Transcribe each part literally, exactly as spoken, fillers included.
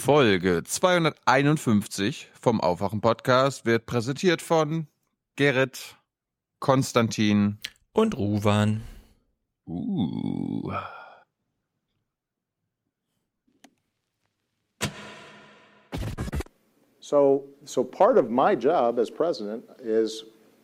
Folge zweihunderteinundfünfzig vom Aufwachen-Podcast wird präsentiert von Gerrit, Konstantin und Ruwan. Uh. So, so part of my job as president is,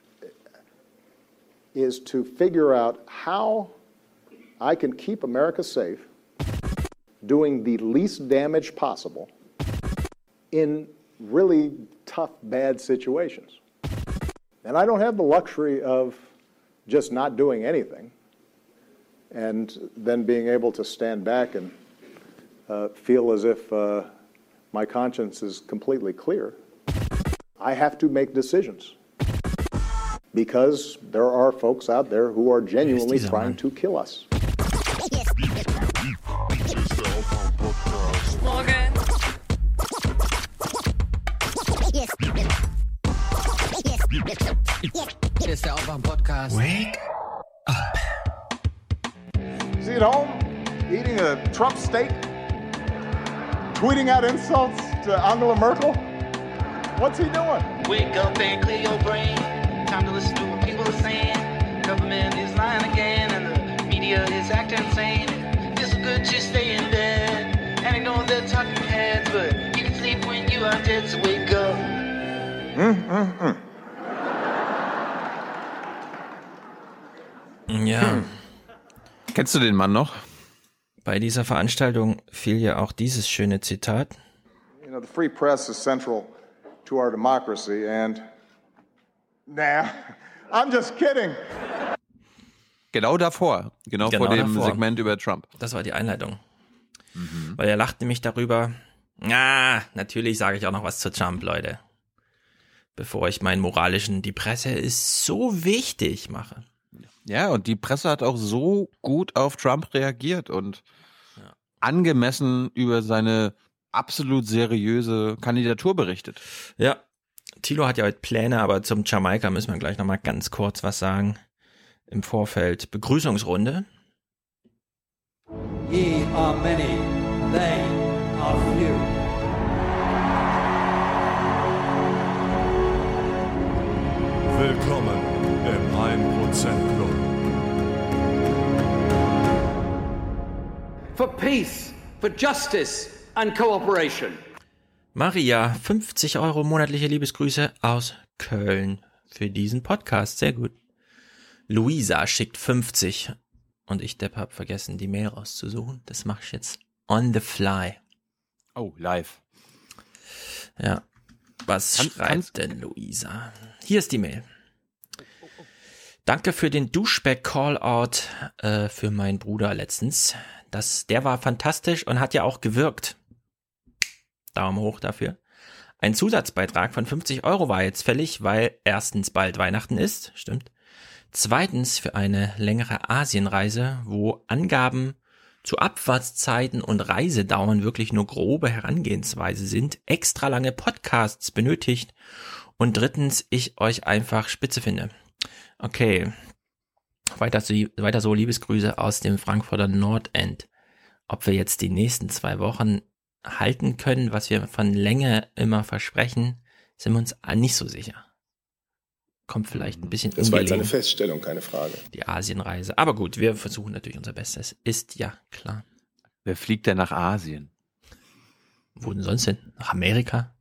is to figure out how I can keep America safe, doing the least damage possible in really tough, bad situations. And I don't have the luxury of just not doing anything and then being able to stand back and uh, feel as if uh, my conscience is completely clear. I have to make decisions because there are folks out there who are genuinely trying to kill us. Morgen. Hier ist der Aufwachen-Podcast. Wake up. Is he at home eating a Trump steak? Tweeting out insults to Angela Merkel? What's he doing? Wake up and clear your brain. Time to listen to what people are saying. Government is lying again and the media is acting insane. It's good to stay in bed and ignore the talking heads, but you can sleep when you are dead, so wake up. Mm, mm, mm. Ja, Hm. Kennst du den Mann noch? bei dieser Veranstaltung fiel ja auch dieses schöne Zitat. You know, the free press is central to our democracy and... Nah, I'm just kidding. Genau davor. Genau, Genau vor dem davor. Segment über Trump. Das war die Einleitung. Mhm. Weil er lacht nämlich darüber. Ah, natürlich sage ich auch noch was zu Trump, Leute. Bevor ich meinen moralischen, die Presse ist so wichtig, mache. Ja, und die Presse hat auch so gut auf Trump reagiert und Ja. angemessen über seine absolut seriöse Kandidatur berichtet. Ja, Thilo hat ja heute Pläne, aber zum Jamaika müssen wir gleich nochmal ganz kurz was sagen. Im Vorfeld Begrüßungsrunde. Ye are many, they are few. Willkommen im ein Prozent Club. For peace, for justice and cooperation. Maria, fünfzig Euro monatliche Liebesgrüße aus Köln für diesen Podcast. Sehr gut. Luisa schickt fünfzig und ich, Depp, hab vergessen, die Mail rauszusuchen. Das mache ich jetzt on the fly. Oh, live. Ja. Was Kann- schreibt kannst- denn Luisa? Hier ist die Mail. Danke für den Duschback-Callout äh, für meinen Bruder letztens. Das, der war fantastisch und hat ja auch gewirkt. Daumen hoch dafür. Ein Zusatzbeitrag von fünfzig Euro war jetzt fällig, weil erstens bald Weihnachten ist, stimmt. Zweitens für eine längere Asienreise, wo Angaben zu Abfahrtszeiten und Reisedauern wirklich nur grobe Herangehensweise sind, extra lange Podcasts benötigt und drittens ich euch einfach spitze finde. Okay, weiter so, weiter so Liebesgrüße aus dem Frankfurter Nordend. Ob wir jetzt die nächsten zwei Wochen halten können, was wir von Länge immer versprechen, sind wir uns nicht so sicher. Kommt vielleicht ein bisschen Das war jetzt eine ungelegen, Feststellung, keine Frage. die Asienreise. Aber gut, wir versuchen natürlich unser Bestes. Ist ja klar. Wer fliegt denn nach Asien? Wo denn sonst hin? Nach Amerika?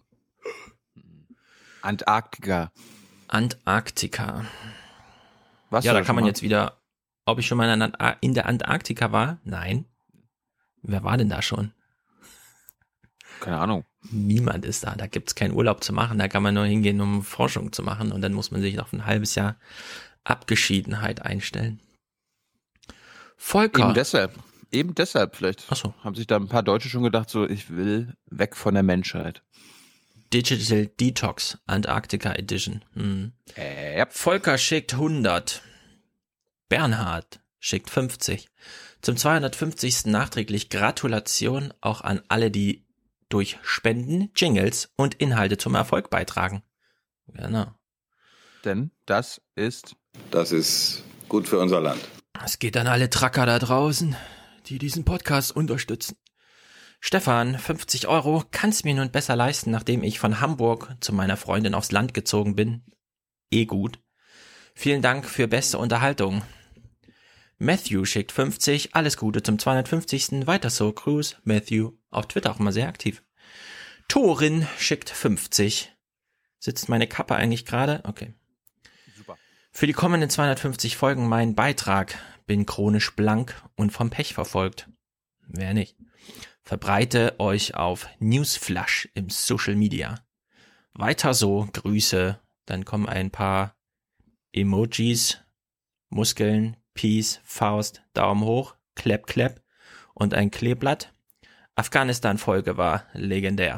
Antarktika. Antarktika. Was Ja, da kann man jetzt wieder, ob ich schon mal in der Ant- in der Antarktika war? Nein. Wer war denn da schon? Keine Ahnung. Niemand ist da. Da gibt's keinen Urlaub zu machen. Da kann man nur hingehen, um Forschung zu machen. Und dann muss man sich auf ein halbes Jahr Abgeschiedenheit einstellen. Volker. Eben deshalb. Eben deshalb vielleicht. Ach so. Haben sich da ein paar Deutsche schon gedacht, so, ich will weg von der Menschheit. Digital Detox Antarktika Edition. Hm. Äh, ja. Volker schickt hundert. Bernhard schickt fünfzig. Zum zweihundertfünfzigsten nachträglich Gratulation auch an alle, die durch Spenden, Jingles und Inhalte zum Erfolg beitragen. Genau. Denn das ist Das ist gut für unser Land. Es geht an alle Tracker da draußen, die diesen Podcast unterstützen. Stefan, fünfzig Euro, kannst mir nun besser leisten, nachdem ich von Hamburg zu meiner Freundin aufs Land gezogen bin. Eh gut. Vielen Dank für beste Unterhaltung. Matthew schickt fünfzig, alles Gute zum zweihundertfünfzigsten Weiter so, Gruß. Matthew, auf Twitter auch immer sehr aktiv. Torin schickt fünfzig. Sitzt meine Kappe eigentlich gerade? Okay. Super. Für die kommenden zweihundertfünfzig Folgen mein Beitrag. Bin chronisch blank und vom Pech verfolgt. Wer nicht? Verbreite euch auf Newsflash im Social Media. Weiter so, Grüße. Dann kommen ein paar Emojis, Muskeln, Peace, Faust, Daumen hoch, Klepp, Klepp und ein Kleeblatt. Afghanistan-Folge war legendär.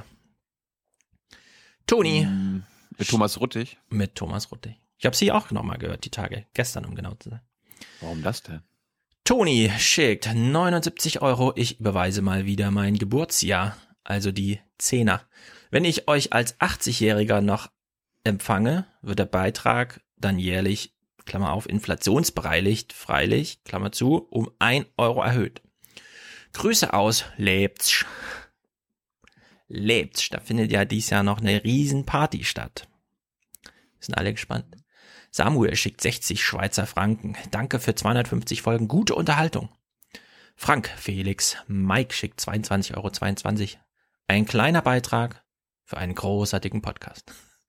Toni. Mit Thomas Ruttig? Mit Thomas Ruttig. Ich habe sie auch nochmal gehört, die Tage. Gestern, um genau zu sein. Warum das denn? Toni schickt neunundsiebzig Euro. Ich überweise mal wieder mein Geburtsjahr, also die Zehner. Wenn ich euch als achtzigjähriger noch empfange, wird der Beitrag dann jährlich, Klammer auf, inflationsbereinigt, freilich, Klammer zu, um ein Euro erhöht. Grüße aus Leipzig. Leipzig, da findet ja dieses Jahr noch eine riesen Party statt. Sind alle gespannt. Samuel schickt sechzig Schweizer Franken. Danke für zweihundertfünfzig Folgen. Gute Unterhaltung. Frank, Felix, Mike schickt zweiundzwanzig Euro zweiundzwanzig. Ein kleiner Beitrag für einen großartigen Podcast.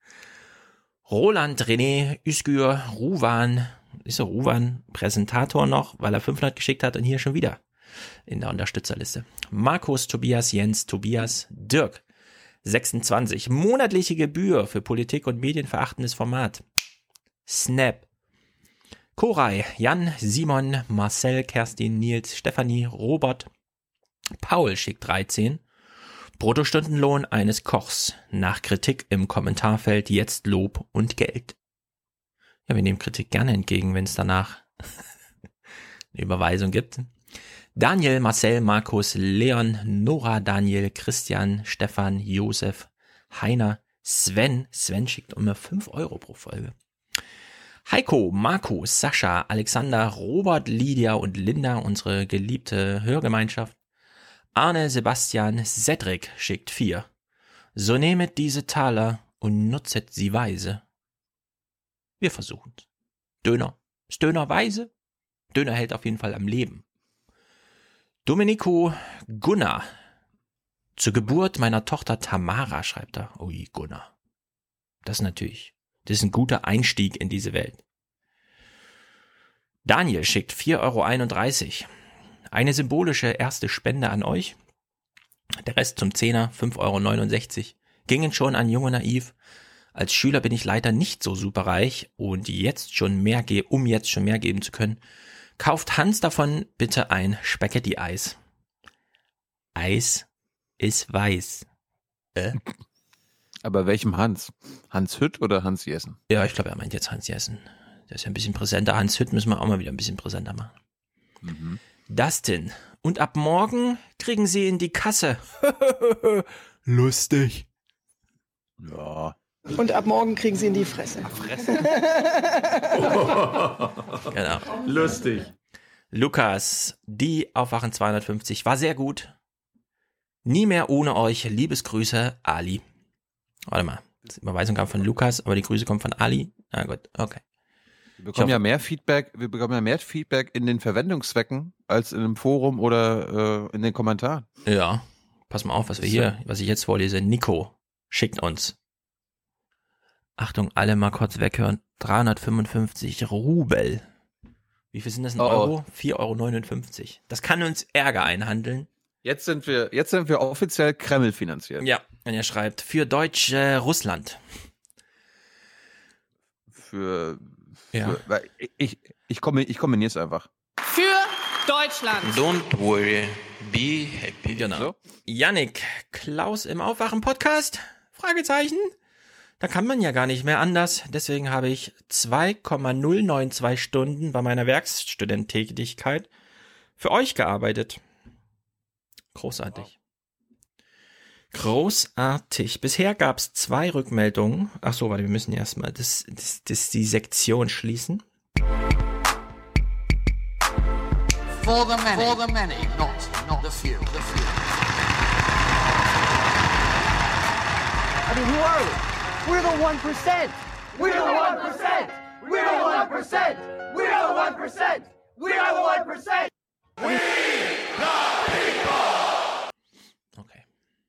Roland, René, Üskür, Ruwan, ist der Ruwan Präsentator noch, weil er fünfhundert geschickt hat und hier schon wieder in der Unterstützerliste. Markus, Tobias, Jens, Tobias, Dirk, sechsundzwanzig. Monatliche Gebühr für Politik und medienverachtendes Format. Snap. Koray, Jan, Simon, Marcel, Kerstin, Nils, Stefanie, Robert, Paul schickt dreizehn. Bruttostundenlohn eines Kochs. Nach Kritik im Kommentarfeld jetzt Lob und Geld. Ja, wir nehmen Kritik gerne entgegen, wenn es danach eine Überweisung gibt. Daniel, Marcel, Markus, Leon, Nora, Daniel, Christian, Stefan, Josef, Heiner, Sven. Sven schickt immer fünf Euro pro Folge. Heiko, Markus, Sascha, Alexander, Robert, Lydia und Linda, unsere geliebte Hörgemeinschaft. Arne, Sebastian, Cedric schickt vier. So nehmet diese Taler und nutzet sie weise. Wir versuchen's. Döner. Ist Döner weise? Döner hält auf jeden Fall am Leben. Domenico Gunnar. Zur Geburt meiner Tochter Tamara, schreibt er. Ui, Gunnar. Das ist natürlich, das ist ein guter Einstieg in diese Welt. Daniel schickt vier Euro einunddreißig. Eine symbolische erste Spende an euch. Der Rest zum Zehner, fünf Euro neunundsechzig. Gingen schon an Jung und Naiv. Als Schüler bin ich leider nicht so superreich und jetzt schon mehr ge- um jetzt schon mehr geben zu können, kauft Hans davon bitte ein Spaghetti-Eis. Eis ist weiß. Äh? Aber welchem Hans? Hans Hütt oder Hans Jessen? Ja, ich glaube, er meint jetzt Hans Jessen. Der ist ja ein bisschen präsenter. Hans Hütt müssen wir auch mal wieder ein bisschen präsenter machen. Mhm. Dustin. Und ab morgen kriegen sie in die Kasse. Lustig. Ja. Und ab morgen kriegen sie in die Fresse. Fresse. Genau. Lustig. Lukas, die Aufwachen zweihundertfünfzig war sehr gut. Nie mehr ohne euch. Liebesgrüße, Ali. Warte mal. Die Überweisung kam von Lukas, aber die Grüße kommen von Ali. Na gut, okay. Wir bekommen ja mehr Feedback, wir bekommen ja mehr Feedback in den Verwendungszwecken als in einem Forum oder äh, in den Kommentaren. Ja, pass mal auf, was wir hier, was ich jetzt vorlese. Nico schickt uns. Achtung, alle mal kurz weghören. dreihundertfünfundfünfzig Rubel. Wie viel sind das in Oh, oh. Euro? vier Euro neunundfünfzig. Das kann uns Ärger einhandeln. Jetzt sind wir, jetzt sind wir offiziell Kreml finanziert. Ja, und er schreibt, für Deutsch äh, Russland. Für, für Ja. weil ich, ich, ich, kombi- ich kombiniere es einfach. Für Deutschland. Don't worry, be happy. Genau. So? Yannick, Klaus im Aufwachen-Podcast? Fragezeichen. Da kann man ja gar nicht mehr anders. Deswegen habe ich zwei Komma null neun zwei Stunden bei meiner Werkstudententätigkeit für euch gearbeitet. Großartig. Großartig. Bisher gab es zwei Rückmeldungen. Ach so, warte, wir müssen erstmal das, das, das die Sektion schließen. For the many. For the many, not, not the few. The few. I mean, who are we? We're the one percent. We're the one percent. We're the one percent. We're the one percent. We're the one percent. We Okay.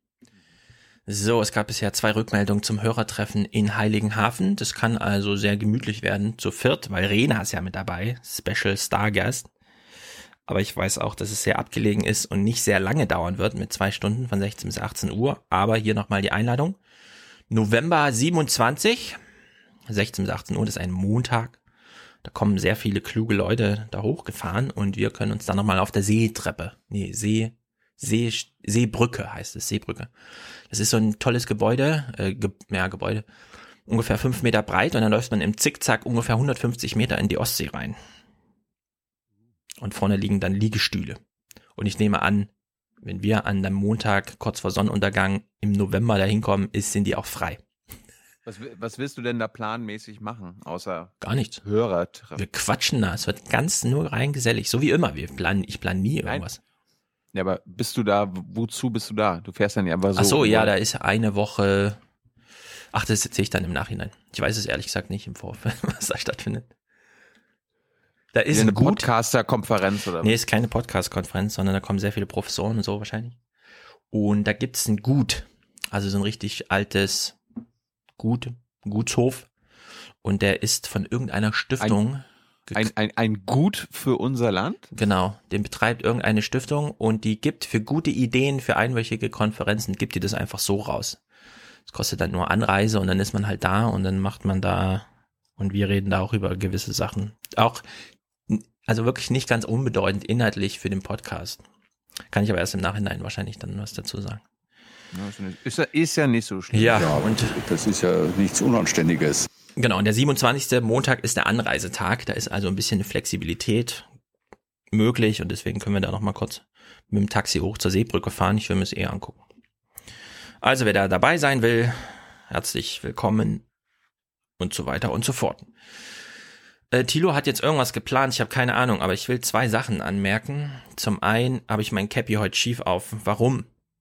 So, es gab bisher zwei Rückmeldungen zum Hörertreffen in Heiligenhafen. Das kann also sehr gemütlich werden, zu viert, weil Rena ist ja mit dabei, Special Stargast. Aber ich weiß auch, dass es sehr abgelegen ist und nicht sehr lange dauern wird, mit zwei Stunden von sechzehn bis achtzehn Uhr. Aber hier nochmal die Einladung. November siebenundzwanzig, sechzehn bis achtzehn Uhr, das ist ein Montag. Da kommen sehr viele kluge Leute da hochgefahren und wir können uns dann nochmal auf der Seetreppe, nee, See, See, Seebrücke heißt es, Seebrücke. Das ist so ein tolles Gebäude, äh, ge, ja, Gebäude, ungefähr fünf Meter breit und dann läuft man im Zickzack ungefähr hundertfünfzig Meter in die Ostsee rein. Und vorne liegen dann Liegestühle. Und ich nehme an, wenn wir an dem Montag kurz vor Sonnenuntergang im November da hinkommen, ist, sind die auch frei. Was, was willst du denn da planmäßig machen, außer gar nichts? Hörertreffen? Wir quatschen da, es wird ganz nur rein gesellig, so wie immer. Wir planen, ich plane nie irgendwas. Nein. Ja, aber bist du da, wozu bist du da? Du fährst dann ja einfach so. Ach so, ja, da ist eine Woche, ach, das sehe ich dann im Nachhinein. Ich weiß es ehrlich gesagt nicht im Vorfeld, was da stattfindet. Da ist eine ein gut, Podcaster-Konferenz oder was? Nee, ist keine Podcast-Konferenz, sondern da kommen sehr viele Professoren und so wahrscheinlich. Und da gibt's ein Gut, also so ein richtig altes Gut, Gutshof. Und der ist von irgendeiner Stiftung. Ein, ein, ein, ein Gut für unser Land? Genau, den betreibt irgendeine Stiftung und die gibt für gute Ideen, für einwöchige Konferenzen, gibt die das einfach so raus. Das kostet dann nur Anreise und dann ist man halt da und dann macht man da und wir reden da auch über gewisse Sachen. Auch Also wirklich nicht ganz unbedeutend inhaltlich für den Podcast. Kann ich aber erst im Nachhinein wahrscheinlich dann was dazu sagen. Ja, ist, ja, ist ja nicht so schlimm. Ja, ja, und das ist ja nichts Unanständiges. Genau, und der siebenundzwanzigste Montag ist der Anreisetag. Da ist also ein bisschen Flexibilität möglich und deswegen können wir da nochmal kurz mit dem Taxi hoch zur Seebrücke fahren. Ich will mir es eher angucken. Also wer da dabei sein will, herzlich willkommen und so weiter und so fort. Äh, Thilo hat jetzt irgendwas geplant, ich habe keine Ahnung, aber ich will zwei Sachen anmerken. Zum einen habe ich mein Cappy heute schief auf. Warum?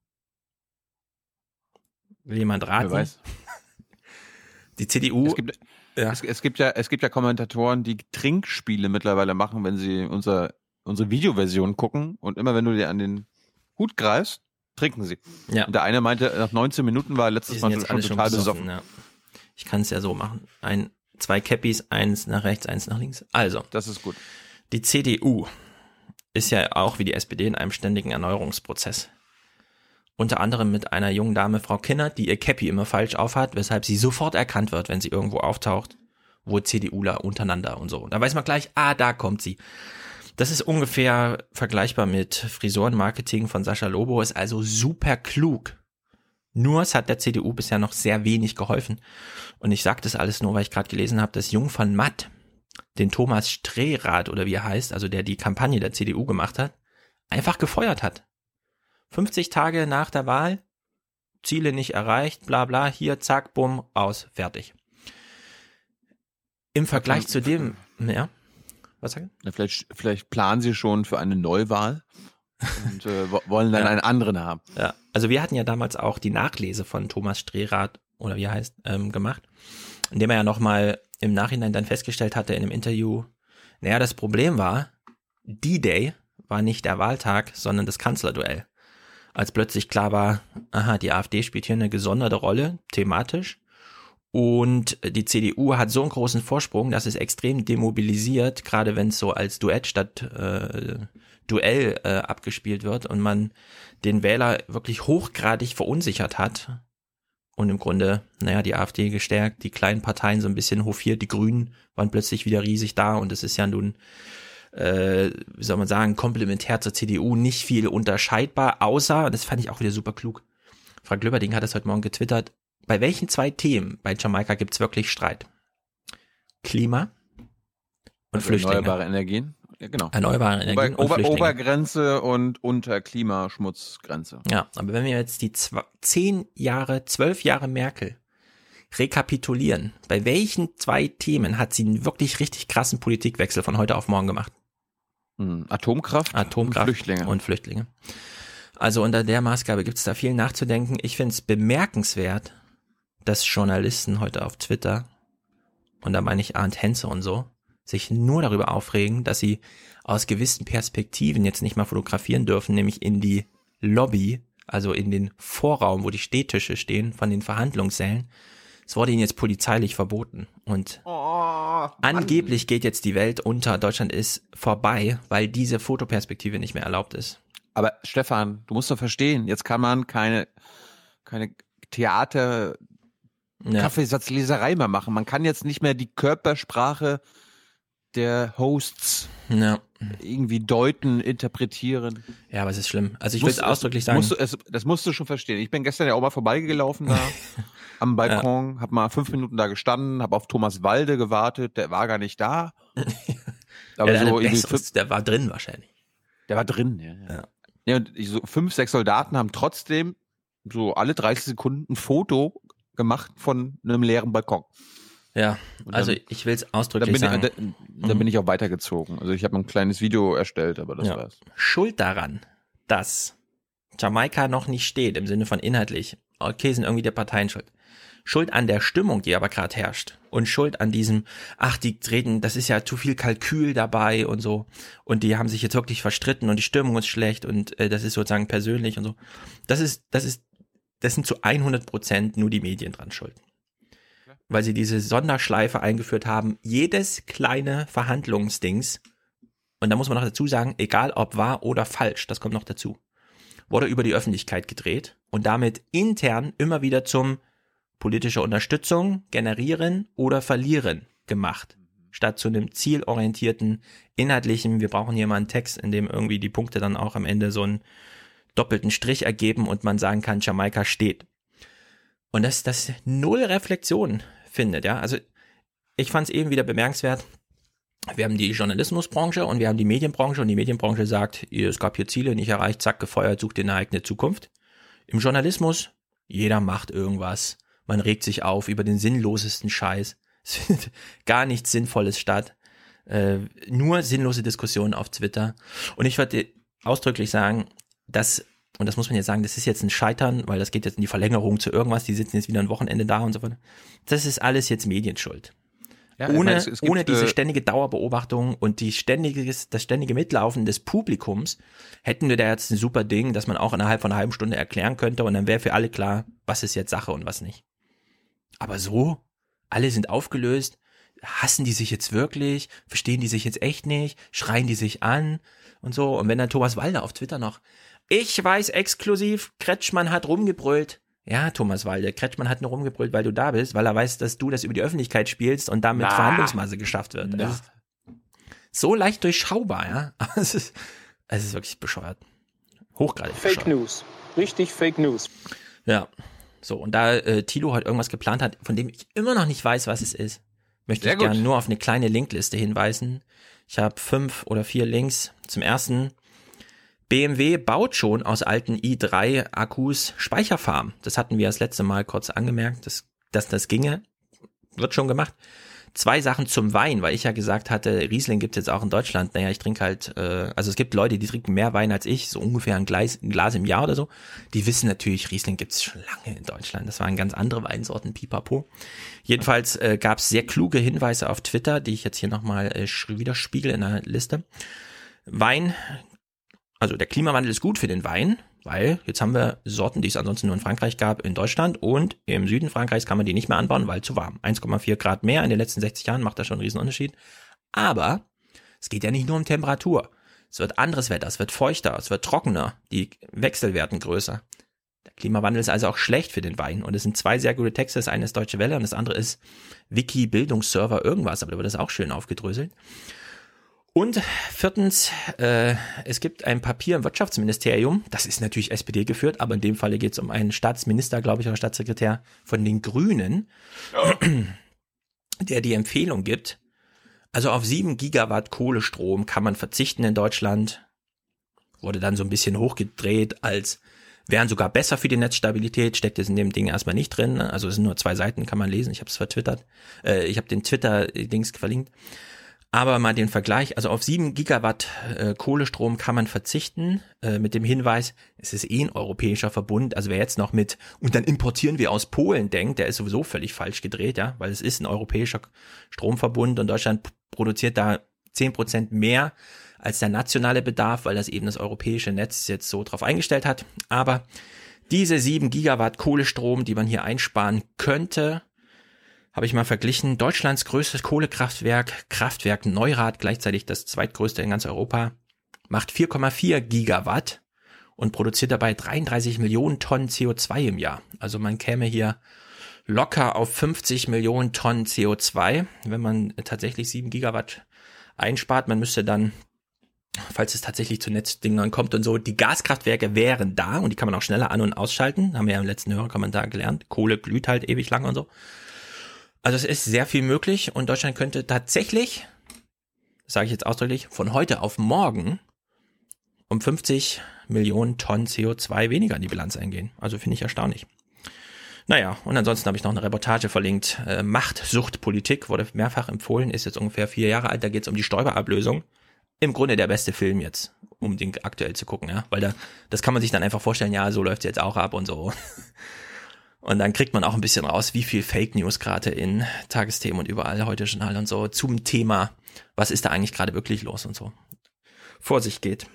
Will jemand raten? Wer weiß. Die C D U. Es gibt, ja. es, es, gibt ja, es gibt ja Kommentatoren, die Trinkspiele mittlerweile machen, wenn sie unser, unsere Videoversion gucken und immer wenn du dir an den Hut greifst, trinken sie. Ja. Und der eine meinte, nach neunzehn Minuten war er letztes Mal schon total besoffen. Ja. Ich kann es ja so machen. Ein Zwei Cappies, eins nach rechts, eins nach links. Also, das ist gut. Die C D U ist ja auch wie die S P D in einem ständigen Erneuerungsprozess. Unter anderem mit einer jungen Dame, Frau Kinnert, die ihr Cappy immer falsch aufhat, weshalb sie sofort erkannt wird, wenn sie irgendwo auftaucht, wo CDUler untereinander und so. Und da weiß man gleich, ah, da kommt sie. Das ist ungefähr vergleichbar mit Frisurenmarketing von Sascha Lobo, ist also super klug. Nur es hat der C D U bisher noch sehr wenig geholfen. Und ich sage das alles nur, weil ich gerade gelesen habe, dass Jung von Matt den Thomas Strehrath oder wie er heißt, also der die Kampagne der C D U gemacht hat, einfach gefeuert hat. fünfzig Tage nach der Wahl, Ziele nicht erreicht, bla bla, hier, zack, bumm, aus, fertig. Im Vergleich okay. zu dem, ja, was sagen? Ja, vielleicht, vielleicht planen sie schon für eine Neuwahl. Und äh, wollen dann ja. einen anderen haben. Ja, also wir hatten ja damals auch die Nachlese von Thomas Strehrath, oder wie er heißt, ähm, gemacht, indem er ja nochmal im Nachhinein dann festgestellt hatte in einem Interview, naja, das Problem war, D-Day war nicht der Wahltag, sondern das Kanzlerduell. Als plötzlich klar war, aha, die AfD spielt hier eine gesonderte Rolle, thematisch, und die C D U hat so einen großen Vorsprung, dass es extrem demobilisiert, gerade wenn es so als Duett statt äh, Duell äh, abgespielt wird und man den Wähler wirklich hochgradig verunsichert hat und im Grunde, naja, die AfD gestärkt, die kleinen Parteien so ein bisschen hofiert, die Grünen waren plötzlich wieder riesig da und es ist ja nun, äh, wie soll man sagen, komplementär zur C D U nicht viel unterscheidbar, außer, das fand ich auch wieder super klug, Frank Löberding hat es heute Morgen getwittert, bei welchen zwei Themen bei Jamaika gibt es wirklich Streit? Klima und also Flüchtlinge. Erneuerbare Energien. Ja, genau. Erneuerbare Energien Ober, und Flüchtlinge. Obergrenze und unter Klimaschmutzgrenze. Ja, aber wenn wir jetzt die zwei, zehn Jahre, zwölf Jahre Merkel rekapitulieren, bei welchen zwei Themen hat sie einen wirklich richtig krassen Politikwechsel von heute auf morgen gemacht? Hm, Atomkraft, Atomkraft und Flüchtlinge. Und Flüchtlinge. Also unter der Maßgabe gibt es da viel nachzudenken. Ich finde es bemerkenswert, dass Journalisten heute auf Twitter, und da meine ich Arndt Henze und so, sich nur darüber aufregen, dass sie aus gewissen Perspektiven jetzt nicht mal fotografieren dürfen, nämlich in die Lobby, also in den Vorraum, wo die Stehtische stehen von den Verhandlungssälen. Es wurde ihnen jetzt polizeilich verboten und oh, angeblich geht jetzt die Welt unter, Deutschland ist vorbei, weil diese Fotoperspektive nicht mehr erlaubt ist. Aber Stefan, du musst doch verstehen, jetzt kann man keine, keine Theater, ja. Kaffeesatzleserei mehr machen. Man kann jetzt nicht mehr die Körpersprache der Hosts ja. irgendwie deuten, interpretieren. Ja, aber es ist schlimm. Also ich will es ausdrücklich sagen. Musst du, es, das musst du schon verstehen. Ich bin gestern ja auch mal vorbeigelaufen da am Balkon, ja. Hab mal fünf Minuten da gestanden, hab auf Thomas Walde gewartet, der war gar nicht da. Aber ja, der, so irgendwie fünf, der war drin wahrscheinlich. Der war drin, ja. ja. ja. ja und so fünf, sechs Soldaten haben trotzdem so alle dreißig Sekunden ein Foto gemacht von einem leeren Balkon. Ja, dann, also ich will es ausdrücklich dann bin sagen. Ich, da, dann bin ich auch weitergezogen. Also ich habe ein kleines Video erstellt, aber das ja. war's. Schuld daran, dass Jamaika noch nicht steht, im Sinne von inhaltlich, okay, sind irgendwie der Parteien schuld. Schuld an der Stimmung, die aber gerade herrscht. Und Schuld an diesem, ach, die treten, das ist ja zu viel Kalkül dabei und so. Und die haben sich jetzt wirklich verstritten und die Stimmung ist schlecht und äh, das ist sozusagen persönlich und so. Das ist, das ist, das sind zu hundert Prozent nur die Medien dran schuld. Weil sie diese Sonderschleife eingeführt haben, jedes kleine Verhandlungsdings, und da muss man noch dazu sagen, egal ob wahr oder falsch, das kommt noch dazu, wurde über die Öffentlichkeit gedreht und damit intern immer wieder zum politische Unterstützung generieren oder verlieren gemacht, statt zu einem zielorientierten, inhaltlichen, wir brauchen hier mal einen Text, in dem irgendwie die Punkte dann auch am Ende so einen doppelten Strich ergeben und man sagen kann, Jamaika steht. Und dass das null Reflexion findet, ja, also ich fand es eben wieder bemerkenswert, wir haben die Journalismusbranche und wir haben die Medienbranche und die Medienbranche sagt, es gab hier Ziele nicht erreicht, zack, gefeuert, sucht dir eine eigene Zukunft. Im Journalismus, jeder macht irgendwas, man regt sich auf über den sinnlosesten Scheiß, es findet gar nichts Sinnvolles statt, äh, nur sinnlose Diskussionen auf Twitter und ich würde ausdrücklich sagen, dass und das muss man jetzt sagen, das ist jetzt ein Scheitern, weil das geht jetzt in die Verlängerung zu irgendwas, die sitzen jetzt wieder ein Wochenende da und so weiter. Das ist alles jetzt Medienschuld. Ja, ohne, meine, es, es gibt, ohne diese ständige Dauerbeobachtung und die ständige, das ständige Mitlaufen des Publikums hätten wir da jetzt ein super Ding, dass man auch innerhalb von einer halben Stunde erklären könnte und dann wäre für alle klar, was ist jetzt Sache und was nicht. Aber so, alle sind aufgelöst, hassen die sich jetzt wirklich, verstehen die sich jetzt echt nicht, schreien die sich an und so. Und wenn dann Thomas Walde auf Twitter noch, ich weiß exklusiv, Kretschmann hat rumgebrüllt. Ja, Thomas Walde, Kretschmann hat nur rumgebrüllt, weil du da bist, weil er weiß, dass du das über die Öffentlichkeit spielst und damit Na. Verhandlungsmasse geschafft wird. Das ist so leicht durchschaubar, ja. Es ist, es ist wirklich bescheuert. Hochgradig Fake bescheuert. News. Richtig Fake News. Ja. So, und da äh, Thilo heute irgendwas geplant hat, von dem ich immer noch nicht weiß, was es ist, möchte Sehr ich gerne nur auf eine kleine Linkliste hinweisen. Ich habe fünf oder vier Links. Zum ersten, B M W baut schon aus alten i drei Akkus Speicherfarmen. Das hatten wir das letzte Mal kurz angemerkt, dass, dass das ginge. Wird schon gemacht. Zwei Sachen zum Wein, weil ich ja gesagt hatte, Riesling gibt's jetzt auch in Deutschland. Naja, ich trinke halt, äh, also es gibt Leute, die trinken mehr Wein als ich, so ungefähr ein Glas, ein Glas im Jahr oder so. Die wissen natürlich, Riesling gibt's schon lange in Deutschland. Das waren ganz andere Weinsorten, pipapo. Jedenfalls äh, gab's sehr kluge Hinweise auf Twitter, die ich jetzt hier nochmal äh, widerspiegel in der Liste. Wein, also der Klimawandel ist gut für den Wein, weil jetzt haben wir Sorten, die es ansonsten nur in Frankreich gab, in Deutschland und im Süden Frankreichs kann man die nicht mehr anbauen, weil zu warm. eins Komma vier Grad mehr in den letzten sechzig Jahren macht da schon einen riesen Unterschied. Aber es geht ja nicht nur um Temperatur. Es wird anderes Wetter, es wird feuchter, es wird trockener, die Wechsel werden größer. Der Klimawandel ist also auch schlecht für den Wein und es sind zwei sehr gute Texte. Das eine ist Deutsche Welle und das andere ist Wiki Bildungsserver irgendwas, aber da wird das auch schön aufgedröselt. Und viertens, äh, es gibt ein Papier im Wirtschaftsministerium, das ist natürlich S P D geführt, aber in dem Falle geht es um einen Staatsminister, glaube ich, oder Staatssekretär von den Grünen, ja. der die Empfehlung gibt, also auf sieben Gigawatt Kohlestrom kann man verzichten in Deutschland, wurde dann so ein bisschen hochgedreht, als wären sogar besser für die Netzstabilität, steckt jetzt in dem Ding erstmal nicht drin, also es sind nur zwei Seiten, kann man lesen, ich habe es vertwittert, äh, ich habe den Twitter-Dings verlinkt. Aber mal den Vergleich, also auf sieben Gigawatt äh, Kohlestrom kann man verzichten, äh, mit dem Hinweis, es ist eh ein europäischer Verbund, also wer jetzt noch mit, und dann importieren wir aus Polen denkt, der ist sowieso völlig falsch gedreht, ja, weil es ist ein europäischer Stromverbund und Deutschland p- produziert da zehn Prozent mehr als der nationale Bedarf, weil das eben das europäische Netz jetzt so drauf eingestellt hat. Aber diese sieben Gigawatt Kohlestrom, die man hier einsparen könnte, habe ich mal verglichen. Deutschlands größtes Kohlekraftwerk, Kraftwerk Neurath, gleichzeitig das zweitgrößte in ganz Europa, macht vier Komma vier Gigawatt und produziert dabei dreiunddreißig Millionen Tonnen C O zwei im Jahr. Also man käme hier locker auf fünfzig Millionen Tonnen C O zwei, wenn man tatsächlich sieben Gigawatt einspart. Man müsste dann, falls es tatsächlich zu Netzdingern kommt und so, die Gaskraftwerke wären da und die kann man auch schneller an- und ausschalten. Haben wir ja im letzten Hörerkommentar gelernt. Kohle glüht halt ewig lang und so. Also es ist sehr viel möglich und Deutschland könnte tatsächlich, das sage ich jetzt ausdrücklich, von heute auf morgen um fünfzig Millionen Tonnen C O zwei weniger in die Bilanz eingehen. Also finde ich erstaunlich. Naja, und ansonsten habe ich noch eine Reportage verlinkt. Äh, Machtsuchtpolitik wurde mehrfach empfohlen, ist jetzt ungefähr vier Jahre alt. Da geht es um die Stoiber-Ablösung. Im Grunde der beste Film jetzt, um den aktuell zu gucken, ja, weil da, das kann man sich dann einfach vorstellen, ja, so läuft es jetzt auch ab und so. Und dann kriegt man auch ein bisschen raus, wie viel Fake News gerade in Tagesthemen und überall, heute Journal und so, zum Thema, was ist da eigentlich gerade wirklich los und so, vor sich geht.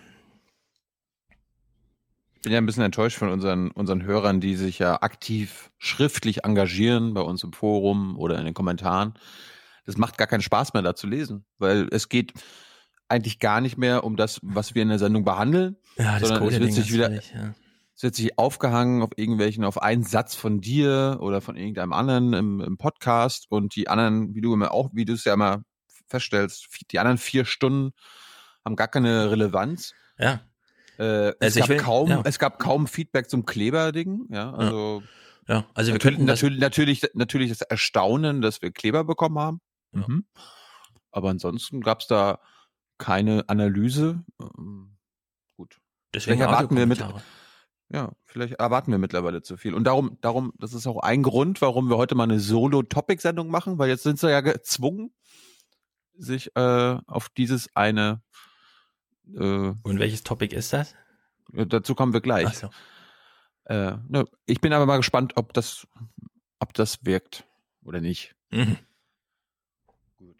Ich bin ja ein bisschen enttäuscht von unseren, unseren Hörern, die sich ja aktiv schriftlich engagieren, bei uns im Forum oder in den Kommentaren. Das macht gar keinen Spaß mehr, da zu lesen, weil es geht eigentlich gar nicht mehr um das, was wir in der Sendung behandeln, ja, das sondern es wird sich wieder... Völlig, ja. Es wird sich aufgehangen auf irgendwelchen, auf einen Satz von dir oder von irgendeinem anderen im, im Podcast und die anderen, wie du immer auch, wie du es ja immer feststellst, die anderen vier Stunden haben gar keine Relevanz. Ja. Äh, es, also gab will, kaum, ja. es gab kaum Feedback zum Kleber-Ding, ja, also. Ja, ja also wir natürlich, könnten natürlich, natürlich, natürlich das Erstaunen, dass wir Kleber bekommen haben. Ja. Mhm. Aber ansonsten gab es da keine Analyse. Ähm, gut. Deswegen Vielleicht erwarten wir mit. Ja, vielleicht erwarten wir mittlerweile zu viel. Und darum, darum, das ist auch ein Grund, warum wir heute mal eine Solo-Topic-Sendung machen, weil jetzt sind sie ja gezwungen, sich äh, auf dieses eine äh, Und welches Topic ist das? Dazu kommen wir gleich. Ach so. Äh, ne, ich bin aber mal gespannt, ob das, ob das wirkt oder nicht. Mhm. Gut.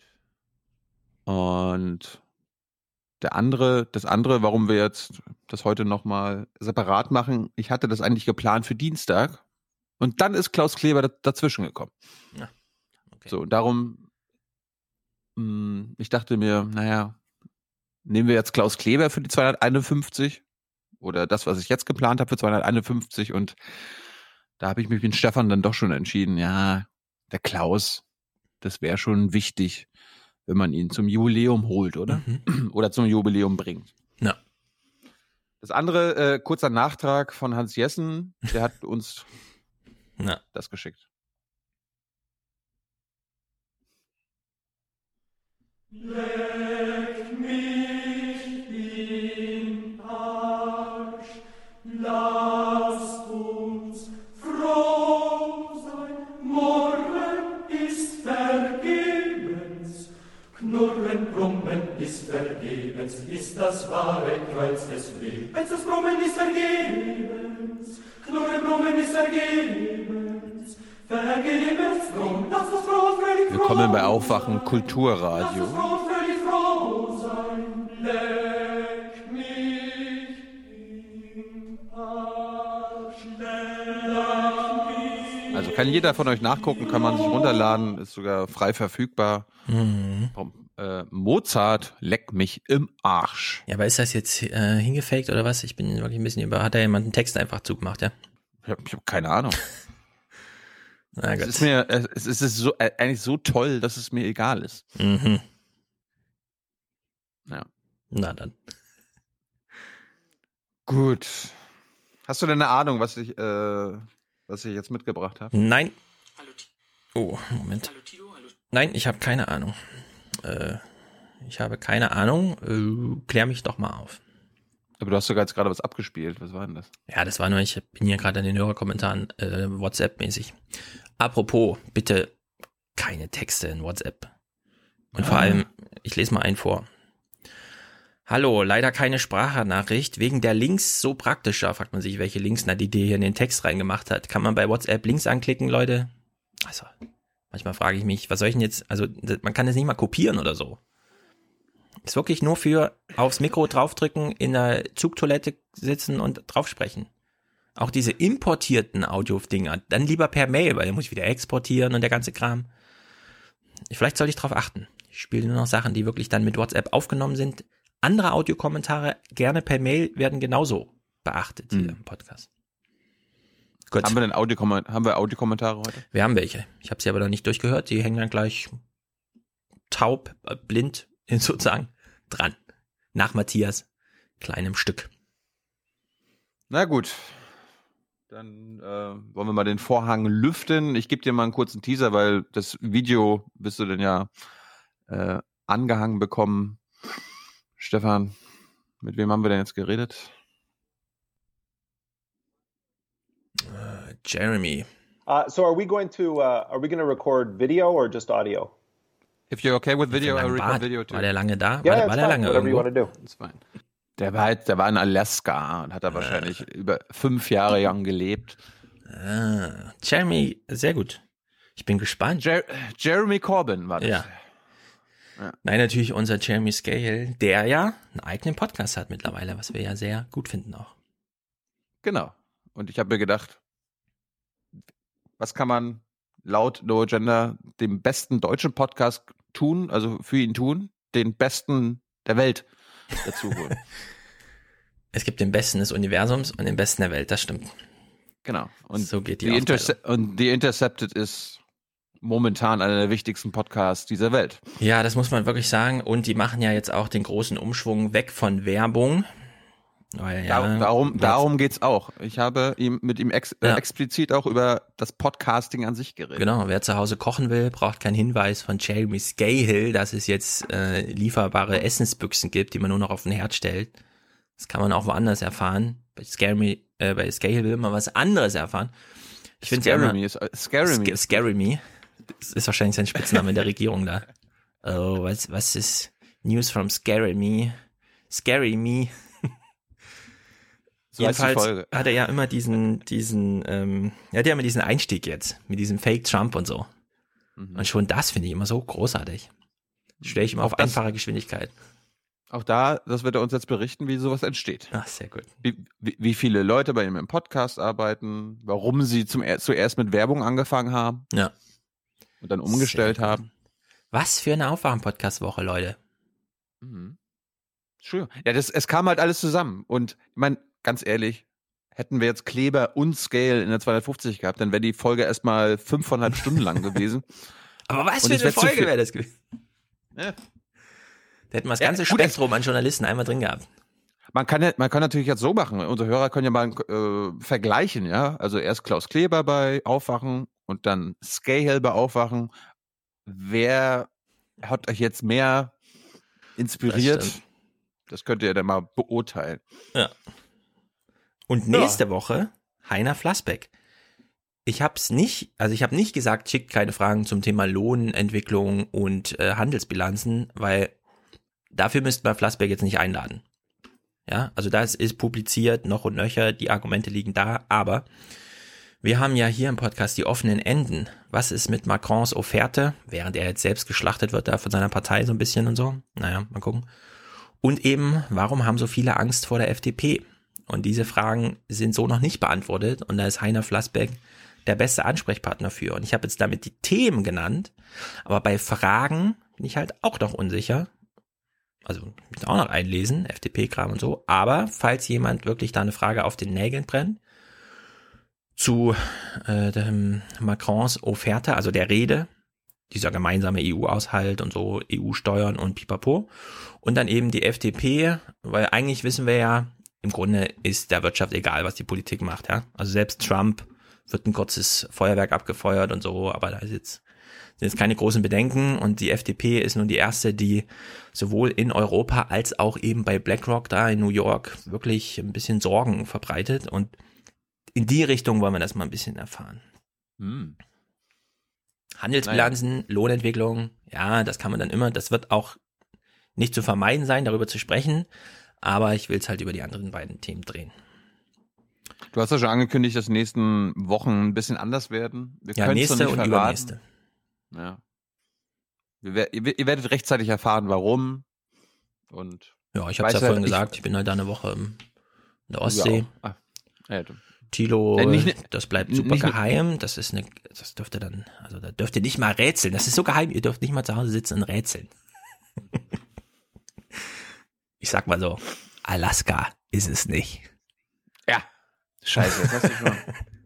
Und Der andere, das andere, warum wir jetzt das heute nochmal separat machen, ich hatte das eigentlich geplant für Dienstag und dann ist Klaus Kleber dazwischen gekommen. Ja, okay. So, darum, mh, ich dachte mir, naja, nehmen wir jetzt Klaus Kleber für die zweihunderteinundfünfzig oder das, was ich jetzt geplant habe für zweihunderteinundfünfzig und da habe ich mich mit Stefan dann doch schon entschieden, ja, der Klaus, das wäre schon wichtig, wenn man ihn zum Jubiläum holt, oder? Mhm. Oder zum Jubiläum bringt. Ja. Das andere, äh, kurzer Nachtrag von Hans Jessen, der hat uns ja. das geschickt. Leg mich in Arsch, lasst uns froh sein, morgen ist vergebens. Knurren, Brummen ist vergebens, ist das wahre Kreuz des Lebens. Das Brummen ist vergebens, Knurren, Brummen ist vergebens, vergebens drum, lass uns froh, fröhlich froh. Willkommen bei Aufwachen Kulturradio. Lass uns froh, fröhlich froh sein, leck mich in Arsch, leck mich. Also kann jeder von euch nachgucken, kann man sich runterladen, ist sogar frei verfügbar. Mhm. Äh, Mozart, leck mich im Arsch. Ja, aber ist das jetzt äh, hingefaked oder was? Ich bin wirklich ein bisschen über. Hat da jemand einen Text einfach zugemacht, ja? Ich habe hab keine Ahnung. Na es Gott. ist mir, es ist so, äh, eigentlich so toll, dass es mir egal ist. Mhm. Ja. Na dann. Gut. Hast du denn eine Ahnung, was ich, äh, was ich jetzt mitgebracht habe? Nein. Oh, Moment. Nein, ich habe keine Ahnung. Äh, ich habe keine Ahnung. Äh, klär mich doch mal auf. Aber du hast sogar jetzt gerade was abgespielt. Was war denn das? Ja, das war nur, ich bin hier gerade in den Hörerkommentaren äh, WhatsApp-mäßig. Apropos, bitte keine Texte in WhatsApp. Und vor allem, ich lese mal einen vor. Hallo, leider keine Sprachnachricht. Wegen der Links so praktischer, fragt man sich, welche Links na die dir hier in den Text reingemacht hat. Kann man bei WhatsApp Links anklicken, Leute? Also, manchmal frage ich mich, was soll ich denn jetzt, also man kann das nicht mal kopieren oder so. Ist wirklich nur für aufs Mikro draufdrücken, in der Zugtoilette sitzen und draufsprechen. Auch diese importierten Audio-Dinger, dann lieber per Mail, weil dann muss ich wieder exportieren und der ganze Kram. Vielleicht sollte ich drauf achten. Ich spiele nur noch Sachen, die wirklich dann mit WhatsApp aufgenommen sind. Andere Audiokommentare gerne per Mail werden genauso beachtet hier hm. im Podcast. Gut. Haben wir denn Audiokomment- haben wir Audiokommentare heute? Wir haben welche. Ich habe sie aber noch nicht durchgehört. Die hängen dann gleich taub, äh, blind sozusagen dran. Nach Matthias kleinem Stück. Na gut. Dann äh, wollen wir mal den Vorhang lüften. Ich gebe dir mal einen kurzen Teaser, weil das Video wirst du dann ja äh, angehangen bekommen. Stefan, mit wem haben wir denn jetzt geredet? Uh, Jeremy. Uh, so are we going to uh, are we going to record video or just audio? If you're okay with video, I record video too. War der lange da? Yeah, war war der lange Whatever irgendwo? you want to do. That's fine. Der war, halt, der war in Alaska und hat da äh. wahrscheinlich über fünf Jahre lang gelebt. Ah, Jeremy, sehr gut. Ich bin gespannt. Jer- Jeremy Corbyn war das. Ja. Ja. Nein, natürlich unser Jeremy Scahill, der ja einen eigenen Podcast hat mittlerweile, was wir ja sehr gut finden auch. Genau. Und ich habe mir gedacht, was kann man laut No Agenda dem besten deutschen Podcast tun, also für ihn tun, den besten der Welt dazu holen. Es gibt den Besten des Universums und den Besten der Welt, das stimmt. Genau. Und so geht die The Interce- Und The Intercepted ist momentan einer der wichtigsten Podcasts dieser Welt. Ja, das muss man wirklich sagen. Und die machen ja jetzt auch den großen Umschwung weg von Werbung. Weil, ja, Dar- darum darum geht's auch. Ich habe ihm mit ihm ex- ja. äh, explizit auch über das Podcasting an sich geredet. Genau, wer zu Hause kochen will, braucht keinen Hinweis von Jeremy Scahill, dass es jetzt äh, lieferbare Essensbüchsen gibt, die man nur noch auf den Herd stellt. Das kann man auch woanders erfahren. Bei Scary, äh, bei Scahill will man was anderes erfahren. Ich finde ja immer, ist, Scary Me. Scary Me. Das ist wahrscheinlich sein Spitzname in der Regierung da. Oh, was, was ist News from Scary Me? Scary Me. So Jedenfalls hat er ja immer diesen, diesen, ähm, er hat ja immer diesen Einstieg jetzt mit diesem Fake Trump und so. Mhm. Und schon das finde ich immer so großartig. Stelle ich immer auf einfache Geschwindigkeit. Auch da, das wird er uns jetzt berichten, wie sowas entsteht. Ach, sehr gut. Wie, wie, wie viele Leute bei ihm im Podcast arbeiten, warum sie zum, zuerst mit Werbung angefangen haben. Ja. Und dann umgestellt haben. Was für eine Aufwachen-Podcast-Woche, Leute. Mhm. Schön. Ja, das, es kam halt alles zusammen. Und ich meine, ganz ehrlich, hätten wir jetzt Kleber und Scale in der zweihundertfünfzig gehabt, dann wäre die Folge erstmal fünfeinhalb Stunden lang gewesen. Aber was für eine Folge wäre das gewesen? Ja. Da hätten wir das ganze ja, gut, Spektrum an Journalisten einmal drin gehabt. Man kann, ja, man kann natürlich jetzt so machen. Unsere Hörer können ja mal äh, vergleichen, ja. Also erst Klaus Kleber bei Aufwachen und dann Scahill bei Aufwachen. Wer hat euch jetzt mehr inspiriert? Das, das könnt ihr dann mal beurteilen. Ja. Und nächste ja. Woche Heiner Flassbeck. Ich hab's nicht, also ich habe nicht gesagt, schickt keine Fragen zum Thema Lohnentwicklung und äh, Handelsbilanzen, weil dafür müssten wir Flassbeck jetzt nicht einladen. Ja, also das ist publiziert, noch und nöcher, die Argumente liegen da, aber wir haben ja hier im Podcast die offenen Enden. Was ist mit Macrons Offerte, während er jetzt selbst geschlachtet wird da von seiner Partei so ein bisschen und so? Naja, mal gucken. Und eben, warum haben so viele Angst vor der F D P? Und diese Fragen sind so noch nicht beantwortet und da ist Heiner Flassbeck der beste Ansprechpartner für. Und ich habe jetzt damit die Themen genannt, aber bei Fragen bin ich halt auch noch unsicher. Also ich muss auch noch einlesen, F D P-Kram und so. Aber falls jemand wirklich da eine Frage auf den Nägeln brennt, zu äh, dem Macrons Offerte, also der Rede, dieser gemeinsame E U-Aushalt und so, E U-Steuern und pipapo. Und dann eben die F D P, weil eigentlich wissen wir ja, im Grunde ist der Wirtschaft egal, was die Politik macht. Ja? Also selbst Trump wird ein kurzes Feuerwerk abgefeuert und so, aber da ist jetzt, sind jetzt keine großen Bedenken und die F D P ist nun die erste, die sowohl in Europa als auch eben bei BlackRock da in New York wirklich ein bisschen Sorgen verbreitet und in die Richtung wollen wir das mal ein bisschen erfahren. Hm. Handelsbilanzen, naja. Lohnentwicklung, Ja, das kann man dann immer, das wird auch nicht zu vermeiden sein, darüber zu sprechen, aber ich will es halt über die anderen beiden Themen drehen. Du hast ja schon angekündigt, dass die nächsten Wochen ein bisschen anders werden. Wir ja, nächste und übernächste. Ja. Wir, ihr, ihr werdet rechtzeitig erfahren, warum. Und ja, ich habe es ja vorhin ich, gesagt, ich bin halt da eine Woche in der Ostsee. Ah, ja, Thilo, ja, nicht, das bleibt super nicht, geheim. Das ist eine, das dürft ihr dann, also da dürft ihr nicht mal rätseln. Das ist so geheim, ihr dürft nicht mal zu Hause sitzen und rätseln. Ich sag mal so, Alaska ist es nicht. Ja. Scheiße, das hast du schon.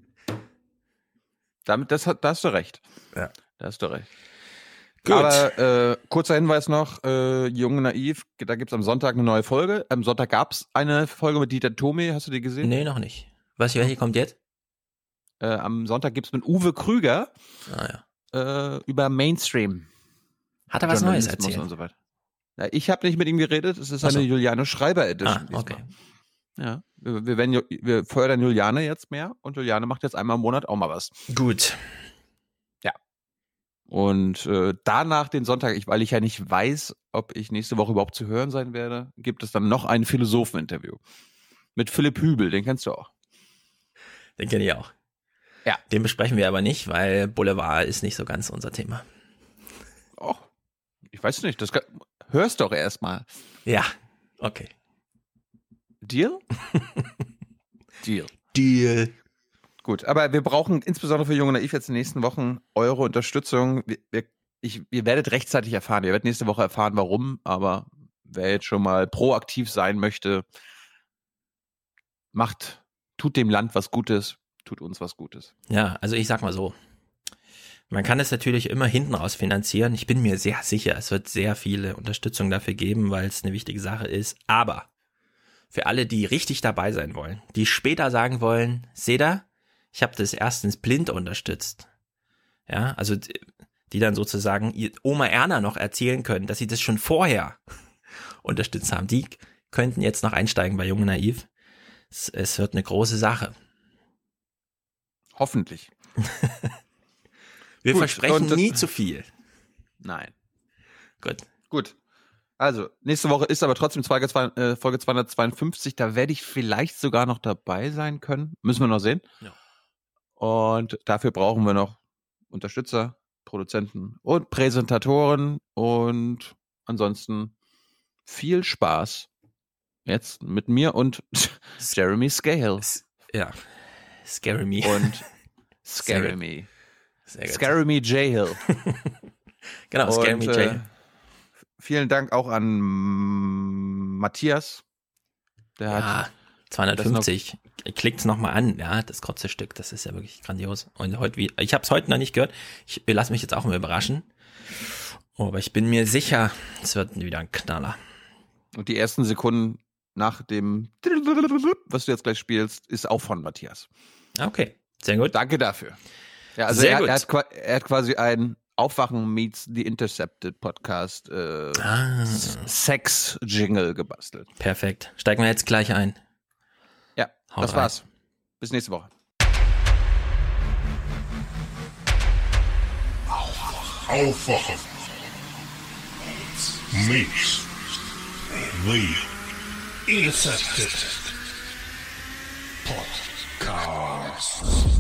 Damit, das, da hast du recht. Ja. Da hast du recht. Gut. Aber äh, kurzer Hinweis noch, äh, Jung und Naiv, da gibt's am Sonntag eine neue Folge. Am Sonntag gab's eine Folge mit Dieter Thome, hast du die gesehen? Nee, noch nicht. Was, welche kommt jetzt? Äh, am Sonntag gibt's mit Uwe Krüger ah, ja. äh, über Mainstream. Hat er was Neues erzählt? Und so weiter. Ja, ich habe nicht mit ihm geredet, es ist eine so. Juliane Schreiber Edition. Ah, okay. Ja, wir, wir, werden, wir fördern Juliane jetzt mehr und Juliane macht jetzt einmal im Monat auch mal was. Gut. Ja. Und äh, danach den Sonntag, ich, weil ich ja nicht weiß, ob ich nächste Woche überhaupt zu hören sein werde, gibt es dann noch ein Philosophen-Interview. Mit Philipp Hübel, den kennst du auch. Den kenne ich auch. Ja. Den besprechen wir aber nicht, weil Boulevard ist nicht so ganz unser Thema. Oh, ich weiß nicht, das kann, hörst doch erstmal. Ja, okay. Deal? Deal. Deal. Gut, aber wir brauchen insbesondere für Jung und Naiv jetzt in den nächsten Wochen eure Unterstützung. Wir, wir, ich, ihr werdet rechtzeitig erfahren, ihr werdet nächste Woche erfahren, warum, aber wer jetzt schon mal proaktiv sein möchte, macht, tut dem Land was Gutes, tut uns was Gutes. Ja, also ich sag mal so, man kann es natürlich immer hinten raus finanzieren. Ich bin mir sehr sicher, es wird sehr viele Unterstützung dafür geben, weil es eine wichtige Sache ist. Aber für alle, die richtig dabei sein wollen, die später sagen wollen, seht ihr, ich habe das erstens blind unterstützt. Ja, also die dann sozusagen Oma Erna noch erzählen können, dass sie das schon vorher unterstützt haben. Die könnten jetzt noch einsteigen bei Jung und Naiv. Es, es wird eine große Sache. Hoffentlich. Wir Gut, versprechen nie zu viel. Nein. Gut. Gut. Also, nächste Woche ist aber trotzdem Folge zweihundertzweiundfünfzig. Da werde ich vielleicht sogar noch dabei sein können. Müssen wir noch sehen. Ja. Und dafür brauchen wir noch Unterstützer, Produzenten und Präsentatoren. Und ansonsten viel Spaß jetzt mit mir und Jeremy Scale. Ja. Scary Me. Und Scary Me. Scary Me J. Hill. Genau, Scary Me J. Hill. Äh, vielen Dank auch an Matthias. Der ja, hat zweihundertfünfzig. Klickt's nochmal an. Ja, das kurze Stück, das ist ja wirklich grandios. Und heute, wie, ich habe es heute noch nicht gehört. Ich lasse mich jetzt auch mal überraschen. Aber ich bin mir sicher, es wird wieder ein Knaller. Und die ersten Sekunden nach dem, was du jetzt gleich spielst, ist auch von Matthias. Okay, sehr gut. Danke dafür. Ja, also sehr er, gut. Er, hat, er hat quasi ein Aufwachen meets The Intercepted Podcast äh, ah. Sex-Jingle gebastelt. Perfekt. Steigen wir jetzt gleich ein. Ja, Haut das rein. war's. Bis nächste Woche. Aufwachen. Meets The Intercepted Podcast.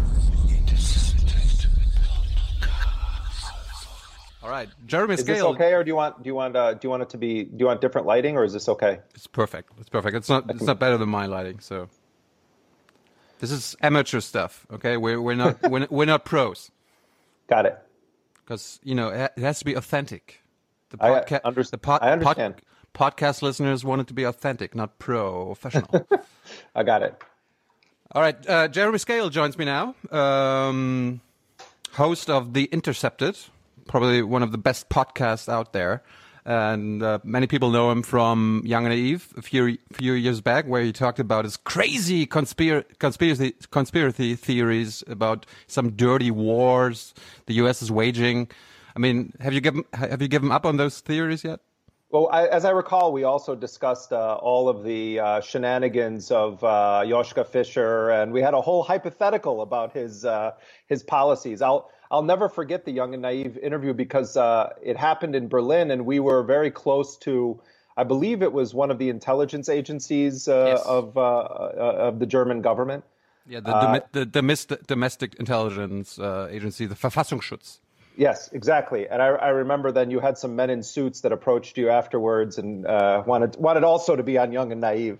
All right, Jeremy Is Scale. this okay, or do you want do you want uh, do you want it to be do you want different lighting, or is this okay? It's perfect. It's perfect. It's not it's not better than my lighting. So this is amateur stuff. Okay, we're we're not we're, we're not pros. Got it. Because you know it has to be authentic. The I podca- under- the pod- I understand. Pod- podcast listeners want it to be authentic, not professional. I got it. All right, uh, Jeremy Scale joins me now, um, host of The Intercepted, probably one of the best podcasts out there. And uh, many people know him from Young and Naive a few few years back, where he talked about his crazy conspir- conspiracy conspiracy theories about some dirty wars the U S is waging. I mean, have you given have you given up on those theories yet? Well, I, as I recall, we also discussed uh, all of the uh, shenanigans of uh, Joschka Fischer, and we had a whole hypothetical about his uh, his policies. I'll I'll never forget the Young and Naive interview because uh, it happened in Berlin, and we were very close to, I believe it was one of the intelligence agencies uh, yes. of uh, uh, of the German government. Yeah, the, uh, the, the domestic intelligence uh, agency, the Verfassungsschutz. Yes, exactly. And I, I remember then you had some men in suits that approached you afterwards and uh, wanted wanted also to be on Young and Naive.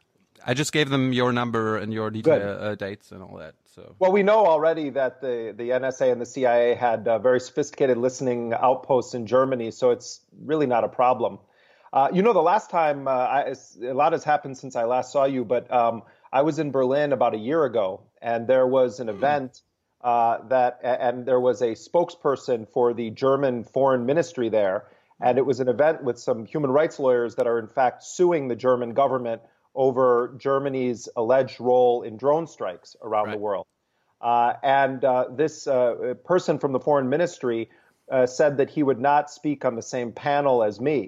I just gave them your number and your detail, uh, dates and all that. So well, we know already that the, the N S A and the C I A had uh, very sophisticated listening outposts in Germany, so it's really not a problem. Uh, you know, the last time, uh, I, a lot has happened since I last saw you, but um, I was in Berlin about a year ago, and there was an event Uh, that and there was a spokesperson for the German foreign ministry there, and it was an event with some human rights lawyers that are in fact suing the German government over Germany's alleged role in drone strikes around right. the world. Uh, and uh, this uh, person from the foreign ministry uh, said that he would not speak on the same panel as me.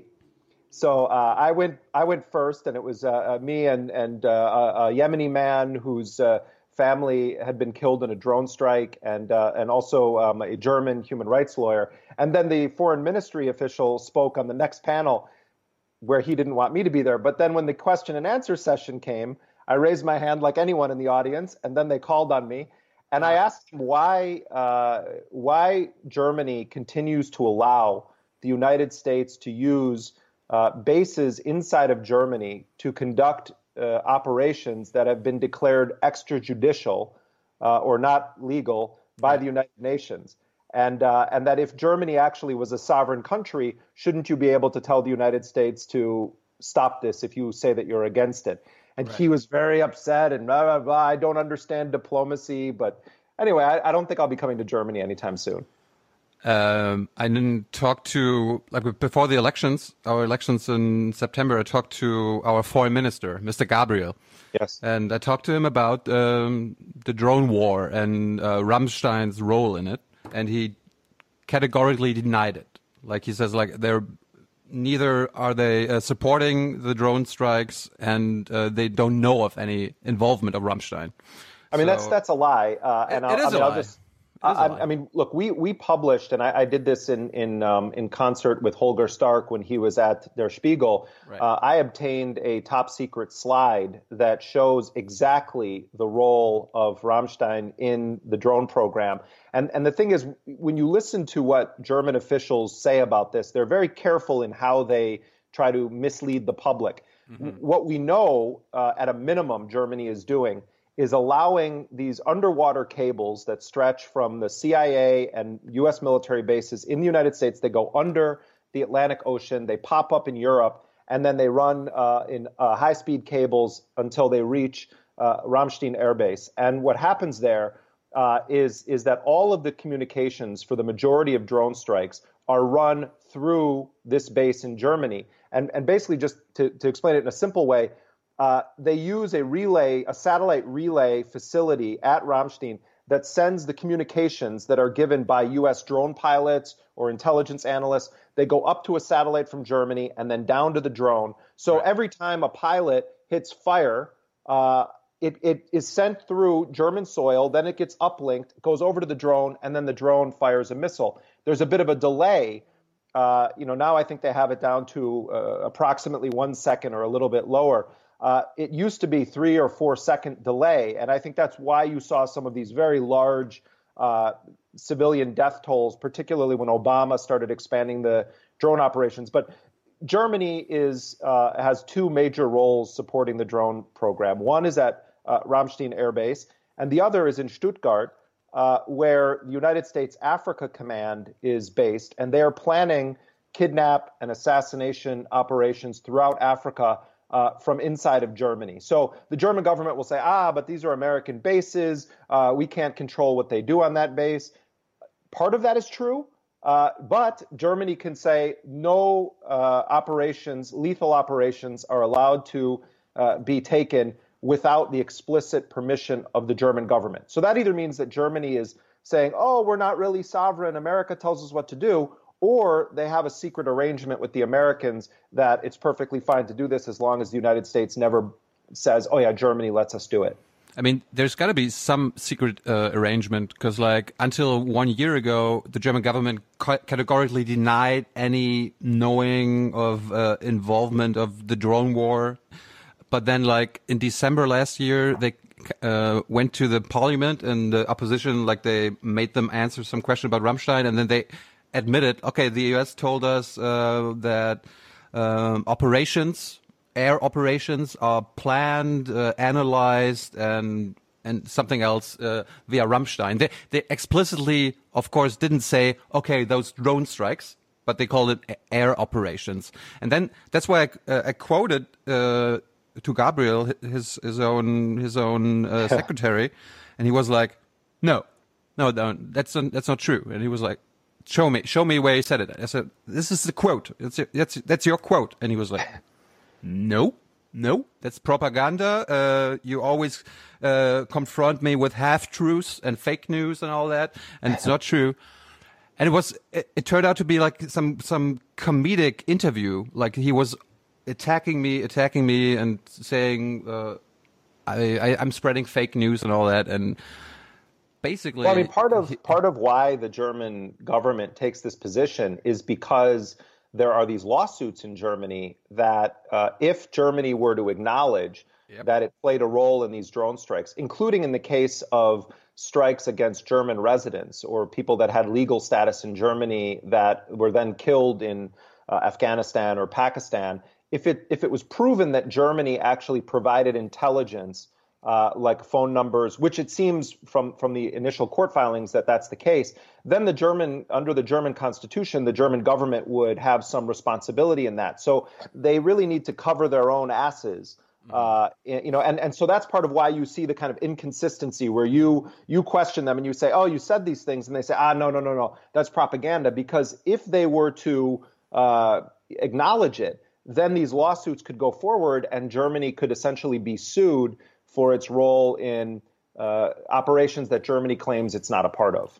So uh, I went I went first, and it was uh, me and and uh, a Yemeni man who's uh, family had been killed in a drone strike, and uh, and also um, a German human rights lawyer. And then the foreign ministry official spoke on the next panel where he didn't want me to be there. But then when the question and answer session came, I raised my hand like anyone in the audience, and then they called on me. And I asked him why, uh, why Germany continues to allow the United States to use uh, bases inside of Germany to conduct Uh, operations that have been declared extrajudicial uh, or not legal by right. the United Nations, and uh, and that if Germany actually was a sovereign country, shouldn't you be able to tell the United States to stop this if you say that you're against it? And right. he was very upset and blah blah blah. I don't understand diplomacy, but anyway, I, I don't think I'll be coming to Germany anytime soon. Um, I didn't talk to, like before the elections, our elections in September, I talked to our foreign minister, Mister Gabriel. Yes. And I talked to him about um, the drone war and uh, Rammstein's role in it. And he categorically denied it. Like he says, like they're neither are they uh, supporting the drone strikes, and uh, they don't know of any involvement of Rammstein. I mean, so, that's that's a lie. Uh, and it, I'll, it is I mean, a I'll lie. just. I, I mean, look, we we published, and I, I did this in in um, in concert with Holger Stark when he was at Der Spiegel. Right. Uh, I obtained a top secret slide that shows exactly the role of Rammstein in the drone program. And and the thing is, when you listen to what German officials say about this, they're very careful in how they try to mislead the public. Mm-hmm. What we know, uh, at a minimum, Germany is doing is allowing these underwater cables that stretch from the C I A and U S military bases in the United States. They go under the Atlantic Ocean, they pop up in Europe, and then they run uh, in uh, high-speed cables until they reach uh, Ramstein Air Base. And what happens there uh, is, is that all of the communications for the majority of drone strikes are run through this base in Germany. And, and basically, just to, to explain it in a simple way, Uh, they use a relay, a satellite relay facility at Ramstein that sends the communications that are given by U S drone pilots or intelligence analysts. They go up to a satellite from Germany and then down to the drone. So right. every time a pilot hits fire, uh, it, it is sent through German soil, then it gets uplinked, goes over to the drone, and then the drone fires a missile. There's a bit of a delay. Uh, you know, now I think they have it down to uh, approximately one second or a little bit lower. Uh, it used to be three or four second delay, and I think that's why you saw some of these very large uh, civilian death tolls, particularly when Obama started expanding the drone operations. But Germany is uh, has two major roles supporting the drone program. One is at uh, Ramstein Air Base, and the other is in Stuttgart, uh, where the United States Africa Command is based, and they are planning kidnap and assassination operations throughout Africa Uh, from inside of Germany. So the German government will say, ah, but these are American bases. Uh, we can't control what they do on that base. Part of that is true, uh, but Germany can say no uh, operations, lethal operations are allowed to uh, be taken without the explicit permission of the German government. So that either means that Germany is saying, oh, we're not really sovereign, America tells us what to do, or they have a secret arrangement with the Americans that it's perfectly fine to do this as long as the United States never says, oh yeah, Germany lets us do it. I mean, there's got to be some secret uh, arrangement because, like, until one year ago, the German government ca- categorically denied any knowing of uh, involvement of the drone war. But then, like, in December last year, they uh, went to the parliament and the opposition, like, they made them answer some question about Rammstein, and then they admitted, okay, the U S told us uh, that um, operations... air operations are planned, uh, analyzed, and and something else uh, via Rammstein. They, they explicitly, of course, didn't say, okay, those drone strikes, but they called it air operations. And then that's why I, uh, I quoted uh, to Gabriel, his his own his own uh, secretary, and he was like, no, no, no, that's not, that's not true. And he was like, show me, show me where he said it. I said, this is the quote. It's, that's that's your quote. And he was like, no, no, that's propaganda. Uh, you always uh, confront me with half-truths and fake news and all that, and it's not true. And it was, it, it turned out to be like some some comedic interview. Like he was attacking me, attacking me, and saying uh, I, I, I'm spreading fake news and all that. And basically, well, I mean, part of part of why the German government takes this position is because there are these lawsuits in Germany that uh, if Germany were to acknowledge yep. that it played a role in these drone strikes, including in the case of strikes against German residents or people that had legal status in Germany that were then killed in uh, Afghanistan or Pakistan, if it if it was proven that Germany actually provided intelligence Uh, like phone numbers, which it seems from, from the initial court filings that that's the case, then the German, under the German constitution, the German government would have some responsibility in that. So they really need to cover their own asses, uh, you know, and, and so that's part of why you see the kind of inconsistency where you you question them and you say, oh, you said these things, and they say, ah, no, no, no, no, that's propaganda. Because if they were to uh, acknowledge it, then these lawsuits could go forward and Germany could essentially be sued for its role in uh, operations that Germany claims it's not a part of.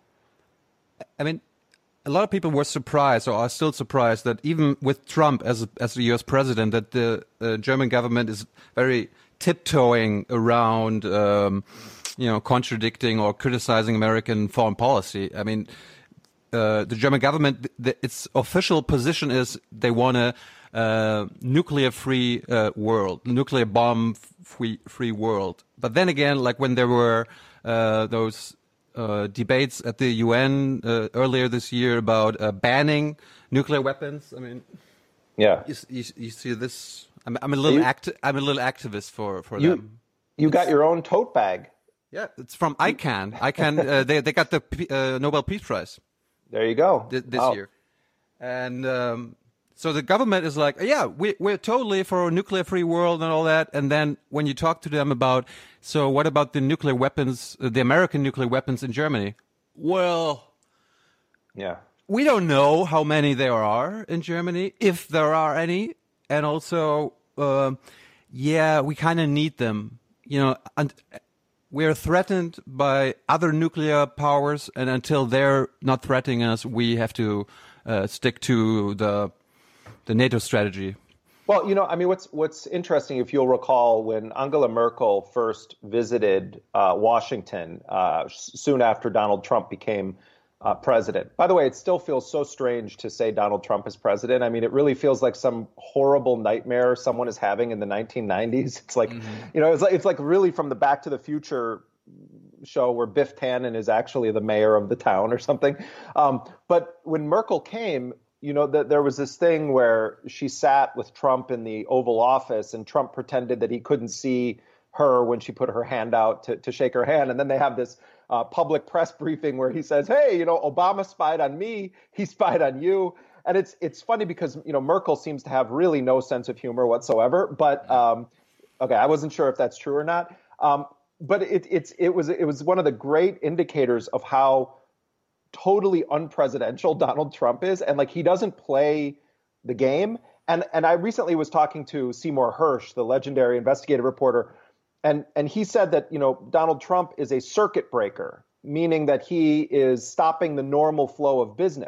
I mean, a lot of people were surprised, or are still surprised, that even with Trump as as the U S president, that the uh, German government is very tiptoeing around, um, you know, contradicting or criticizing American foreign policy. I mean, uh, the German government, the, its official position is they want a uh, nuclear-free uh, world, nuclear bomb-free free world. But then again, like when there were uh, those uh, debates at the U N uh, earlier this year about uh, banning nuclear weapons, I mean, yeah, you, you, you see this. I'm, I'm a little you, act. I'm a little activist for for you, them. You got your own tote bag. Yeah, it's from ICANN. ICANN. Uh, they they got the uh, Nobel Peace Prize. There you go. Th- this wow. year, and. Um, So the government is like, yeah, we, we're totally for a nuclear-free world and all that. And then when you talk to them about, so what about the nuclear weapons, uh, the American nuclear weapons in Germany? Well, yeah, we don't know how many there are in Germany, if there are any. And also, uh, yeah, we kind of need them. You know, and we're threatened by other nuclear powers. And until they're not threatening us, we have to uh, stick to the... the NATO strategy. Well, you know, I mean, what's what's interesting, if you'll recall, when Angela Merkel first visited uh, Washington uh, soon after Donald Trump became uh, president. By the way, it still feels so strange to say Donald Trump is president. I mean, it really feels like some horrible nightmare someone is having in the nineteen nineties. It's like, mm-hmm. you know, it's like it's like really from the Back to the Future show where Biff Tannen is actually the mayor of the town or something. Um, but when Merkel came, you know, that there was this thing where she sat with Trump in the Oval Office and Trump pretended that he couldn't see her when she put her hand out to, to shake her hand. And then they have this uh, public press briefing where he says, hey, you know, Obama spied on me. He spied on you. And it's it's funny because, you know, Merkel seems to have really no sense of humor whatsoever. But um, OK, I wasn't sure if that's true or not. Um, but it, it's it was it was one of the great indicators of how totally unpresidential Donald Trump is. And like, he doesn't play the game. And and I recently was talking to Seymour Hersh, the legendary investigative reporter, and and he said that, you know, Donald Trump is a circuit breaker, meaning that he is stopping the normal flow of business.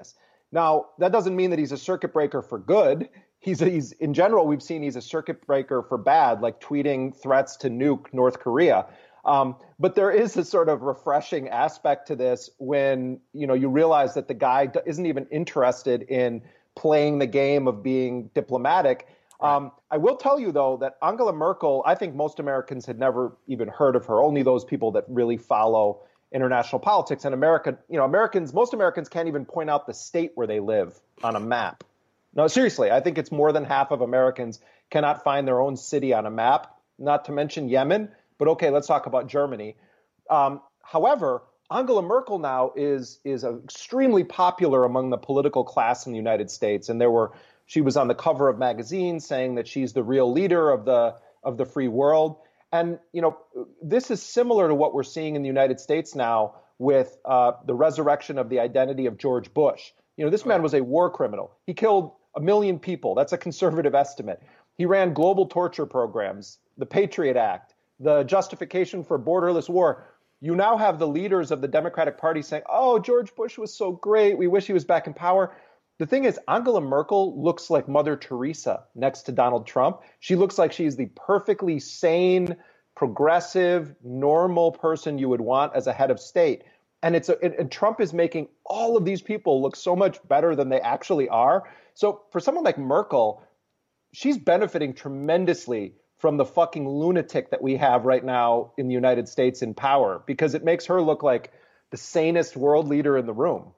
Now, that doesn't mean that he's a circuit breaker for good. He's, a, he's in general, we've seen he's a circuit breaker for bad, like tweeting threats to nuke North Korea. Um, but there is a sort of refreshing aspect to this when, you know, you realize that the guy isn't even interested in playing the game of being diplomatic. Um, I will tell you, though, that Angela Merkel, I think most Americans had never even heard of her, only those people that really follow international politics. And America, you know, Americans, most Americans can't even point out the state where they live on a map. No, seriously, I think it's more than half of Americans cannot find their own city on a map, not to mention Yemen. But okay, let's talk about Germany. Um, however, Angela Merkel now is is extremely popular among the political class in the United States, and there were she was on the cover of magazines saying that she's the real leader of the of the free world. And you know, this is similar to what we're seeing in the United States now with uh, the resurrection of the identity of George Bush. You know, this man was a war criminal. He killed a million people. That's a conservative estimate. He ran global torture programs, the Patriot Act, the justification for borderless war. You now have the leaders of the Democratic Party saying, oh, George Bush was so great. We wish he was back in power. The thing is, Angela Merkel looks like Mother Teresa next to Donald Trump. She looks like she's the perfectly sane, progressive, normal person you would want as a head of state. And it's a, and Trump is making all of these people look so much better than they actually are. So for someone like Merkel, she's benefiting tremendously from the fucking lunatic that we have right now in the United States in power, because it makes her look like the sanest world leader in the room.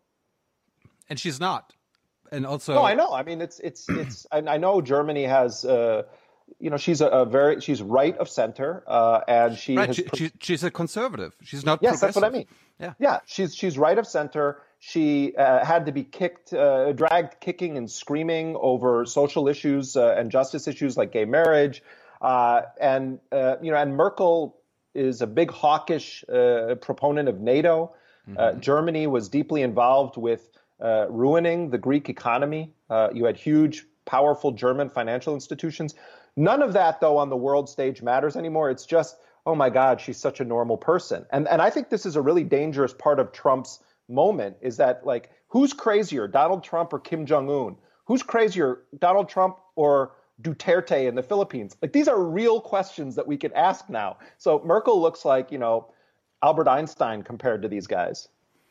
And she's not. And also, no, I know. I mean, it's it's it's. I, I know Germany has, uh, you know, she's a, a very she's right of center, uh, and she right. has She, she, she's a conservative. She's not. Yes, that's what I mean. Yeah, yeah. She's she's right of center. She uh, had to be kicked, uh, dragged, kicking and screaming over social issues uh, and justice issues like gay marriage. Uh, and, uh, you know, and Merkel is a big hawkish uh, proponent of NATO. Mm-hmm. Uh, Germany was deeply involved with uh, ruining the Greek economy. Uh, you had huge, powerful German financial institutions. None of that, though, on the world stage matters anymore. It's just, oh, my God, she's such a normal person. And, and I think this is a really dangerous part of Trump's moment, is that, like, who's crazier, Donald Trump or Kim Jong-un? Who's crazier, Donald Trump or Duterte in the Philippines? Like, these are real questions that we could ask now. So Merkel looks like, you know, Albert Einstein compared to these guys.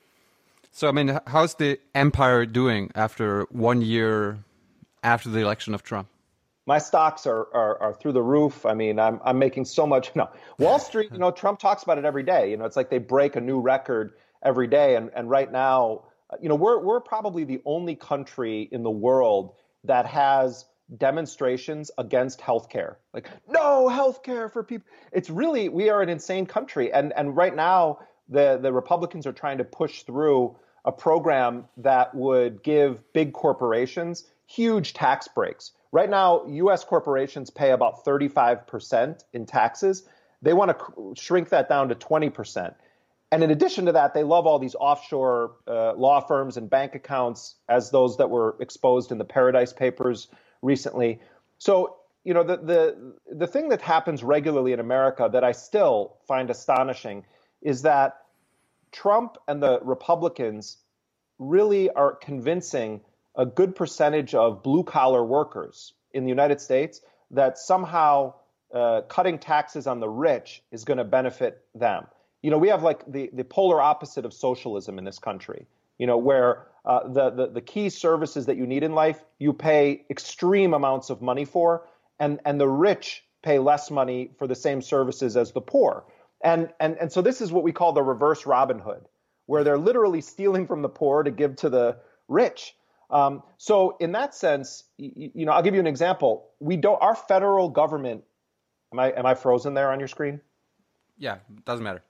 So, I mean, how's the empire doing after one year after the election of Trump? My stocks are, are, are through the roof. I mean, I'm, I'm making so much. No, Wall Street, you know, Trump talks about it every day. You know, it's like they break a new record every day. And, and right now, you know, we're, we're probably the only country in the world that has demonstrations against healthcare. Like, no healthcare for people. It's really, we are an insane country. And and right now, the, the Republicans are trying to push through a program that would give big corporations huge tax breaks. Right now, U S corporations pay about thirty-five percent in taxes. They want to shrink that down to twenty percent. And in addition to that, they love all these offshore uh, law firms and bank accounts, as those that were exposed in the Paradise Papers recently. So, you know, the, the the thing that happens regularly in America that I still find astonishing is that Trump and the Republicans really are convincing a good percentage of blue-collar workers in the United States that somehow uh, cutting taxes on the rich is going to benefit them. You know, we have like the, the polar opposite of socialism in this country, you know, where uh, the, the, the key services that you need in life, you pay extreme amounts of money for, and, and the rich pay less money for the same services as the poor. And, and, and so this is what we call the reverse Robin Hood, where they're literally stealing from the poor to give to the rich. Um, so in that sense, you, you know, I'll give you an example. We don't, our federal government, am I, am I frozen there on your screen? Yeah, doesn't matter.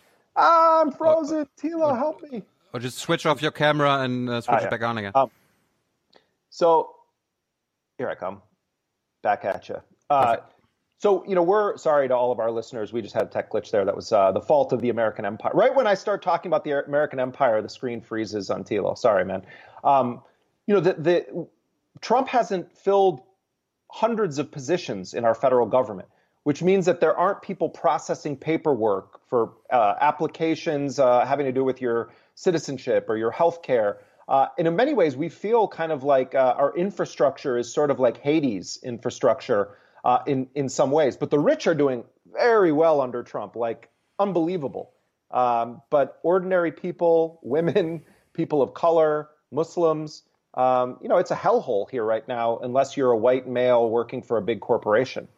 I'm frozen. Or, Tila, or, help me. Or just switch off your camera and uh, switch ah, it yeah. back on again. Um, so here I come. Back at you. Uh, so, you know, we're sorry to all of our listeners. We just had a tech glitch there. That was uh, the fault of the American Empire. Right when I start talking about the American Empire, the screen freezes on Tilo. Sorry, man. Um, you know, the, the Trump hasn't filled hundreds of positions in our federal government, which means that there aren't people processing paperwork for uh, applications uh, having to do with your citizenship or your health care. Uh, and in many ways, we feel kind of like uh, our infrastructure is sort of like Hades infrastructure uh, in, in some ways. But the rich are doing very well under Trump, like unbelievable. Um, but ordinary people, women, people of color, Muslims, um, you know, it's a hellhole here right now unless you're a white male working for a big corporation.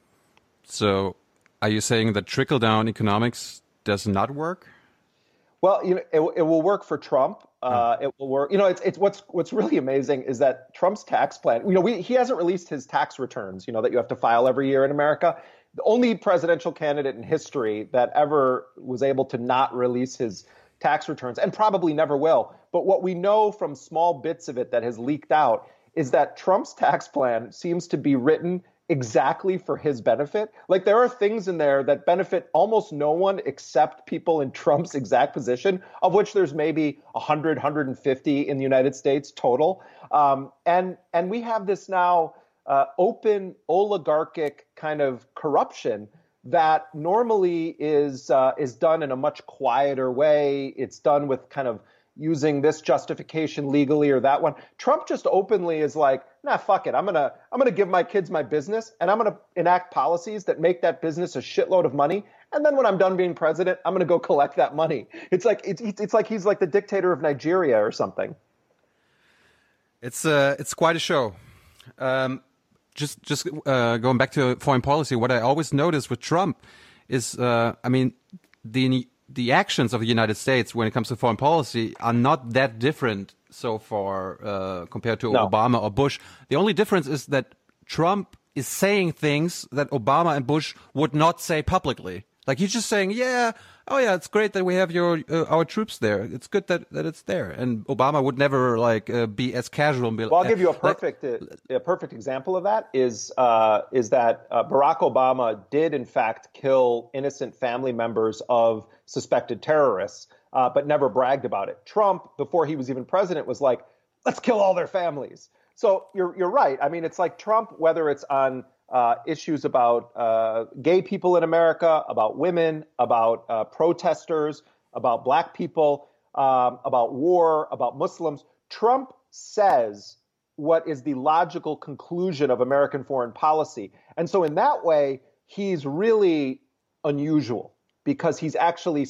So are you saying that trickle-down economics does not work? Well, you know, it, it will work for Trump. Uh, it will work. You know, it's it's what's what's really amazing is that Trump's tax plan. You know, we, he hasn't released his tax returns. You know, that you have to file every year in America. The only presidential candidate in history that ever was able to not release his tax returns, and probably never will. But what we know from small bits of it that has leaked out is that Trump's tax plan seems to be written exactly for his benefit. Like there are things in there that benefit almost no one except people in Trump's exact position, of which there's maybe one hundred, one hundred fifty in the United States total. Um, and and we have this now uh, open oligarchic kind of corruption that normally is uh, is done in a much quieter way. It's done with kind of using this justification legally or that one. Trump just openly is like, nah, fuck it. I'm going to I'm going to give my kids my business and I'm going to enact policies that make that business a shitload of money. And then when I'm done being president, I'm going to go collect that money. It's like it's it's like he's like the dictator of Nigeria or something. It's uh it's quite a show. Um, just just uh, going back to foreign policy, what I always notice with Trump is, uh, I mean, the the actions of the United States when it comes to foreign policy are not that different so far uh, compared to No. Obama or Bush. The only difference is that Trump is saying things that Obama and Bush would not say publicly. Like he's just saying, yeah, oh yeah, it's great that we have your uh, our troops there. It's good that, that it's there. And Obama would never like uh, be as casual. And be, Well, I'll give you a like- perfect uh, a perfect example of that is uh, is that uh, Barack Obama did in fact kill innocent family members of suspected terrorists, uh, but never bragged about it. Trump, before he was even president, was like, let's kill all their families. So you're you're right. I mean, it's like Trump, whether it's on uh, issues about uh, gay people in America, about women, about uh, protesters, about black people, um, about war, about Muslims. Trump says what is the logical conclusion of American foreign policy. And so in that way, he's really unusual because he's actually,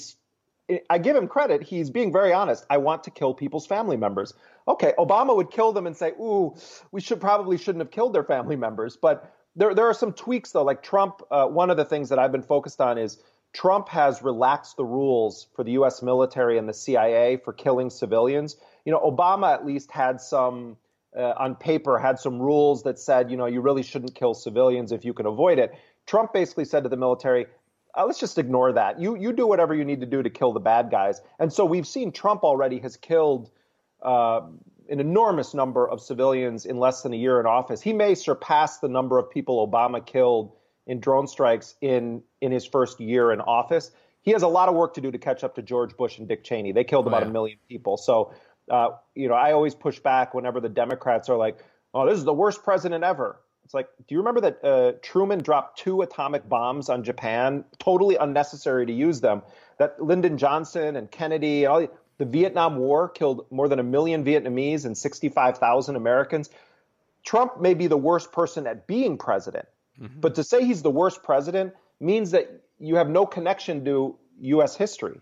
I give him credit, he's being very honest. I want to kill people's family members. Okay, Obama would kill them and say, ooh, we should probably shouldn't have killed their family members. But there, there are some tweaks, though. Like Trump, uh, one of the things that I've been focused on is Trump has relaxed the rules for the U S military and the C I A for killing civilians. You know, Obama at least had some, uh, on paper, had some rules that said, you know, you really shouldn't kill civilians if you can avoid it. Trump basically said to the military, uh, let's just ignore that. You you do whatever you need to do to kill the bad guys. And so we've seen Trump already has killed uh, an enormous number of civilians in less than a year in office. He may surpass the number of people Obama killed in drone strikes in, in his first year in office. He has a lot of work to do to catch up to George Bush and Dick Cheney. They killed Oh, about yeah. a million people. So, uh, you know, I always push back whenever the Democrats are like, oh, this is the worst president ever. It's like, do you remember that uh, Truman dropped two atomic bombs on Japan, totally unnecessary to use them? That Lyndon Johnson and Kennedy, and all the, the Vietnam War killed more than a million Vietnamese and sixty-five thousand Americans. Trump may be the worst person at being president, Mm-hmm. but to say he's the worst president means that you have no connection to U S history.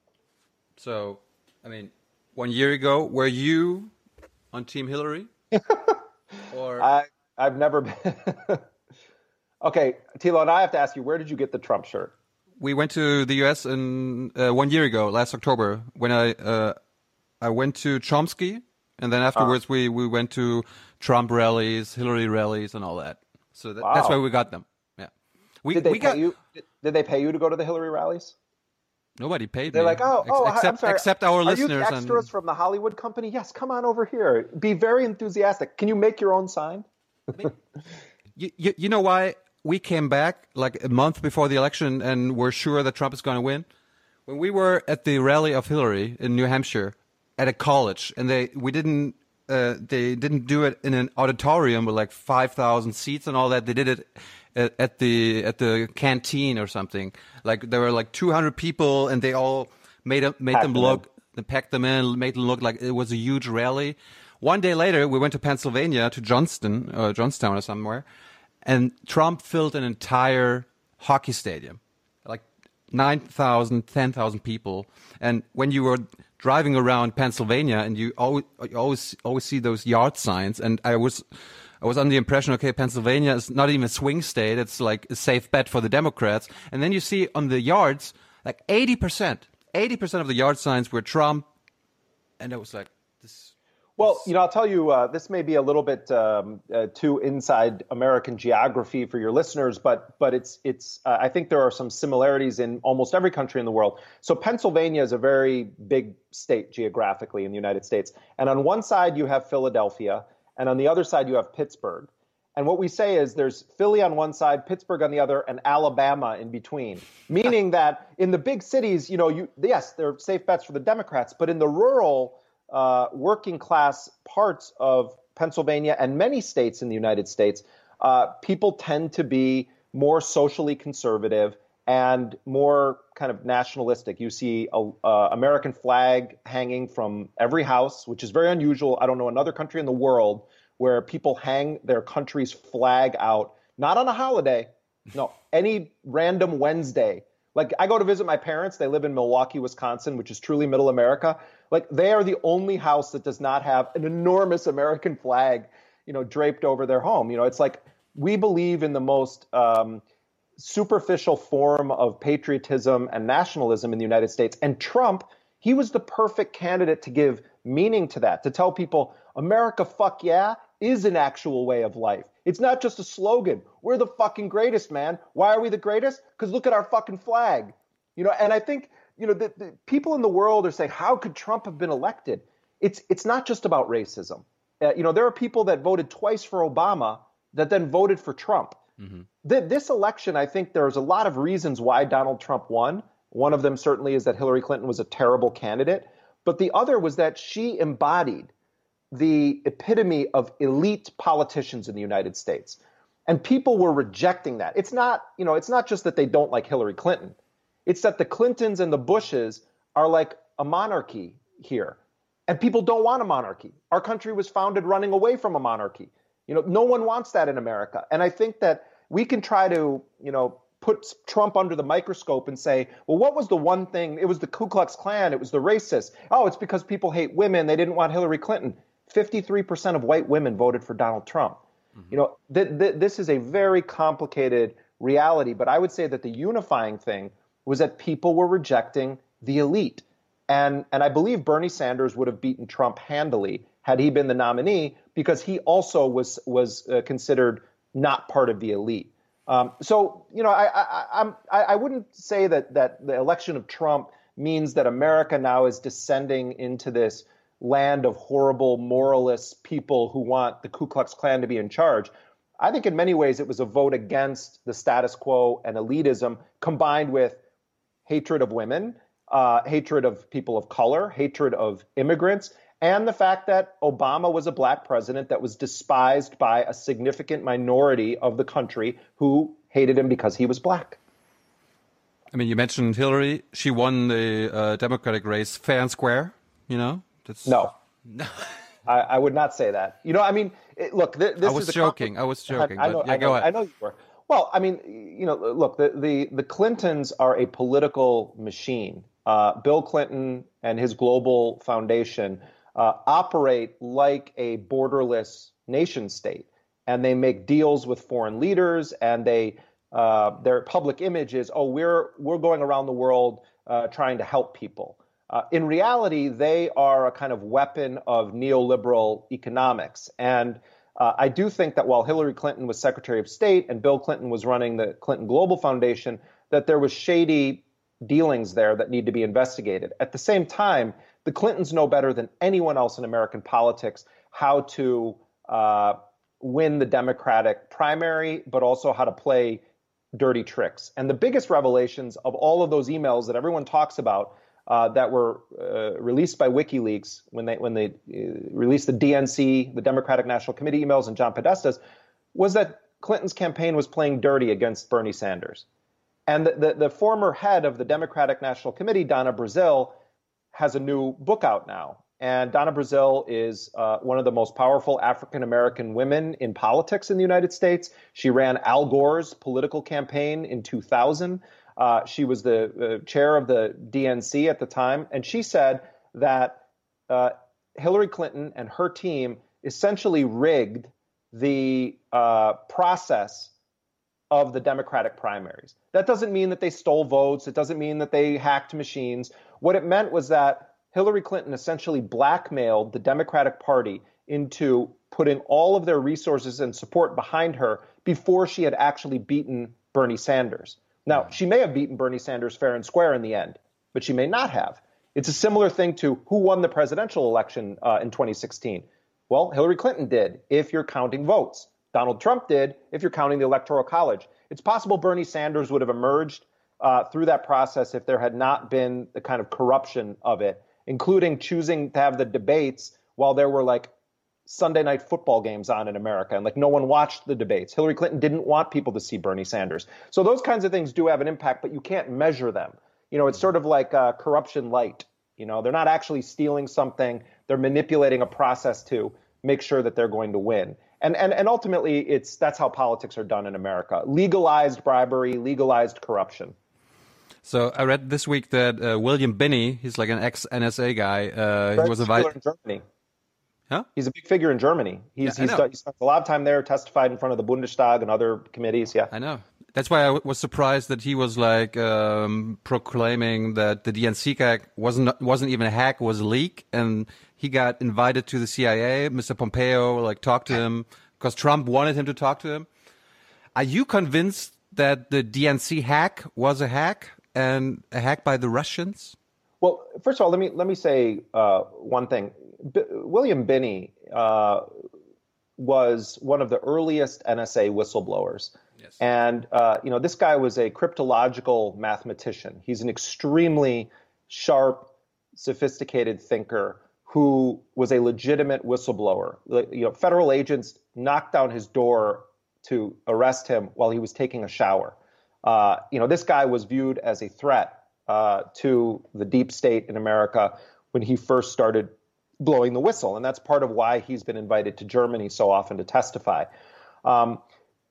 So, I mean, one year ago, were you on Team Hillary? Or I, I've never been. Okay, Thilo, and I have to ask you, where did you get the Trump shirt? we went to the U S in uh, one year ago, last October, when I uh, I went to Chomsky, and then afterwards we, we went to Trump rallies, Hillary rallies, and all that. So that, Wow. that's why we got them. Yeah, we did they we pay got you? Did, did they pay you to go to the Hillary rallies? nobody paid They're me. like, oh, oh, Ex- except I'm sorry. except our Are listeners. you the extras and from the Hollywood company? Yes, come on over here. Be very enthusiastic. Can you make your own sign? you, you, you know why we came back like a month before the election and we're sure that Trump is going to win? When we were at the rally of Hillary in New Hampshire at a college, and they we didn't uh, they didn't do it in an auditorium with like five thousand seats and all that. They did it at, at the at the canteen or something. Like there were like two hundred people, and they all made a, made Packed them them look They packed them in, made it look like it was a huge rally. One day later, we went to Pennsylvania, to Johnston, uh, Johnstown or somewhere, and Trump filled an entire hockey stadium, like nine thousand, ten thousand people. And when you were driving around Pennsylvania, and you always, you always, always see those yard signs, and I was, I was under the impression, okay, Pennsylvania is not even a swing state; it's like a safe bet for the Democrats. And then you see on the yards, like eighty percent, eighty percent of the yard signs were Trump, and it was like this. Well, you know, I'll tell you, uh, this may be a little bit um, uh, too inside American geography for your listeners, but but it's it's. Uh, I think there are some similarities in almost every country in the world. So Pennsylvania is a very big state geographically in the United States, and on one side you have Philadelphia, and on the other side you have Pittsburgh. And what we say is there's Philly on one side, Pittsburgh on the other, and Alabama in between. Meaning that in the big cities, you know, you yes, they're safe bets for the Democrats, but in the rural Uh, working class parts of Pennsylvania and many states in the United States, uh, people tend to be more socially conservative and more kind of nationalistic. You see a uh, American flag hanging from every house, which is very unusual. I don't know another country in the world where people hang their country's flag out, not on a holiday, no, any random Wednesday. Like, I go to visit my parents. They live in Milwaukee, Wisconsin, which is truly middle America. Like, they are the only house that does not have an enormous American flag, you know, draped over their home. You know, it's like we believe in the most um, superficial form of patriotism and nationalism in the United States. And Trump, he was the perfect candidate to give meaning to that, to tell people America, fuck yeah, is an actual way of life. It's not just a slogan. We're the fucking greatest, man. Why are we the greatest? Because look at our fucking flag. You know, and I think, you know, the, the people in the world are saying, how could Trump have been elected? It's it's not just about racism. Uh, you know, there are people that voted twice for Obama that then voted for Trump. Mm-hmm. Th- this election, I think there's a lot of reasons why Donald Trump won. One of them certainly is that Hillary Clinton was a terrible candidate. But the other was that she embodied the epitome of elite politicians in the United States. And people were rejecting that. It's not, you know, it's not just that they don't like Hillary Clinton. It's that the Clintons and the Bushes are like a monarchy here. And people don't want a monarchy. Our country was founded running away from a monarchy. You know, no one wants that in America. And I think that we can try to, you know, put Trump under the microscope and say, well, what was the one thing? It was the Ku Klux Klan. It was the racists. Oh, it's because people hate women. They didn't want Hillary Clinton. fifty-three percent of white women voted for Donald Trump. Mm-hmm. You know, th- th- this is a very complicated reality. But I would say that the unifying thing was that people were rejecting the elite. And, and I believe Bernie Sanders would have beaten Trump handily had he been the nominee, because he also was was uh, considered not part of the elite. Um, so, you know, I, I, I'm, I, I wouldn't say that that the election of Trump means that America now is descending into this land of horrible moralist people who want the Ku Klux Klan to be in charge. I think in many ways it was a vote against the status quo and elitism combined with hatred of women, uh, hatred of people of color, hatred of immigrants, and the fact that Obama was a black president that was despised by a significant minority of the country who hated him because he was black. I mean, you mentioned Hillary. She won the uh, Democratic race fair and square, you know? That's... No. I, I would not say that. You know, I mean, it, look, th- this I was is joking. I was joking. I, I, know, but, yeah, I, know, go ahead. I know you were. Well, I mean, you know, look, the, the, the Clintons are a political machine. Uh, Bill Clinton and his global foundation uh, operate like a borderless nation state. And they make deals with foreign leaders, and they uh, their public image is, oh, we're we're going around the world uh, trying to help people. Uh, in reality, they are a kind of weapon of neoliberal economics. And uh, I do think that while Hillary Clinton was Secretary of State and Bill Clinton was running the Clinton Global Foundation, that there was shady dealings there that need to be investigated. At the same time, the Clintons know better than anyone else in American politics how to uh, win the Democratic primary, but also how to play dirty tricks. And the biggest revelations of all of those emails that everyone talks about uh, that were uh, released by WikiLeaks when they when they uh, released the D N C, the Democratic National Committee emails, and John Podesta's, was that Clinton's campaign was playing dirty against Bernie Sanders. And the, the, the former head of the Democratic National Committee, Donna Brazile, has a new book out now. And Donna Brazile is uh, one of the most powerful African-American women in politics in the United States. She ran Al Gore's political campaign in two thousand. Uh, she was the uh, chair of the D N C at the time. And she said that uh, Hillary Clinton and her team essentially rigged the uh, process of the Democratic primaries. That doesn't mean that they stole votes. It doesn't mean that they hacked machines. What it meant was that Hillary Clinton essentially blackmailed the Democratic Party into putting all of their resources and support behind her before she had actually beaten Bernie Sanders. Now, she may have beaten Bernie Sanders fair and square in the end, but she may not have. It's a similar thing to who won the presidential election uh, in twenty sixteen. Well, Hillary Clinton did, if you're counting votes. Donald Trump did, if you're counting the Electoral College. It's possible Bernie Sanders would have emerged uh, through that process if there had not been the kind of corruption of it, including choosing to have the debates while there were like Sunday night football games on in America and like no one watched the debates. Hillary Clinton didn't want people to see Bernie Sanders. So those kinds of things do have an impact, but you can't measure them. You know, it's sort of like uh, corruption light. You know, they're not actually stealing something. They're manipulating a process to make sure that they're going to win. And and and ultimately, it's that's how politics are done in America. Legalized bribery, legalized corruption. So I read this week that uh, William Binney, he's like an ex-N S A guy. Uh, he was invited in Germany. Huh? He's a big figure in Germany. He's yeah, he's done, he spent a lot of time there, testified in front of the Bundestag and other committees. Yeah, I know. That's why I w- was surprised that he was like um, proclaiming that the D N C hack wasn't wasn't even a hack, was a leak, and he got invited to the C I A. Mister Pompeo like talked to him because Trump wanted him to talk to him. Are you convinced that the D N C hack was a hack and a hack by the Russians? Well, first of all, let me let me say uh, one thing. B- William Binney uh, was one of the earliest N S A whistleblowers. Yes. And, uh, you know, this guy was a cryptological mathematician. He's an extremely sharp, sophisticated thinker who was a legitimate whistleblower. You know, federal agents knocked down his door to arrest him while he was taking a shower. Uh, you know, this guy was viewed as a threat uh, to the deep state in America when he first started blowing the whistle. And that's part of why he's been invited to Germany so often to testify. Um,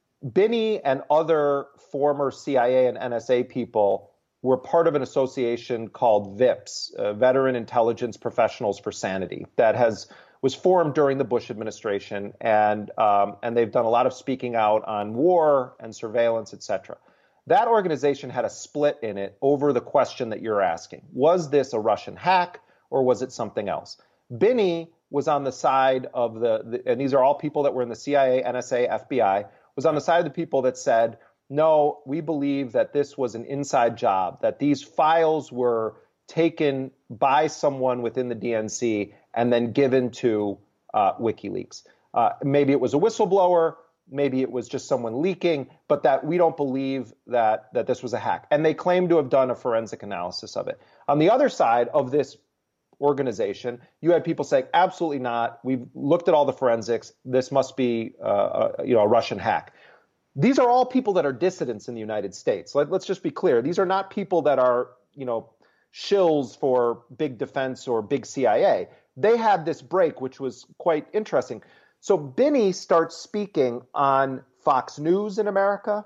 Binney and other former C I A and N S A people were part of an association called VIPS, uh, Veteran Intelligence Professionals for Sanity, that has was formed during the Bush administration, and um, and they've done a lot of speaking out on war and surveillance, et cetera. That organization had a split in it over the question that you're asking: was this a Russian hack or was it something else? Binney was on the side of the, the and these are all people that were in the C I A, N S A, F B I. Was on the side of the people that said, no, we believe that this was an inside job, that these files were taken by someone within the D N C and then given to uh, WikiLeaks. Uh, maybe it was a whistleblower, maybe it was just someone leaking, but that we don't believe that, that this was a hack. And they claim to have done a forensic analysis of it. On the other side of this organization, you had people saying, absolutely not. We've looked at all the forensics. This must be uh, a, you know, a Russian hack. These are all people that are dissidents in the United States. Let, let's just be clear. These are not people that are, you know, shills for big defense or big C I A. They had this break, which was quite interesting. So Binney starts speaking on Fox News in America.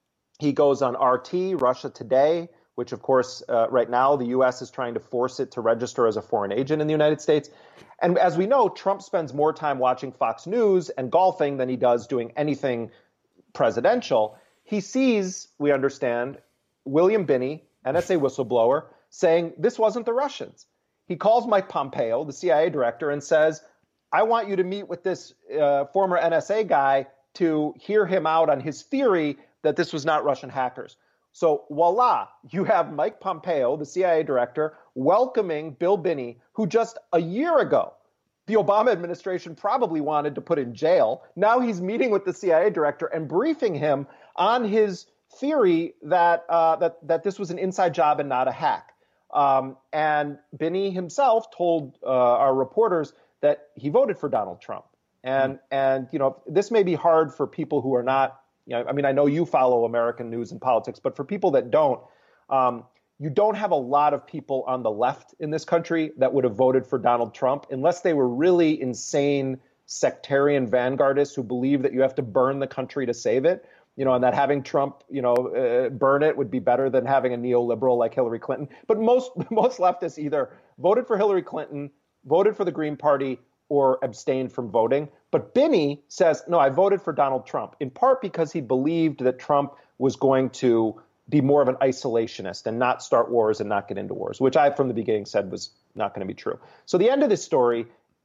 He goes on R T, Russia Today, which, of course, uh, right now the U S is trying to force it to register as a foreign agent in the United States. And as we know, Trump spends more time watching Fox News and golfing than he does doing anything presidential. He sees, we understand, William Binney, N S A whistleblower, saying this wasn't the Russians. He calls Mike Pompeo, the C I A director, and says, I want you to meet with this uh, former N S A guy to hear him out on his theory that this was not Russian hackers. So voila, you have Mike Pompeo, the C I A director, welcoming Bill Binney, who just a year ago, the Obama administration probably wanted to put in jail. Now he's meeting with the C I A director and briefing him on his theory that uh, that that this was an inside job and not a hack. Um, and Binney himself told uh, our reporters that he voted for Donald Trump. And mm-hmm. and you know, this may be hard for people who are not. You know, I mean, I know you follow American news and politics, but for people that don't, um, you don't have a lot of people on the left in this country that would have voted for Donald Trump unless they were really insane sectarian vanguardists who believe that you have to burn the country to save it, you know, and that having Trump, you know, uh, burn it would be better than having a neoliberal like Hillary Clinton. But most most leftists either voted for Hillary Clinton, voted for the Green Party, or abstained from voting. But Binney says, no, I voted for Donald Trump, in part because he believed that Trump was going to be more of an isolationist and not start wars and not get into wars, which I from the beginning said was not going to be true. So the end of this story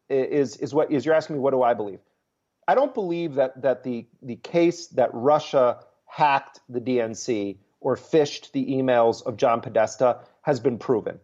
is is what is you're asking me, what do I believe? I don't believe that that the the case that Russia hacked the D N C or phished the emails of John Podesta has been proven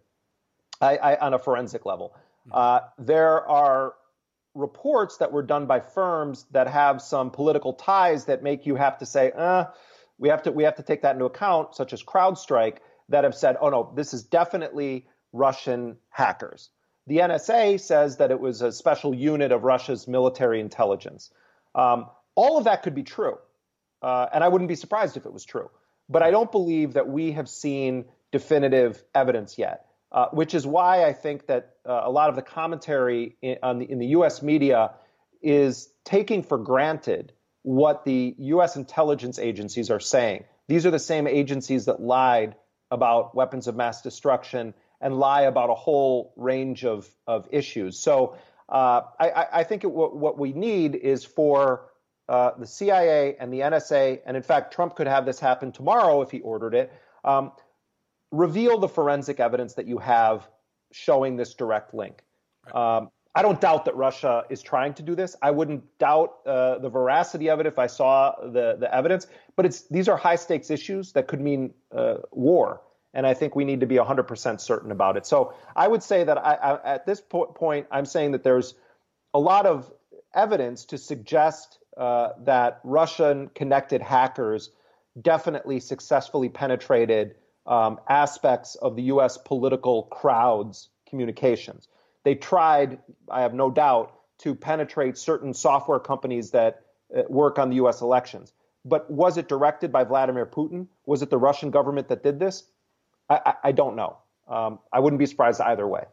I, I, on a forensic level. Uh, there are reports that were done by firms that have some political ties that make you have to say, uh, we have to we have to take that into account, such as CrowdStrike, that have said, oh no, this is definitely Russian hackers. The N S A says that it was a special unit of Russia's military intelligence. Um, all of that could be true, uh, and I wouldn't be surprised if it was true. But I don't believe that we have seen definitive evidence yet, uh, which is why I think that uh, a lot of the commentary in, on the, in the U S media is taking for granted what the U S intelligence agencies are saying. These are the same agencies that lied about weapons of mass destruction and lie about a whole range of, of issues. So uh, I, I think it, what, what we need is for uh, the C I A and the N S A, and in fact, Trump could have this happen tomorrow if he ordered it, um, reveal the forensic evidence that you have showing this direct link. Right. Um, I don't doubt that Russia is trying to do this. I wouldn't doubt uh, the veracity of it if I saw the, the evidence, but it's these are high stakes issues that could mean uh, war. And I think we need to be one hundred percent certain about it. So I would say that I, I, at this po- point, I'm saying that there's a lot of evidence to suggest uh, that Russian-connected hackers definitely successfully penetrated um, aspects of the U S political crowd's communications. They tried, I have no doubt, to penetrate certain software companies that uh, work on the U S elections. But was it directed by Vladimir Putin? Was it the Russian government that did this? I, I don't know. Um, I wouldn't be surprised either way.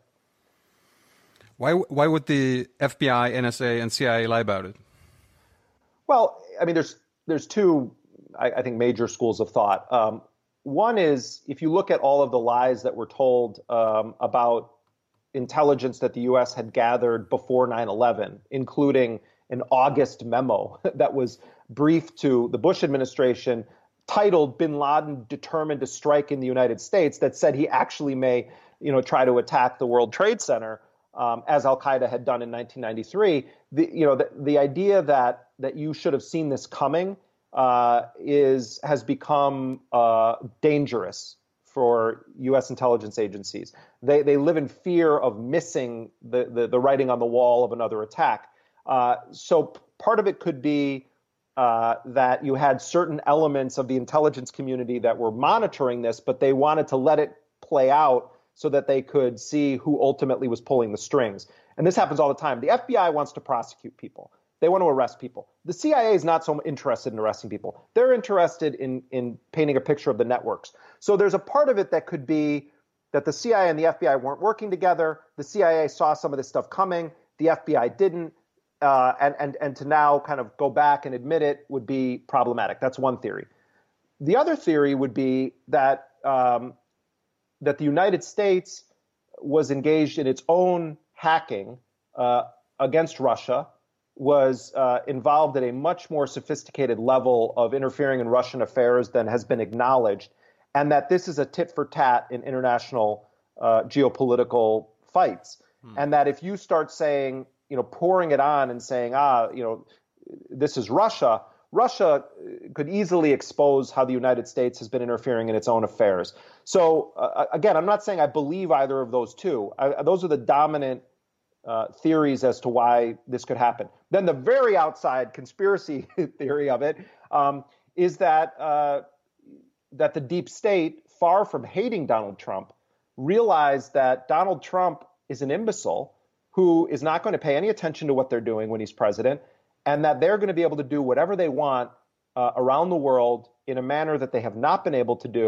Why why would the F B I, N S A, and C I A lie about it? Well, I mean, there's there's two, I, I think, major schools of thought. Um, one is if you look at all of the lies that were told um, about intelligence that the U S had gathered before nine eleven, including an August memo that was briefed to the Bush administration titled Bin Laden Determined to Strike in the United States, that said he actually may, you know, try to attack the World Trade Center, um, as Al-Qaeda had done in nineteen ninety-three. The, you know, the, the idea that that you should have seen this coming uh, is has become uh, dangerous for U S intelligence agencies. They they live in fear of missing the the, the writing on the wall of another attack. Uh, so p- part of it could be Uh, that you had certain elements of the intelligence community that were monitoring this, but they wanted to let it play out so that they could see who ultimately was pulling the strings. And this happens all the time. The F B I wants to prosecute people. They want to arrest people. The C I A is not so interested in arresting people. They're interested in, in painting a picture of the networks. So there's a part of it that could be that the C I A and the F B I weren't working together. The C I A saw some of this stuff coming. The F B I didn't. Uh, and, and, and to now kind of go back and admit it would be problematic. That's one theory. The other theory would be that um, that the United States was engaged in its own hacking uh, against Russia, was uh, involved at a much more sophisticated level of interfering in Russian affairs than has been acknowledged, and that this is a tit for tat in international uh, geopolitical fights. Hmm. And that if you start saying, you know, pouring it on and saying, ah, you know, this is Russia, Russia could easily expose how the United States has been interfering in its own affairs. So, uh, again, I'm not saying I believe either of those two. I, those are the dominant uh, theories as to why this could happen. Then the very outside conspiracy theory of it um, is that uh, that the deep state, far from hating Donald Trump, realized that Donald Trump is an imbecile who is not going to pay any attention to what they're doing when he's president, and that they're going to be able to do whatever they want uh, around the world in a manner that they have not been able to do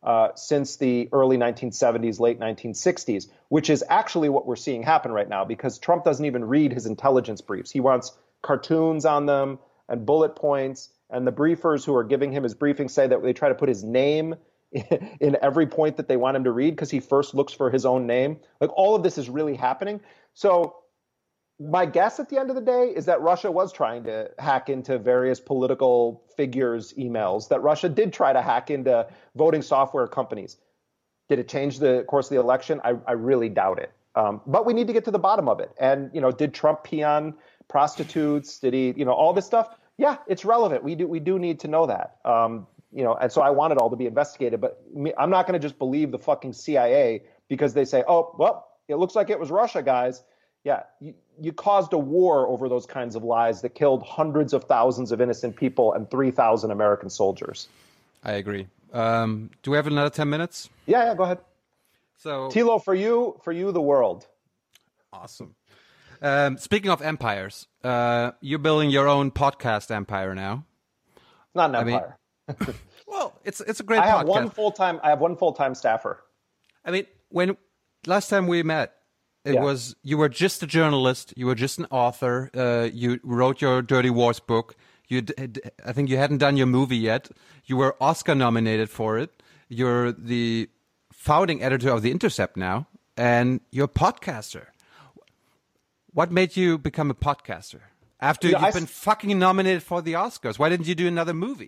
uh, since the early nineteen seventies, late nineteen sixties, which is actually what we're seeing happen right now because Trump doesn't even read his intelligence briefs. He wants cartoons on them and bullet points, and the briefers who are giving him his briefings say that they try to put his name in every point that they want him to read because he first looks for his own name. Like all of this is really happening. So my guess at the end of the day is that Russia was trying to hack into various political figures' emails, that Russia did try to hack into voting software companies. Did it change the course of the election? I, I really doubt it. Um, but we need to get to the bottom of it. And, you know, did Trump pee on prostitutes? Did he, you know, all this stuff? Yeah, it's relevant. We do we do need to know that. Um, you know, and so I want it all to be investigated. But me, I'm not going to just believe the fucking C I A because they say, oh, well, it looks like it was Russia, guys. Yeah, you, you caused a war over those kinds of lies that killed hundreds of thousands of innocent people and three thousand American soldiers. I agree. Um, do we have another ten minutes? Yeah, yeah, go ahead. So, Thilo, for you, for you, the world. Awesome. Um, speaking of empires, uh, you're building your own podcast empire now. It's not an empire. I mean, well, it's it's a great. I have podcast. one full time. I have one full time staffer. I mean, when last time we met, it Yeah. was you were just a journalist. You were just an author. Uh, you wrote your Dirty Wars book. You, d- d- I think you hadn't done your movie yet. You were Oscar nominated for it. You're the founding editor of The Intercept now, and you're a podcaster. What made you become a podcaster after Yeah, you've I been s- fucking nominated for the Oscars? Why didn't you do another movie?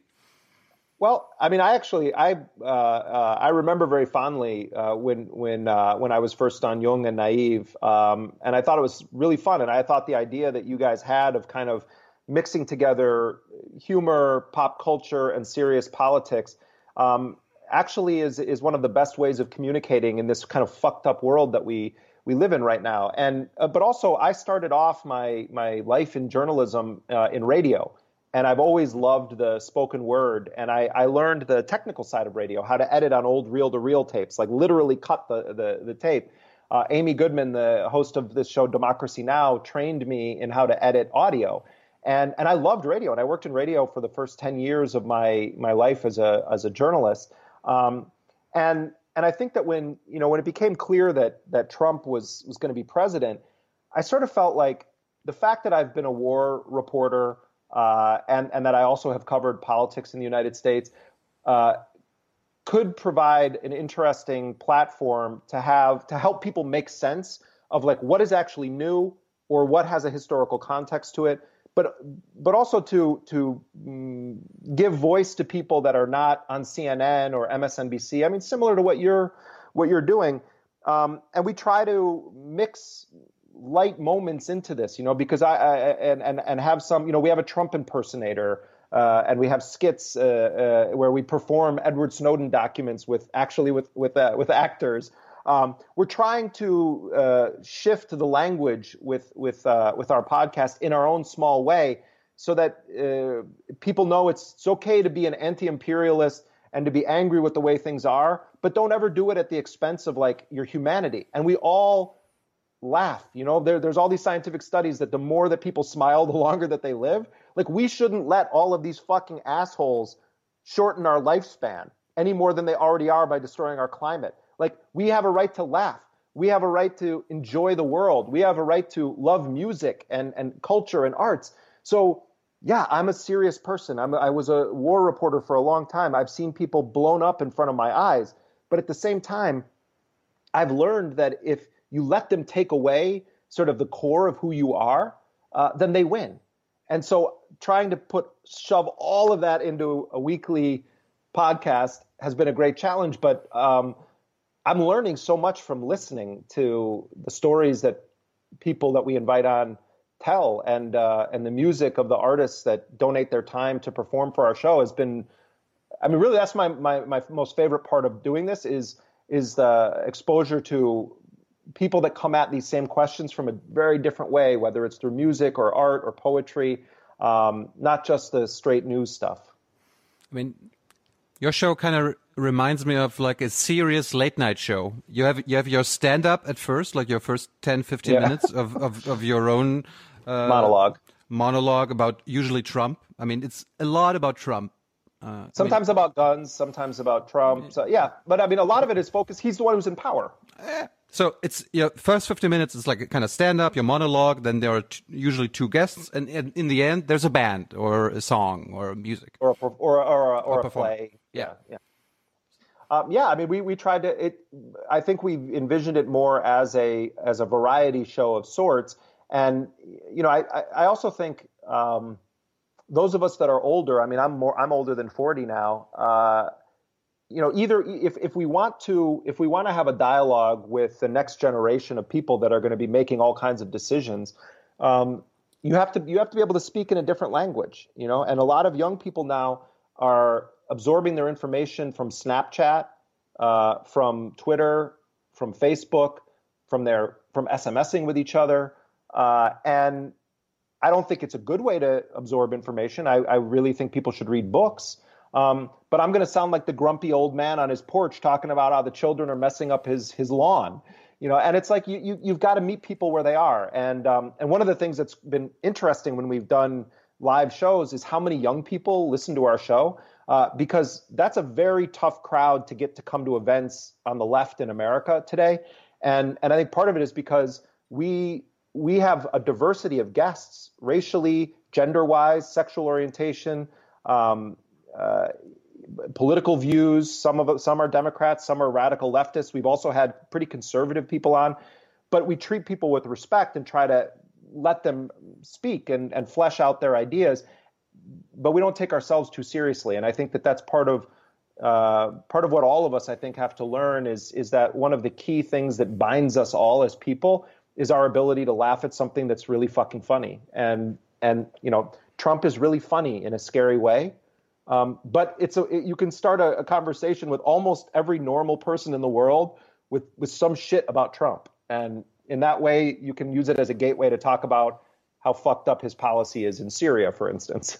Well, I mean, I actually, I uh, uh, I remember very fondly uh, when when uh, when I was first on Young and Naive, um, and I thought it was really fun. And I thought the idea that you guys had of kind of mixing together humor, pop culture, and serious politics um, actually is is one of the best ways of communicating in this kind of fucked up world that we we live in right now. And uh, but also, I started off my my life in journalism uh, in radio. And I've always loved the spoken word. And I, I learned the technical side of radio, how to edit on old reel-to-reel tapes, like literally cut the, the, the tape. Uh, Amy Goodman, the host of this show, Democracy Now!, trained me in how to edit audio. And and I loved radio. And I worked in radio for the first ten years of my my life as a as a journalist. Um, and and I think that when, you know, when it became clear that that Trump was was going to be president, I sort of felt like the fact that I've been a war reporter, Uh, and, and that I also have covered politics in the United States, uh, could provide an interesting platform to have to help people make sense of like what is actually new or what has a historical context to it, but but also to to mm, give voice to people that are not on C N N or M S N B C. I mean, similar to what you're what you're doing, um, and we try to mix light moments into this, you know, because I, I and, and and have some, you know, we have a Trump impersonator, uh, and we have skits uh, uh, where we perform Edward Snowden documents with actually with with uh, with actors. Um, we're trying to uh, shift the language with with uh, with our podcast in our own small way, so that uh, people know it's, it's okay to be an anti-imperialist and to be angry with the way things are, but don't ever do it at the expense of like your humanity. And we all laugh, you know, there, there's all these scientific studies that the more that people smile, the longer that they live. Like, we shouldn't let all of these fucking assholes shorten our lifespan any more than they already are by destroying our climate. Like, we have a right to laugh. We have a right to enjoy the world. We have a right to love music and, and culture and arts. So, yeah, I'm a serious person. I'm a, I was a war reporter for a long time. I've seen people blown up in front of my eyes. But at the same time, I've learned that if you let them take away sort of the core of who you are, uh, then they win. And so trying to put shove all of that into a weekly podcast has been a great challenge. But um, I'm learning so much from listening to the stories that people that we invite on tell, and uh, and the music of the artists that donate their time to perform for our show has been, I mean, really, that's my my, my most favorite part of doing this is is the exposure to people that come at these same questions from a very different way, whether it's through music or art or poetry, um, not just the straight news stuff. I mean, your show kind of reminds me of like a serious late night show. You have you have your stand up at first, like your first ten, fifteen Yeah. minutes of, of, of your own uh, Monologue. monologue about usually Trump. I mean, it's a lot about Trump. Uh, sometimes I mean, about guns, sometimes about Trump. So, yeah, but I mean, a lot of it is focused. He's the one who's in power. So it's, you know, first fifty minutes is like a kind of stand-up, your monologue, then there are t- usually two guests, and, and in the end, there's a band or a song or music. Or a, or, or, or, a, or a play. Yeah. Yeah. Um, yeah, I mean, we, we tried to, it. I think we envisioned it more as a as a variety show of sorts. And, you know, I, I, I also think um, those of us that are older, I mean, I'm more, I'm older than forty now, uh, you know, either if, if we want to, if we want to have a dialogue with the next generation of people that are going to be making all kinds of decisions, um, you have to, you have to be able to speak in a different language, you know, and a lot of young people now are absorbing their information from Snapchat, uh, from Twitter, from Facebook, from their, from SMSing with each other. Uh, and I don't think it's a good way to absorb information. I, I really think people should read books. Um, but I'm going to sound like the grumpy old man on his porch talking about how the children are messing up his his lawn, you know. And it's like you, you you've got to meet people where they are. And um, and one of the things that's been interesting when we've done live shows is how many young people listen to our show, uh, because that's a very tough crowd to get to come to events on the left in America today. And and I think part of it is because we we have a diversity of guests, racially, gender-wise, sexual orientation. Um, Uh, political views. Some of some are Democrats, some are radical leftists. We've also had pretty conservative people on, but we treat people with respect and try to let them speak and, and flesh out their ideas. But we don't take ourselves too seriously, and I think that that's part of uh, part of what all of us, I think, have to learn is is that one of the key things that binds us all as people is our ability to laugh at something that's really fucking funny. And and you know, Trump is really funny in a scary way. Um, but it's a, it, you can start a, a conversation with almost every normal person in the world with, with some shit about Trump. And in that way, you can use it as a gateway to talk about how fucked up his policy is in Syria, for instance.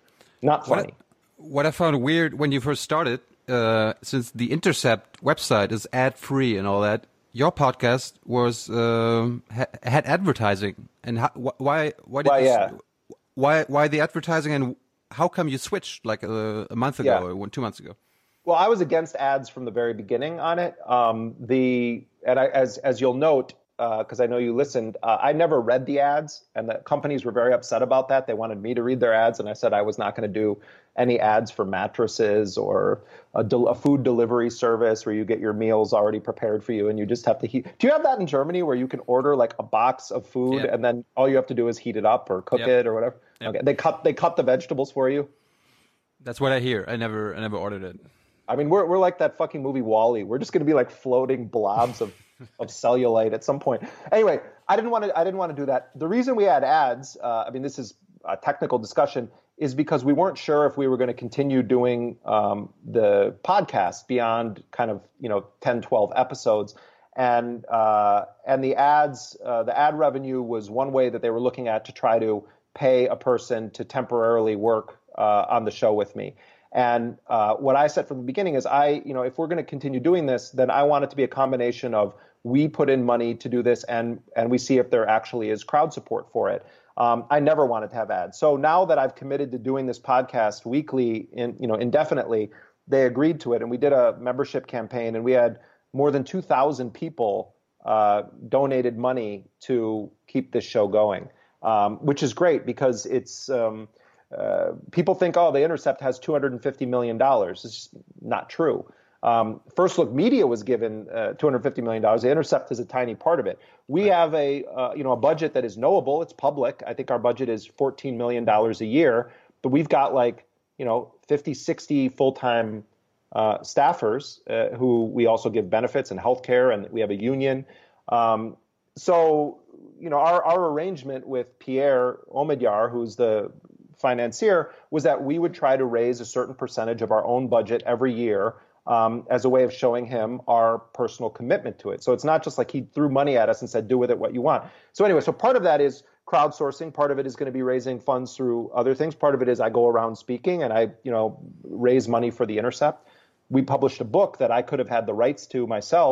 Not funny. What I, what I found weird when you first started, uh, since the Intercept website is ad-free and all that, your podcast was um, ha had advertising. And how, wh why why did well, you, yeah. why why the advertising, and how come you switched like a, a month ago Yeah. or one, two months ago? Well, I was against ads from the very beginning on it. Um, the and I, as as you'll note, because uh, I know you listened, uh, I never read the ads, and the companies were very upset about that. They wanted me to read their ads, and I said I was not going to do any ads for mattresses or a, del a food delivery service where you get your meals already prepared for you, and you just have to heat. Do you have that in Germany where you can order like a box of food, Yeah. and then all you have to do is heat it up or cook Yep. it or whatever? Yep. Okay, they cut they cut the vegetables for you. That's what I hear. I never I never ordered it. I mean, we're we're like that fucking movie WALL-E. We're just going to be like floating blobs of, of cellulite at some point. Anyway, I didn't want to. I didn't want to do that. The reason we had ads, uh, I mean, this is a technical discussion, is because we weren't sure if we were going to continue doing um, the podcast beyond kind of you know ten, twelve episodes, and uh, and the ads, uh, the ad revenue was one way that they were looking at to try to pay a person to temporarily work uh, on the show with me. And uh, what I said from the beginning is, I, you know, if we're going to continue doing this, then I want it to be a combination of we put in money to do this, and and we see if there actually is crowd support for it. Um, I never wanted to have ads. So now that I've committed to doing this podcast weekly, in you know, indefinitely, they agreed to it, and we did a membership campaign, and we had more than two thousand people uh, donated money to keep this show going, um, which is great because it's. Um, Uh, people think, oh, The Intercept has two hundred fifty million dollars. It's just not true. Um, First Look Media was given uh, two hundred fifty million dollars. The Intercept is a tiny part of it. We right. have a uh, you know a budget that is knowable. It's public. I think our budget is fourteen million dollars a year, but we've got like you know fifty, sixty full-time uh, staffers uh, who we also give benefits and health care, and we have a union. Um, so you know our, our arrangement with Pierre Omidyar, who's the financier, was that we would try to raise a certain percentage of our own budget every year um, as a way of showing him our personal commitment to it. So it's not just like he threw money at us and said, do with it what you want. So anyway, so part of that is crowdsourcing. Part of it is going to be raising funds through other things. Part of it is I go around speaking and I, you know, raise money for The Intercept. We published a book that I could have had the rights to myself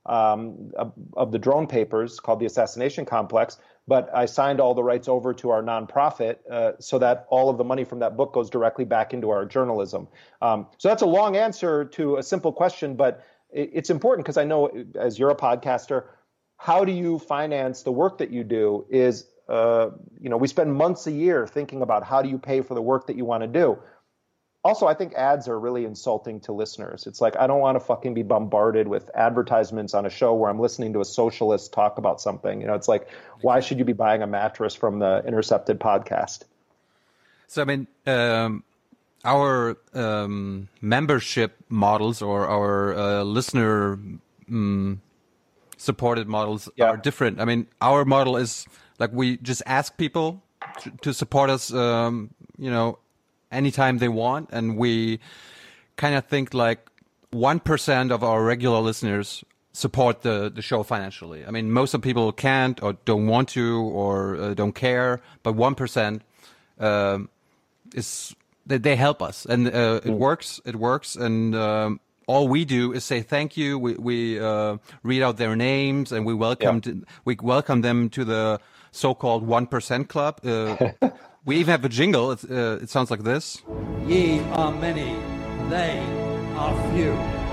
um, of, of the drone papers called The Assassination Complex, but I signed all the rights over to our nonprofit uh, so that all of the money from that book goes directly back into our journalism. Um, so that's a long answer to a simple question, but it, it's important because I know, as you're a podcaster, how do you finance the work that you do is, uh, you know, we spend months a year thinking about how do you pay for the work that you want to do. Also, I think ads are really insulting to listeners. It's like, I don't want to fucking be bombarded with advertisements on a show where I'm listening to a socialist talk about something. You know, it's like, why should you be buying a mattress from the Intercepted podcast? So, I mean, um, our um, membership models or our uh, listener um, supported models yeah. are different. I mean, our model is like we just ask people to, to support us, um, you know, anytime they want, and we kind of think like one percent of our regular listeners support the, the show financially. I mean, most of the people can't or don't want to or uh, don't care, but one percent um, is they, they help us, and uh, it works. It works, and um, all we do is say thank you. We we uh, read out their names, and we welcome yeah. to, we welcome them to the so-called one percent club. Uh, We even have a jingle. It, uh, it sounds like this. Ye are many, they are few.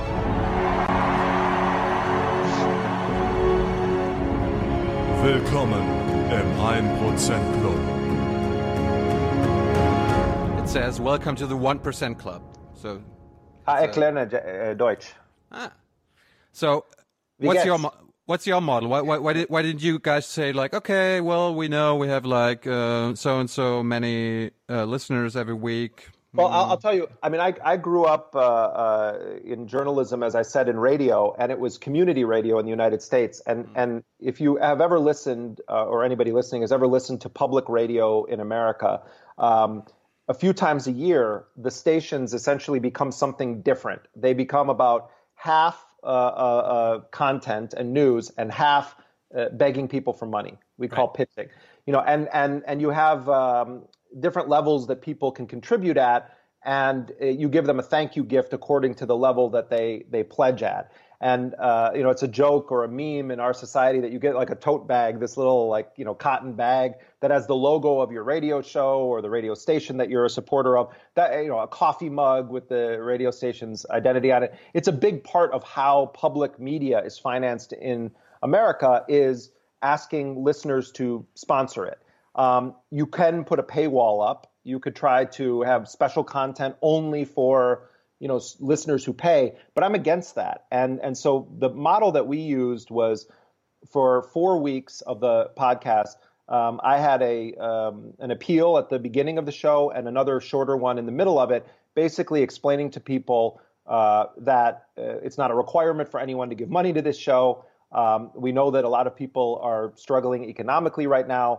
Willkommen im one percent Club. It says, welcome to the one percent Club. So, ah, ich lerne uh, Deutsch. Ah. So, what's your... Mo- What's your model? Why, why, why, did, why didn't you guys say like, okay, well, we know we have like uh, so and so many uh, listeners every week? Well, I'll, I'll tell you. I mean, I, I grew up uh, uh, in journalism, as I said, in radio, and it was community radio in the United States. And and if you have ever listened, uh, or anybody listening has ever listened to public radio in America, um, a few times a year, the stations essentially become something different. They become about half Uh, uh, uh, content and news, and half uh, begging people for money. We call right. pitching, you know, and and and you have um, different levels that people can contribute at, and uh, you give them a thank you gift according to the level that they they pledge at. And uh, you know, it's a joke or a meme in our society that you get like a tote bag, this little like you know cotton bag that has the logo of your radio show or the radio station that you're a supporter of. That you know, a coffee mug with the radio station's identity on it. It's a big part of how public media is financed in America, is asking listeners to sponsor it. Um, you can put a paywall up. You could try to have special content only for you know, listeners who pay, but I'm against that. And and so the model that we used was for four weeks of the podcast, um, I had a um, an appeal at the beginning of the show and another shorter one in the middle of it, basically explaining to people uh, that uh, it's not a requirement for anyone to give money to this show. Um, we know that a lot of people are struggling economically right now.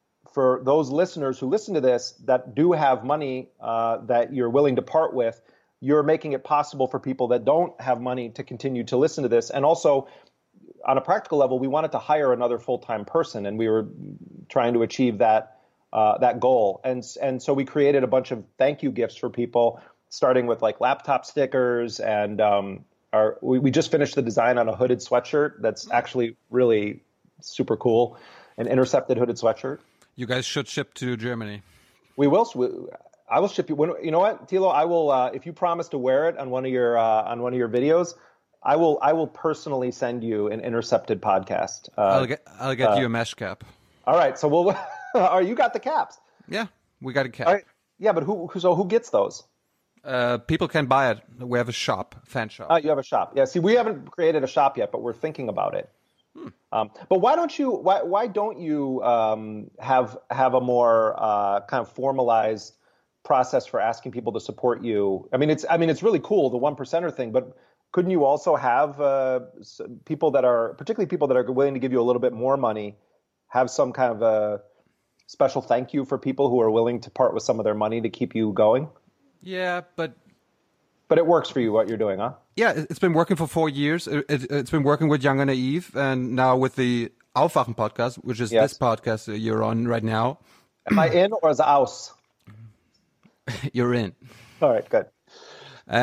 For those listeners who listen to this that do have money uh, that you're willing to part with, you're making it possible for people that don't have money to continue to listen to this. And also, on a practical level, we wanted to hire another full-time person, and we were trying to achieve that uh, that goal. And and so we created a bunch of thank you gifts for people, starting with like laptop stickers, and um, our we, we just finished the design on a hooded sweatshirt that's actually really super cool, an Intercepted hooded sweatshirt. You guys should ship to Germany. We will. We, I will ship you. When, you know what, Thilo? I will. Uh, if you promise to wear it on one of your uh, on one of your videos, I will. I will personally send you an Intercepted podcast. Uh, I'll get. I'll get uh, you a mesh cap. All right. So we'll. Are you got the caps? Yeah, we got a cap. All right. Yeah, but who? So who gets those? Uh, people can buy it. We have a shop, fan shop. Oh, you have a shop. Yeah. See, we haven't created a shop yet, but we're thinking about it. Hmm. Um, but why don't you? Why Why don't you um, have have a more uh, kind of formalized process for asking people to support you? I mean, it's I mean, it's really cool, the one percenter thing, but couldn't you also have uh, people that are, particularly people that are willing to give you a little bit more money, have some kind of a special thank you for people who are willing to part with some of their money to keep you going? Yeah, but but it works for you, what you're doing, huh? Yeah, it's been working for four years. It, it, it's been working with Young and Naive, and now with the Aufwachen podcast, which is yes. this podcast you're on right now. Am I in or is it aus? You're in. All right, good. Uh,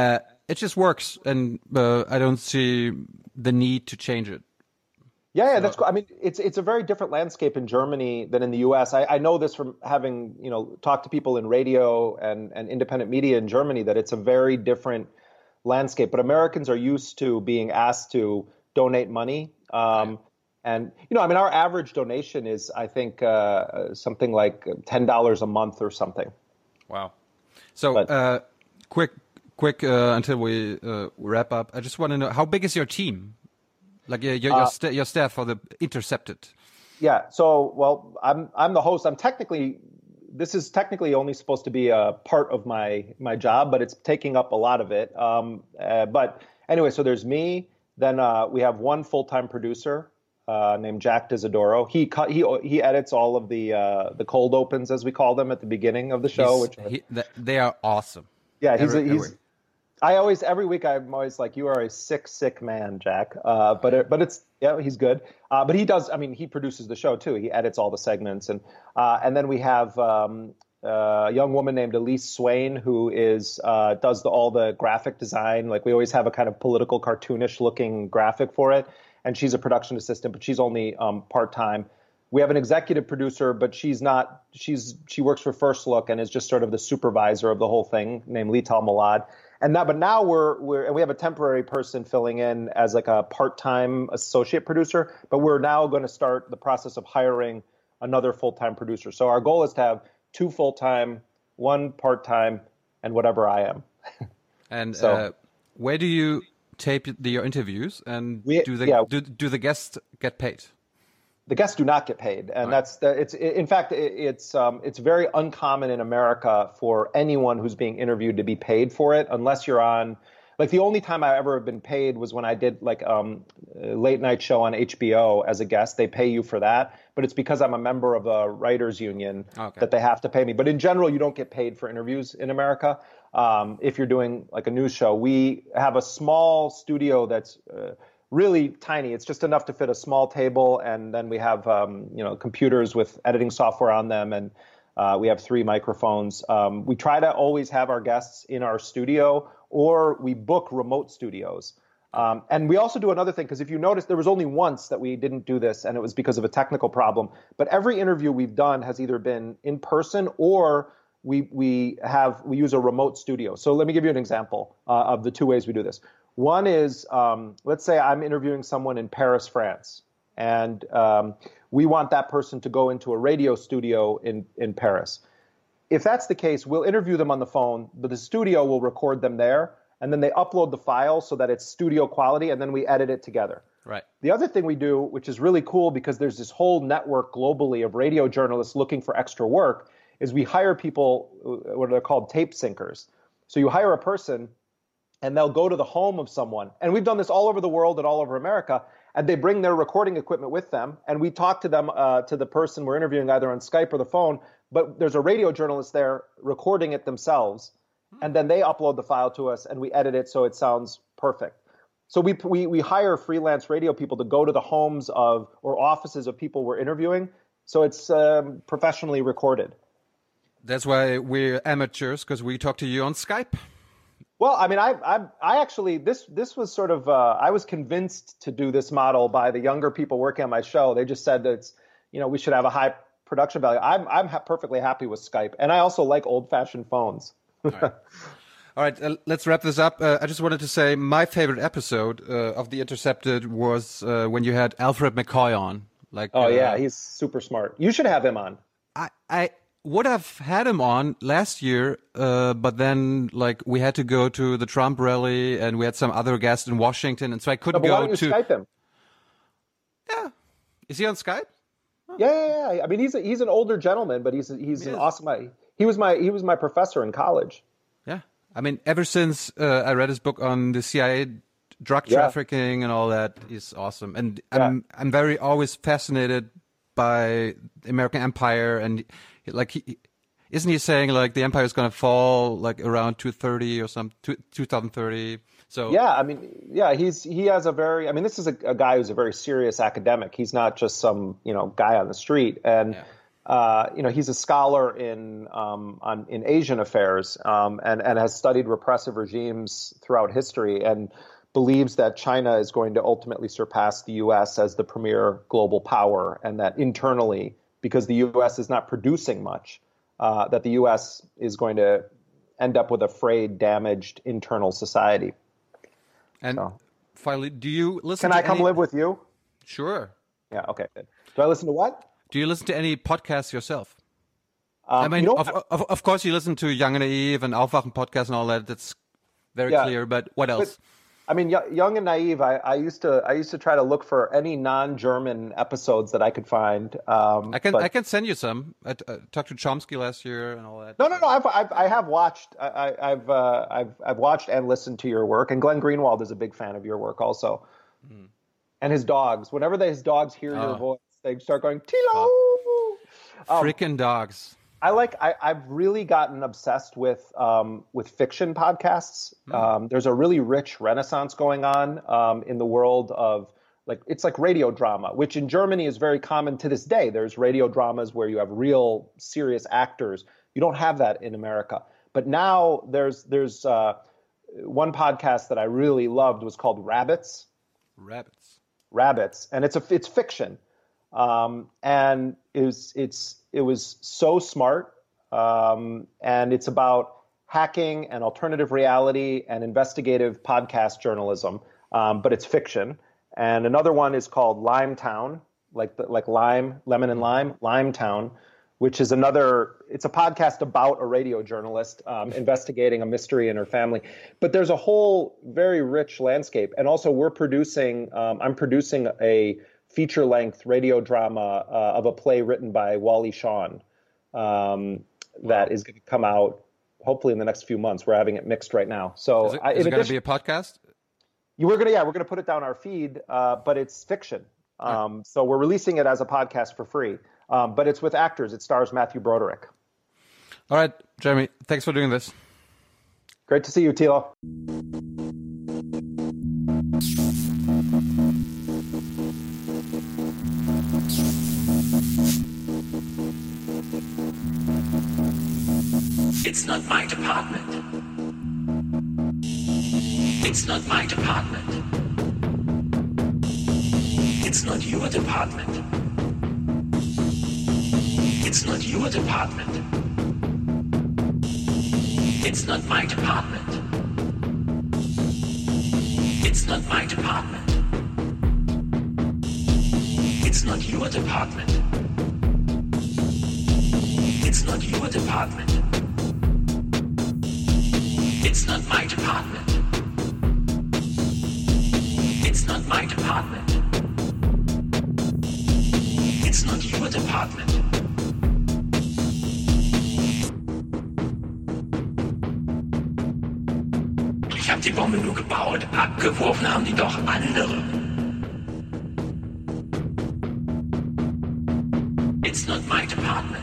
it just works, and uh, I don't see the need to change it. Yeah, yeah, so. that's cool. I mean, it's it's a very different landscape in Germany than in the U S. I, I know this from having, you know, talked to people in radio and, and independent media in Germany, that it's a very different landscape. But Americans are used to being asked to donate money. Um, right. And, you know, I mean, our average donation is, I think, uh, something like ten dollars a month or something. Wow. So but, uh, quick, quick uh, until we uh, wrap up. I just want to know, how big is your team? Like your your, your, uh, st- your staff for the Intercepted. Yeah. So, well, I'm I'm the host. I'm technically, this is technically only supposed to be a part of my my job, but it's taking up a lot of it. Um, uh, but anyway, so there's me. Then uh, we have one full-time producer uh, named Jack Disidoro. He cut he he edits all of the uh, the cold opens, as we call them, at the beginning of the show. He's, which he, they are awesome. Yeah, he's every, a, he's. I always, every week, I'm always like, you are a sick, sick man, Jack. Uh, but it, but it's, yeah, he's good. Uh, but he does, I mean, he produces the show too. He edits all the segments. And uh, and then we have um, a young woman named Elise Swain, who is, uh, does the, all the graphic design. Like, we always have a kind of political, cartoonish looking graphic for it. And she's a production assistant, but she's only um, part-time. We have an executive producer, but she's not, she's, she works for First Look and is just sort of the supervisor of the whole thing, named Lital Malad. And now, but now we're we're and we have a temporary person filling in as like a part-time associate producer. But we're now going to start the process of hiring another full-time producer. So our goal is to have two full-time, one part-time, and whatever I am. And so, uh, where do you tape the, your interviews? And we, do the yeah. do, do the guests get paid? The guests do not get paid, and right. that's the, it's in fact it's um, it's very uncommon in America for anyone who's being interviewed to be paid for it, unless you're on. Like, the only time I ever have been paid was when I did like um, a late night show on H B O as a guest. They pay you for that, but it's because I'm a member of the writers union okay. that they have to pay me. But in general, you don't get paid for interviews in America. Um, if you're doing like a news show, we have a small studio that's. Uh, Really tiny. It's just enough to fit a small table, and then we have um, you know computers with editing software on them, and uh, we have three microphones. Um, we try to always have our guests in our studio, or we book remote studios. Um, and we also do another thing, because if you notice, there was only once that we didn't do this, and it was because of a technical problem. But every interview we've done has either been in person or we we have we use a remote studio. So let me give you an example uh, of the two ways we do this. One is, um, let's say I'm interviewing someone in Paris, France, and um, we want that person to go into a radio studio in, in Paris. If that's the case, we'll interview them on the phone, but the studio will record them there, and then they upload the file so that it's studio quality, and then we edit it together. Right. The other thing we do, which is really cool because there's this whole network globally of radio journalists looking for extra work, is we hire people, what are called tape syncers. So you hire a person, and they'll go to the home of someone. And we've done this all over the world and all over America. And they bring their recording equipment with them. And we talk to them, uh, to the person we're interviewing, either on Skype or the phone. But there's a radio journalist there recording it themselves. And then they upload the file to us, and we edit it so it sounds perfect. So we we we hire freelance radio people to go to the homes of or offices of people we're interviewing. So it's um, professionally recorded. That's why we're amateurs, because we talk to you on Skype. Well, I mean, I, I, I actually, this, this was sort of, uh, I was convinced to do this model by the younger people working on my show. They just said that it's, you know, we should have a high production value. I'm, I'm ha- perfectly happy with Skype, and I also like old-fashioned phones. All right, All right uh, let's wrap this up. Uh, I just wanted to say my favorite episode uh, of The Intercepted was uh, when you had Alfred McCoy on. Like, oh uh, yeah, he's super smart. You should have him on. I, I. would have had him on last year, uh, but then like we had to go to the Trump rally, and we had some other guests in Washington, and so I couldn't no, go why don't you to. Skype him? Yeah, is he on Skype? Oh. Yeah, yeah, yeah. I mean, he's a, he's an older gentleman, but he's he's he an is. awesome. He was my he was my professor in college. Yeah, I mean, ever since uh, I read his book on the C I A drug yeah. trafficking and all that, he's awesome, and I'm yeah. I'm very always fascinated by the American empire, and like he isn't he saying like the empire is going to fall like around two thirty or some two thousand thirty. So yeah, I mean, yeah, he's he has a very I mean, this is a, a guy who's a very serious academic. He's not just some, you know, guy on the street. And yeah. uh, you know, he's a scholar in um, on in Asian affairs um, and and has studied repressive regimes throughout history and believes that China is going to ultimately surpass the U S as the premier global power, and that internally, because the U S is not producing much, uh, that the U S is going to end up with a frayed, damaged internal society. And so. Finally, do you listen Can to I come any... live with you? Sure. Yeah, okay, good. Do I listen to what? Do you listen to any podcasts yourself? Um, I mean, you know, of, of, of course you listen to Young and Naive and Aufwachen podcast and all that. That's very Yeah. clear, but what else? But, I mean, y- Young and Naive, I, I used to I used to try to look for any non-German episodes that I could find. Um, I can but, I can send you some. I uh, talked to Chomsky last year and all that. No, no, no. I've, I've I have watched. I, I- I've uh, I've I've watched and listened to your work. And Glenn Greenwald is a big fan of your work also. Hmm. And his dogs. Whenever they, his dogs hear Oh. your voice, they start going Tilo. Um, Freaking dogs. I like. I, I've really gotten obsessed with um, with fiction podcasts. Mm. Um, there's a really rich renaissance going on um, in the world of like it's like radio drama, which in Germany is very common to this day. There's radio dramas where you have real serious actors. You don't have that in America. But now there's there's uh, one podcast that I really loved was called Rabbits. Rabbits. Rabbits, and it's a it's fiction, um, and it was it's it was so smart, um, and it's about hacking and alternative reality and investigative podcast journalism, um, but it's fiction. And another one is called Limetown, like the, like lime, lemon and lime, Limetown, which is another. It's a podcast about a radio journalist um, investigating a mystery in her family. But there's a whole very rich landscape, and also we're producing. Um, I'm producing a feature-length radio drama uh, of a play written by Wally Shawn um, that is going to come out hopefully in the next few months. We're having it mixed right now. So Is it, I, is in it going to addition, be a podcast? you were gonna yeah we're gonna put it down our feed, uh, but it's fiction. Um, so we're releasing it as a podcast for free, um, but it's with actors. It stars Matthew Broderick. All right, Jeremy, thanks for doing this. Great to see you, Tilo. It's not my department. It's not my department. It's not your department. It's not your department. It's not my department. It's not my department. It's not your department. It's not your department. It's not my department. It's not my department. It's not your department. Ich hab die Bombe nur gebaut, abgeworfen haben die doch andere. It's not my department.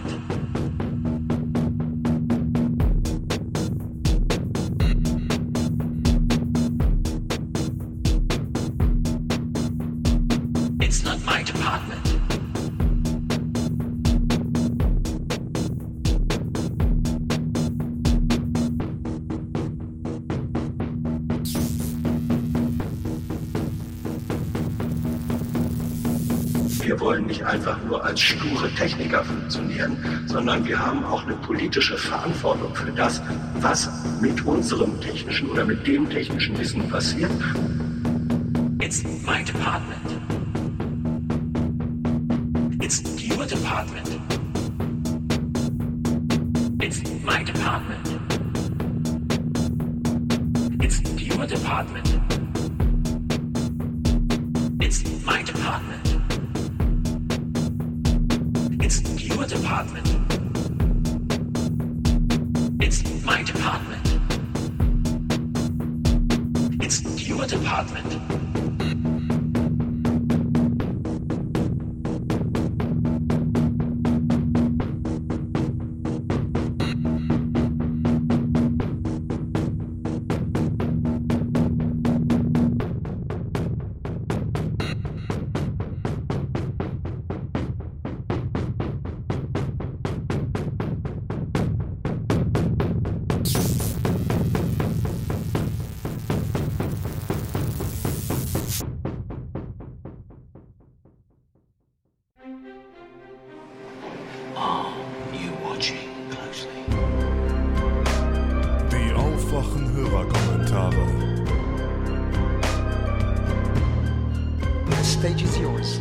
It's not my department. Wir wollen nicht einfach nur als sture Techniker funktionieren, sondern wir haben auch eine politische Verantwortung für das, was mit unserem technischen oder mit dem technischen Wissen passiert. It's my department. It's your department. It's my department. It's your department. It's my department. It's your department. It's my department. It's your department. einfachen Hörerkommentare. The stage is yours.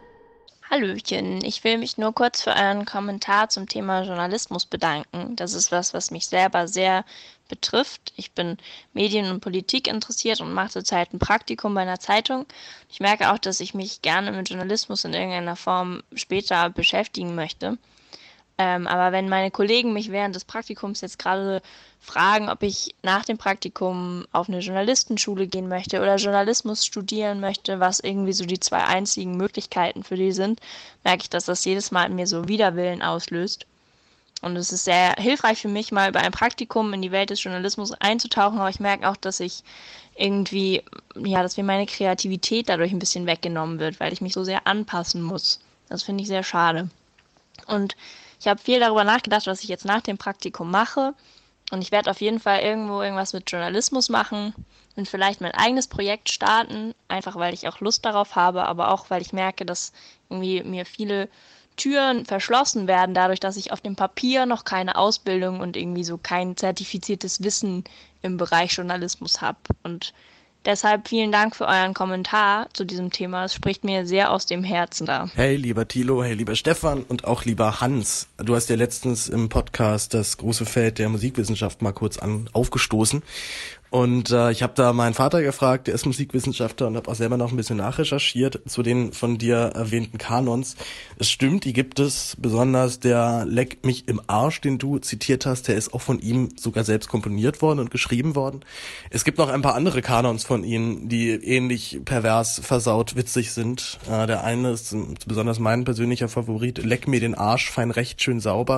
Hallöchen, ich will mich nur kurz für euren Kommentar zum Thema Journalismus bedanken. Das ist was, was mich selber sehr betrifft. Ich bin Medien- und Politik interessiert und mache zurzeit ein Praktikum bei einer Zeitung. Ich merke auch, dass ich mich gerne mit Journalismus in irgendeiner Form später beschäftigen möchte. Ähm, aber wenn meine Kollegen mich während des Praktikums jetzt gerade fragen, ob ich nach dem Praktikum auf eine Journalistenschule gehen möchte oder Journalismus studieren möchte, was irgendwie so die zwei einzigen Möglichkeiten für die sind, merke ich, dass das jedes Mal in mir so Widerwillen auslöst. Und es ist sehr hilfreich für mich, mal bei einem Praktikum in die Welt des Journalismus einzutauchen, aber ich merke auch, dass ich irgendwie, ja, dass mir meine Kreativität dadurch ein bisschen weggenommen wird, weil ich mich so sehr anpassen muss. Das finde ich sehr schade. Und ich habe viel darüber nachgedacht, was ich jetzt nach dem Praktikum mache. Und ich werde auf jeden Fall irgendwo irgendwas mit Journalismus machen und vielleicht mein eigenes Projekt starten, einfach weil ich auch Lust darauf habe, aber auch weil ich merke, dass irgendwie mir viele Türen verschlossen werden, dadurch, dass ich auf dem Papier noch keine Ausbildung und irgendwie so kein zertifiziertes Wissen im Bereich Journalismus habe. Und deshalb vielen Dank für euren Kommentar zu diesem Thema. Es spricht mir sehr aus dem Herzen da. Hey, lieber Thilo, hey, lieber Stefan und auch lieber Hans. Du hast ja letztens im Podcast das große Feld der Musikwissenschaft mal kurz an aufgestoßen. Und äh, ich habe da meinen Vater gefragt, der ist Musikwissenschaftler, und habe auch selber noch ein bisschen nachrecherchiert zu den von dir erwähnten Kanons. Es stimmt, die gibt es, besonders der Leck mich im Arsch, den du zitiert hast, der ist auch von ihm sogar selbst komponiert worden und geschrieben worden. Es gibt noch ein paar andere Kanons von ihm, die ähnlich pervers, versaut, witzig sind. Äh, der eine ist besonders mein persönlicher Favorit, Leck mir den Arsch, fein recht, schön sauber.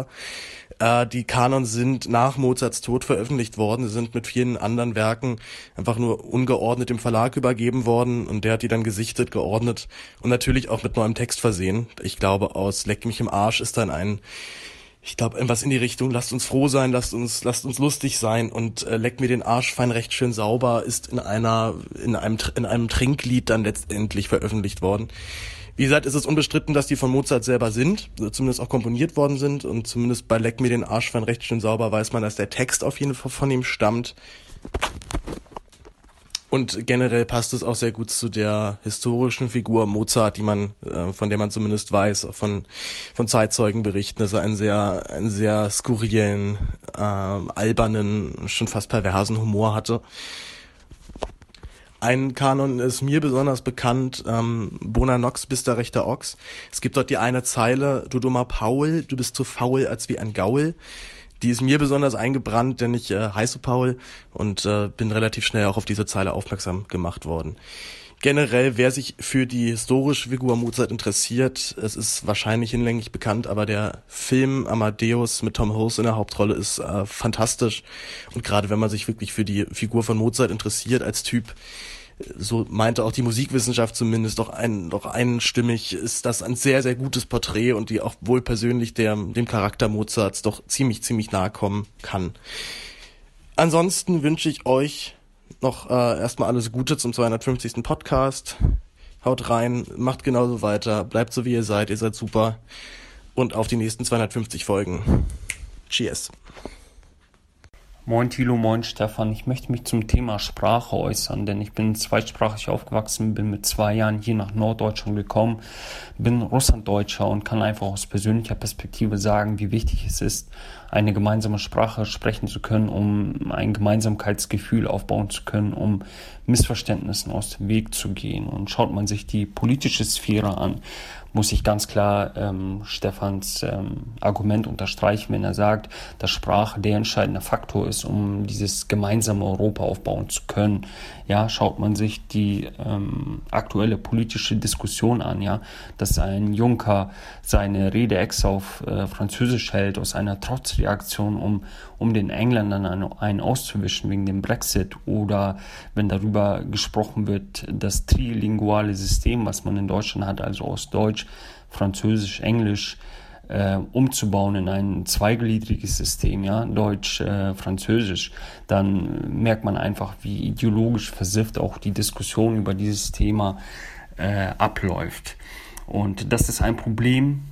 Äh, die Kanons sind nach Mozarts Tod veröffentlicht worden. Sie sind mit vielen anderen Werken einfach nur ungeordnet dem Verlag übergeben worden, und der hat die dann gesichtet, geordnet und natürlich auch mit neuem Text versehen. Ich glaube, aus Leck mich im Arsch ist dann ein, ich glaube, etwas in die Richtung, lasst uns froh sein, lasst uns, lasst uns lustig sein, und äh, Leck mir den Arsch fein recht schön sauber ist in einer, in einem, in einem Trinklied dann letztendlich veröffentlicht worden. Wie gesagt, ist es unbestritten, dass die von Mozart selber sind, zumindest auch komponiert worden sind, und zumindest bei Leck mir den Arsch fein recht schön sauber weiß man, dass der Text auf jeden Fall von ihm stammt. Und generell passt es auch sehr gut zu der historischen Figur Mozart, die man, äh, von der man zumindest weiß, von von Zeitzeugen berichten, dass er einen sehr einen sehr skurrilen, äh, albernen, schon fast perversen Humor hatte. Ein Kanon ist mir besonders bekannt, ähm, Bona Nox, bist der rechter Ochs. Es gibt dort die eine Zeile, du dummer Paul, du bist so faul als wie ein Gaul. Die ist mir besonders eingebrannt, denn ich äh, heiße Paul und äh, bin relativ schnell auch auf diese Zeile aufmerksam gemacht worden. Generell, wer sich für die historische Figur Mozart interessiert, es ist wahrscheinlich hinlänglich bekannt, aber der Film Amadeus mit Tom Hanks in der Hauptrolle ist äh, fantastisch. Und gerade wenn man sich wirklich für die Figur von Mozart interessiert als Typ, so meinte auch die Musikwissenschaft zumindest, doch ein, doch einstimmig ist das ein sehr, sehr gutes Porträt, und die auch wohl persönlich der, dem Charakter Mozarts doch ziemlich, ziemlich nahe kommen kann. Ansonsten wünsche ich euch noch äh, erstmal alles Gute zum zweihundertfünfzigsten Podcast. Haut rein, macht genauso weiter, bleibt so wie ihr seid, ihr seid super, und auf die nächsten zweihundertfünfzig Folgen. Cheers. Moin Thilo, moin Stefan. Ich möchte mich zum Thema Sprache äußern, denn ich bin zweisprachig aufgewachsen, bin mit zwei Jahren hier nach Norddeutschland gekommen, bin Russlanddeutscher und kann einfach aus persönlicher Perspektive sagen, wie wichtig es ist, eine gemeinsame Sprache sprechen zu können, um ein Gemeinsamkeitsgefühl aufbauen zu können, um Missverständnissen aus dem Weg zu gehen. Und schaut man sich die politische Sphäre an, muss ich ganz klar ähm, Stefans ähm, Argument unterstreichen, wenn er sagt, dass Sprache der entscheidende Faktor ist, um dieses gemeinsame Europa aufbauen zu können. Ja, schaut man sich die ähm, aktuelle politische Diskussion an, ja, dass ein Juncker seine Rede extra auf äh, Französisch hält, aus einer Trotzreaktion, um, um den Engländern einen, einen auszuwischen wegen dem Brexit, oder wenn darüber gesprochen wird, das trilinguale System, was man in Deutschland hat, also aus Deutsch, Französisch, Englisch, äh, umzubauen in ein zweigliedriges System, ja, Deutsch, äh, Französisch, dann merkt man einfach, wie ideologisch versifft auch die Diskussion über dieses Thema äh, abläuft. Und das ist ein Problem,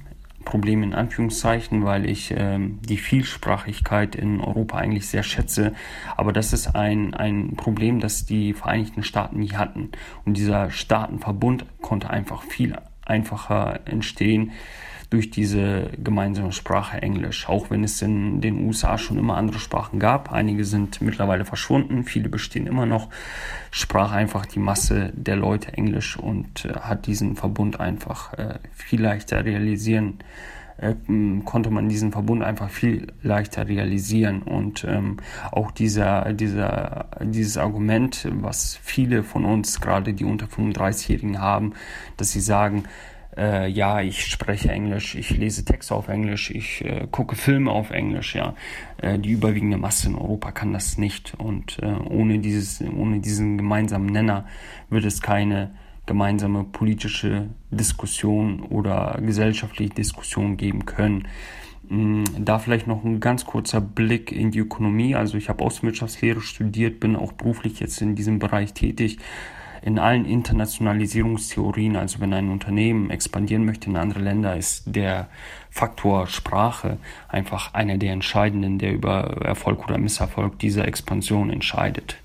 Problem in Anführungszeichen, weil ich ähm, die Vielsprachigkeit in Europa eigentlich sehr schätze. Aber das ist ein, ein Problem, das die Vereinigten Staaten nie hatten. Und dieser Staatenverbund konnte einfach viel einfacher entstehen durch diese gemeinsame Sprache Englisch. Auch wenn es in den U S A schon immer andere Sprachen gab. Einige sind mittlerweile verschwunden, viele bestehen immer noch. Sprach einfach die Masse der Leute Englisch und äh, hat diesen Verbund einfach äh, viel leichter realisieren, äh, konnte man diesen Verbund einfach viel leichter realisieren. Und ähm, auch dieser, dieser, dieses Argument, was viele von uns, gerade die unter fünfunddreißigjährigen haben, dass sie sagen, Äh, ja, ich spreche Englisch, ich lese Texte auf Englisch, ich äh, gucke Filme auf Englisch, ja. Äh, die überwiegende Masse in Europa kann das nicht. Und äh, ohne dieses, ohne diesen gemeinsamen Nenner wird es keine gemeinsame politische Diskussion oder gesellschaftliche Diskussion geben können. Da vielleicht noch ein ganz kurzer Blick in die Ökonomie. Also ich habe Außenwirtschaftslehre studiert, bin auch beruflich jetzt in diesem Bereich tätig. In allen Internationalisierungstheorien, also wenn ein Unternehmen expandieren möchte in andere Länder, ist der Faktor Sprache einfach einer der entscheidenden, der über Erfolg oder Misserfolg dieser Expansion entscheidet.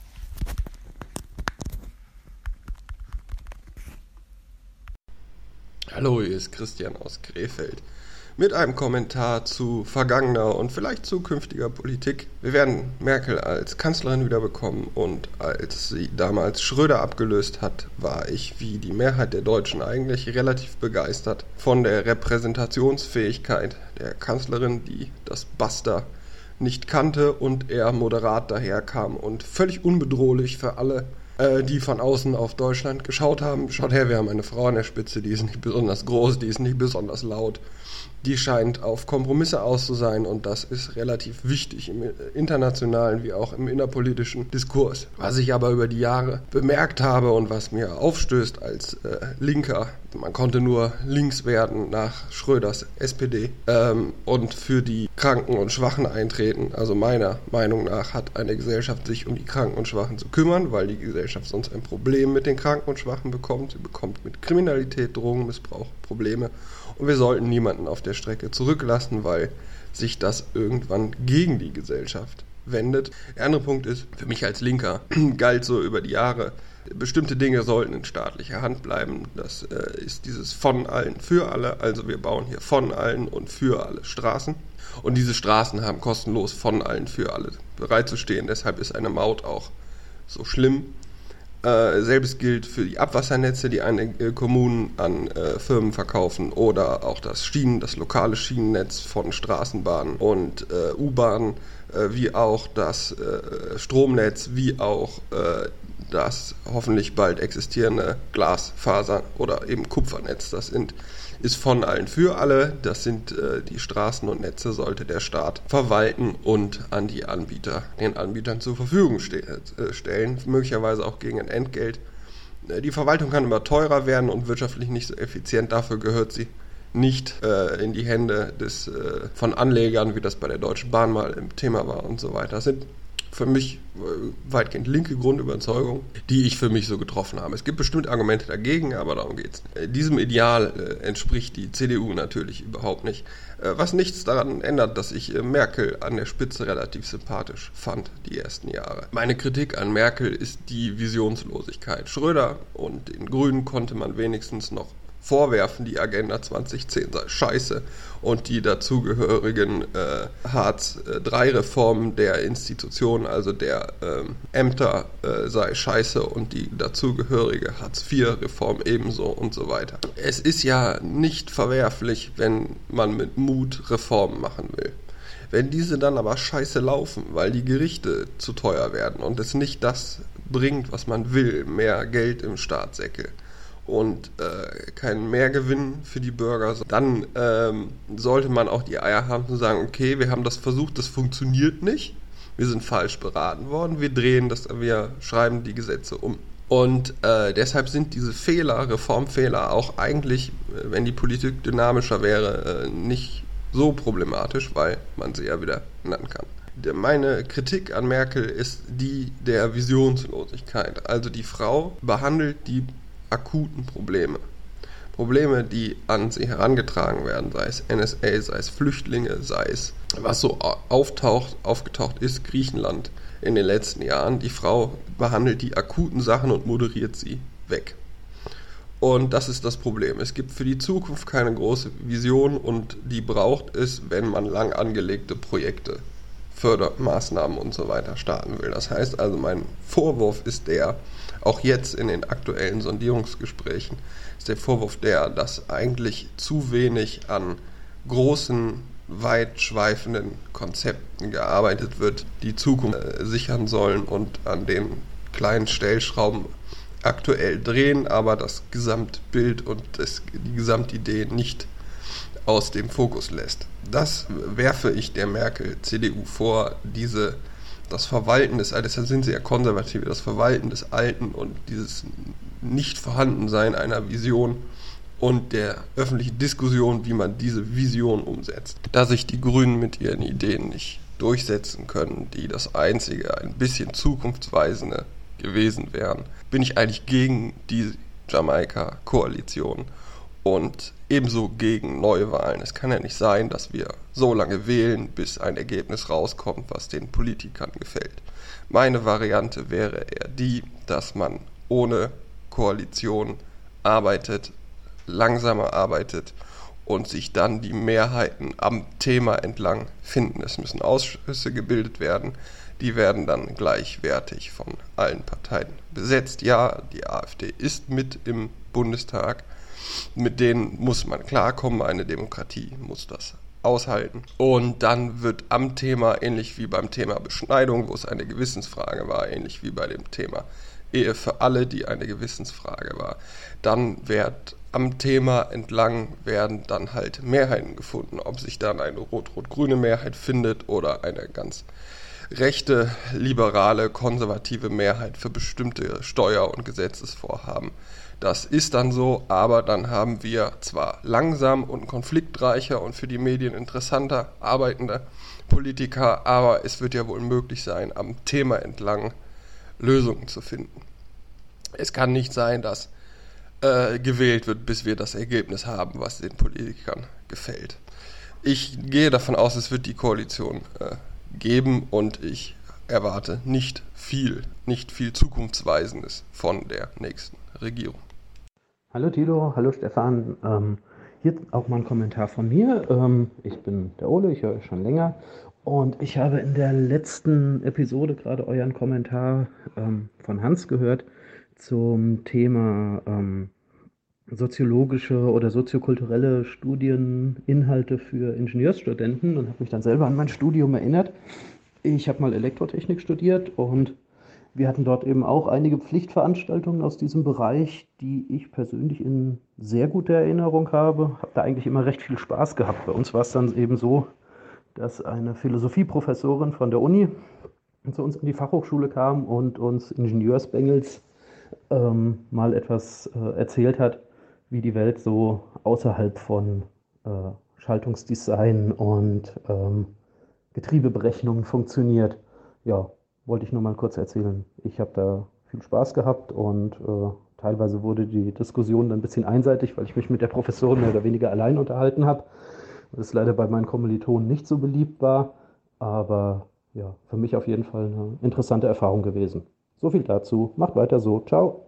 Hallo, hier ist Christian aus Krefeld mit einem Kommentar zu vergangener und vielleicht zukünftiger Politik. Wir werden Merkel als Kanzlerin wiederbekommen und als sie damals Schröder abgelöst hat, war ich wie die Mehrheit der Deutschen eigentlich relativ begeistert von der Repräsentationsfähigkeit der Kanzlerin, die das Basta nicht kannte und eher moderat daherkam und völlig unbedrohlich für alle, die von außen auf Deutschland geschaut haben. Schaut her, wir haben eine Frau an der Spitze, die ist nicht besonders groß, die ist nicht besonders laut. Die scheint auf Kompromisse aus zu sein und das ist relativ wichtig im internationalen wie auch im innerpolitischen Diskurs. Was ich aber über die Jahre bemerkt habe und was mir aufstößt als äh, Linker, man konnte nur links werden nach Schröders S P D ähm, und für die Kranken und Schwachen eintreten. Also meiner Meinung nach hat eine Gesellschaft sich um die Kranken und Schwachen zu kümmern, weil die Gesellschaft sonst ein Problem mit den Kranken und Schwachen bekommt. Sie bekommt mit Kriminalität, Drogenmissbrauch Probleme. Und wir sollten niemanden auf der Strecke zurücklassen, weil sich das irgendwann gegen die Gesellschaft wendet. Der andere Punkt ist, für mich als Linker galt so über die Jahre, bestimmte Dinge sollten in staatlicher Hand bleiben. Das äh, ist dieses von allen für alle. Also wir bauen hier von allen und für alle Straßen. Und diese Straßen haben kostenlos von allen für alle bereitzustehen. Deshalb ist eine Maut auch so schlimm. Äh, selbes gilt für die Abwassernetze, die einige äh, Kommunen an äh, Firmen verkaufen oder auch das Schienen, das lokale Schienennetz von Straßenbahnen und äh, U-Bahnen, äh, wie auch das äh, Stromnetz, wie auch äh, das hoffentlich bald existierende Glasfaser- oder eben Kupfernetz. Das sind ist von allen für alle. Das sind äh, die Straßen und Netze, sollte der Staat verwalten und an die Anbieter, den Anbietern zur Verfügung ste- äh, stellen, möglicherweise auch gegen ein Entgelt. Äh, die Verwaltung kann immer teurer werden und wirtschaftlich nicht so effizient. Dafür gehört sie nicht äh, in die Hände des, äh, von Anlegern, wie das bei der Deutschen Bahn mal im Thema war und so weiter. Das sind für mich äh, weitgehend linke Grundüberzeugungen, die ich für mich so getroffen habe. Es gibt bestimmt Argumente dagegen, aber darum geht's. Äh, diesem Ideal äh, entspricht die C D U natürlich überhaupt nicht. Äh, was nichts daran ändert, dass ich äh, Merkel an der Spitze relativ sympathisch fand, die ersten Jahre. Meine Kritik an Merkel ist die Visionslosigkeit. Schröder und den Grünen konnte man wenigstens noch vorwerfen, die Agenda zwanzig zehn sei scheiße und die dazugehörigen äh, Hartz drei Reformen der Institutionen, also der ähm, Ämter, äh, sei scheiße und die dazugehörige Hartz vier Reform ebenso und so weiter. Es ist ja nicht verwerflich, wenn man mit Mut Reformen machen will. Wenn diese dann aber scheiße laufen, weil die Gerichte zu teuer werden und es nicht das bringt, was man will, mehr Geld im Staatssäckel, und äh, keinen Mehrgewinn für die Bürger, dann ähm, sollte man auch die Eier haben zu sagen, okay, wir haben das versucht, das funktioniert nicht, wir sind falsch beraten worden, wir drehen das, wir schreiben die Gesetze um. Und äh, deshalb sind diese Fehler, Reformfehler auch eigentlich, wenn die Politik dynamischer wäre, äh, nicht so problematisch, weil man sie ja wieder ändern kann. Meine Kritik an Merkel ist die der Visionslosigkeit. Also die Frau behandelt die akuten Probleme Probleme, die an sie herangetragen werden, sei es N S A, sei es Flüchtlinge, sei es was so auftaucht, aufgetaucht ist, Griechenland in den letzten Jahren. Die Frau behandelt die akuten Sachen und moderiert sie weg. Und das ist das Problem. Es gibt für die Zukunft keine große Vision und die braucht es, wenn man lang angelegte Projekte, Fördermaßnahmen und so weiter starten will. Das heißt also, mein Vorwurf ist der, auch jetzt in den aktuellen Sondierungsgesprächen, ist der Vorwurf der, dass eigentlich zu wenig an großen, weitschweifenden Konzepten gearbeitet wird, die Zukunft äh, sichern sollen und an den kleinen Stellschrauben aktuell drehen, aber das Gesamtbild und das, die Gesamtidee nicht aus dem Fokus lässt. Das werfe ich der Merkel-C D U vor, diese, das Verwalten des Alten, deshalb sind sie ja Konservative, das Verwalten des Alten und dieses Nicht-Vorhandensein einer Vision und der öffentlichen Diskussion, wie man diese Vision umsetzt. Da sich die Grünen mit ihren Ideen nicht durchsetzen können, die das einzige, ein bisschen zukunftsweisende gewesen wären, bin ich eigentlich gegen die Jamaika-Koalition und ebenso gegen Neuwahlen. Es kann ja nicht sein, dass wir so lange wählen, bis ein Ergebnis rauskommt, was den Politikern gefällt. Meine Variante wäre eher die, dass man ohne Koalition arbeitet, langsamer arbeitet und sich dann die Mehrheiten am Thema entlang finden. Es müssen Ausschüsse gebildet werden, die werden dann gleichwertig von allen Parteien besetzt. Ja, die AfD ist mit im Bundestag, mit denen muss man klarkommen, eine Demokratie muss das aushalten. Und dann wird am Thema, ähnlich wie beim Thema Beschneidung, wo es eine Gewissensfrage war, ähnlich wie bei dem Thema Ehe für alle, die eine Gewissensfrage war, dann wird am Thema entlang werden dann halt Mehrheiten gefunden. Ob sich dann eine rot-rot-grüne Mehrheit findet oder eine ganz rechte, liberale, konservative Mehrheit für bestimmte Steuer- und Gesetzesvorhaben. Das ist dann so, aber dann haben wir zwar langsam und konfliktreicher und für die Medien interessanter arbeitende Politiker, aber es wird ja wohl möglich sein, am Thema entlang Lösungen zu finden. Es kann nicht sein, dass äh, gewählt wird, bis wir das Ergebnis haben, was den Politikern gefällt. Ich gehe davon aus, es wird die Koalition äh, geben und ich erwarte nicht viel, nicht viel Zukunftsweisendes von der nächsten Regierung. Hallo Tilo, hallo Stefan. Ähm, hier auch mal ein Kommentar von mir. Ähm, ich bin der Ole, ich höre euch schon länger und ich habe in der letzten Episode gerade euren Kommentar ähm, von Hans gehört zum Thema ähm, soziologische oder soziokulturelle Studieninhalte für Ingenieursstudenten und habe mich dann selber an mein Studium erinnert. Ich habe mal Elektrotechnik studiert und wir hatten dort eben auch einige Pflichtveranstaltungen aus diesem Bereich, die ich persönlich in sehr guter Erinnerung habe. Habe da eigentlich immer recht viel Spaß gehabt. Bei uns war es dann eben so, dass eine Philosophieprofessorin von der Uni zu uns in die Fachhochschule kam und uns Ingenieursbengels ähm, mal etwas äh, erzählt hat, wie die Welt so außerhalb von äh, Schaltungsdesign und ähm, Getriebeberechnungen funktioniert. Ja, wollte ich nur mal kurz erzählen. Ich habe da viel Spaß gehabt und äh, teilweise wurde die Diskussion dann ein bisschen einseitig, weil ich mich mit der Professorin mehr oder weniger allein unterhalten habe. Das leider bei meinen Kommilitonen nicht so beliebt war, aber ja, für mich auf jeden Fall eine interessante Erfahrung gewesen. So viel dazu. Macht weiter so. Ciao.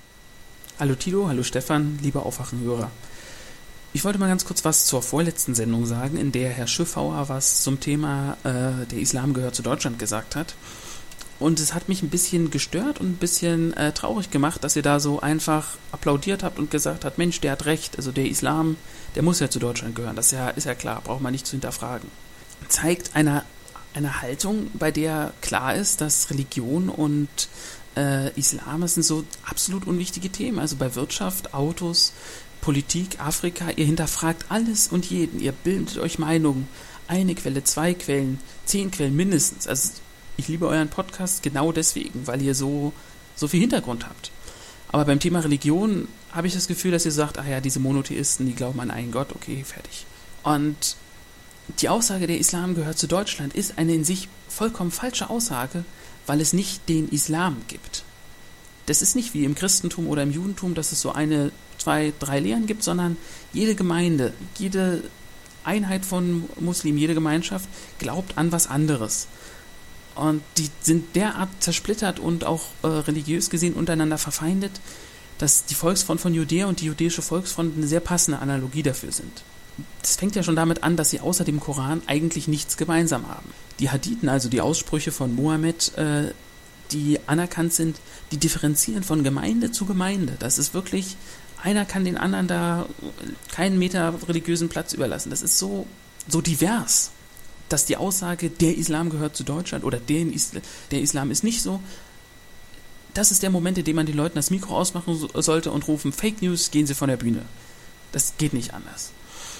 Hallo Tilo, hallo Stefan, liebe Aufwachenhörer. Ich wollte mal ganz kurz was zur vorletzten Sendung sagen, in der Herr Schiffauer was zum Thema äh, der Islam gehört zu Deutschland gesagt hat. Und es hat mich ein bisschen gestört und ein bisschen äh, traurig gemacht, dass ihr da so einfach applaudiert habt und gesagt habt, Mensch, der hat recht, also der Islam, der muss ja zu Deutschland gehören, das ist ja, ist ja klar, braucht man nicht zu hinterfragen. Zeigt eine, eine Haltung, bei der klar ist, dass Religion und äh, Islam, das sind so absolut unwichtige Themen, also bei Wirtschaft, Autos, Politik, Afrika, ihr hinterfragt alles und jeden, ihr bildet euch Meinungen, eine Quelle, zwei Quellen, zehn Quellen mindestens, also ich liebe euren Podcast genau deswegen, weil ihr so, so viel Hintergrund habt. Aber beim Thema Religion habe ich das Gefühl, dass ihr sagt, ach ja, diese Monotheisten, die glauben an einen Gott, okay, fertig. Und die Aussage, der Islam gehört zu Deutschland, ist eine in sich vollkommen falsche Aussage, weil es nicht den Islam gibt. das ist nicht wie im Christentum oder im Judentum, dass es so eine, zwei, drei Lehren gibt, sondern jede Gemeinde, jede Einheit von Muslimen, jede Gemeinschaft glaubt an was anderes. Und die sind derart zersplittert und auch äh, religiös gesehen untereinander verfeindet, dass die Volksfront von Judäa und die jüdische Volksfront eine sehr passende Analogie dafür sind. Das fängt ja schon damit an, dass sie außer dem Koran eigentlich nichts gemeinsam haben. Die Hadithen, also die Aussprüche von Mohammed, äh, die anerkannt sind, die differenzieren von Gemeinde zu Gemeinde. Das ist wirklich, einer kann den anderen da keinen Meter religiösen Platz überlassen. Das ist so, so divers, dass die Aussage, der Islam gehört zu Deutschland oder der, Isla, der Islam ist nicht so, das ist der Moment, in dem man den Leuten das Mikro ausmachen so, sollte und rufen, Fake News, gehen Sie von der Bühne. Das geht nicht anders.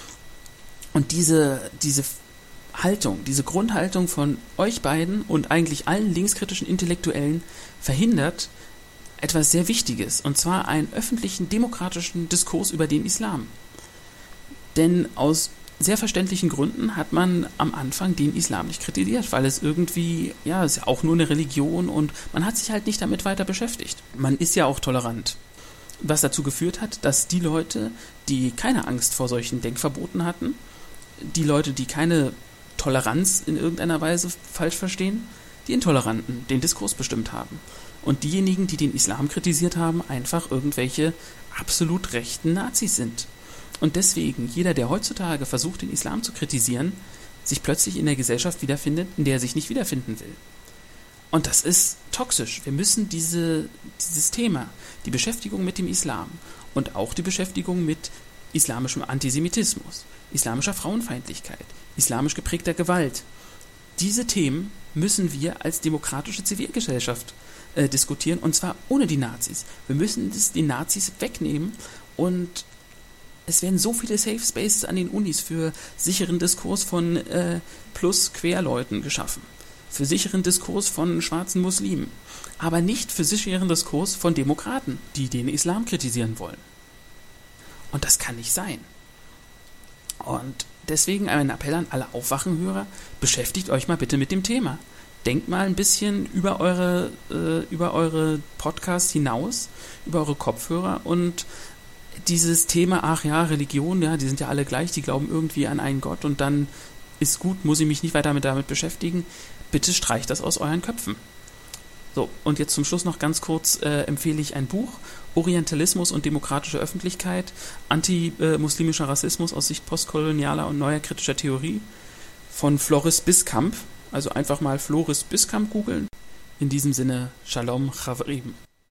Und diese, diese Haltung, diese Grundhaltung von euch beiden und eigentlich allen linkskritischen Intellektuellen verhindert etwas sehr Wichtiges, und zwar einen öffentlichen, demokratischen Diskurs über den Islam. Denn aus sehr verständlichen Gründen hat man am Anfang den Islam nicht kritisiert, weil es irgendwie, ja, es ist ja auch nur eine Religion und man hat sich halt nicht damit weiter beschäftigt. Man ist ja auch tolerant. Was dazu geführt hat, dass die Leute, die keine Angst vor solchen Denkverboten hatten, die Leute, die keine Toleranz in irgendeiner Weise falsch verstehen, die Intoleranten den Diskurs bestimmt haben. Und diejenigen, die den Islam kritisiert haben, einfach irgendwelche absolut rechten Nazis sind. Und deswegen, jeder, der heutzutage versucht, den Islam zu kritisieren, sich plötzlich in der Gesellschaft wiederfindet, in der er sich nicht wiederfinden will. Und das ist toxisch. Wir müssen diese, dieses Thema, die Beschäftigung mit dem Islam und auch die Beschäftigung mit islamischem Antisemitismus, islamischer Frauenfeindlichkeit, islamisch geprägter Gewalt, diese Themen müssen wir als demokratische Zivilgesellschaft äh, diskutieren, und zwar ohne die Nazis. Wir müssen das, die Nazis wegnehmen, und es werden so viele Safe Spaces an den Unis für sicheren Diskurs von äh, Plus-Querleuten geschaffen, für sicheren Diskurs von schwarzen Muslimen, aber nicht für sicheren Diskurs von Demokraten, die den Islam kritisieren wollen. Und das kann nicht sein. Und deswegen ein Appell an alle Aufwachenhörer, beschäftigt euch mal bitte mit dem Thema. Denkt mal ein bisschen über eure, äh, über eure Podcasts hinaus, über eure Kopfhörer, und dieses Thema, ach ja, Religion, ja, die sind ja alle gleich, die glauben irgendwie an einen Gott und dann ist gut, muss ich mich nicht weiter mit damit beschäftigen. Bitte streicht das aus euren Köpfen. So, und jetzt zum Schluss noch ganz kurz äh, empfehle ich ein Buch, Orientalismus und demokratische Öffentlichkeit, anti-muslimischer Rassismus aus Sicht postkolonialer und neuer kritischer Theorie von Floris Biskamp. Also einfach mal Floris Biskamp googeln. In diesem Sinne, Shalom Chavrim.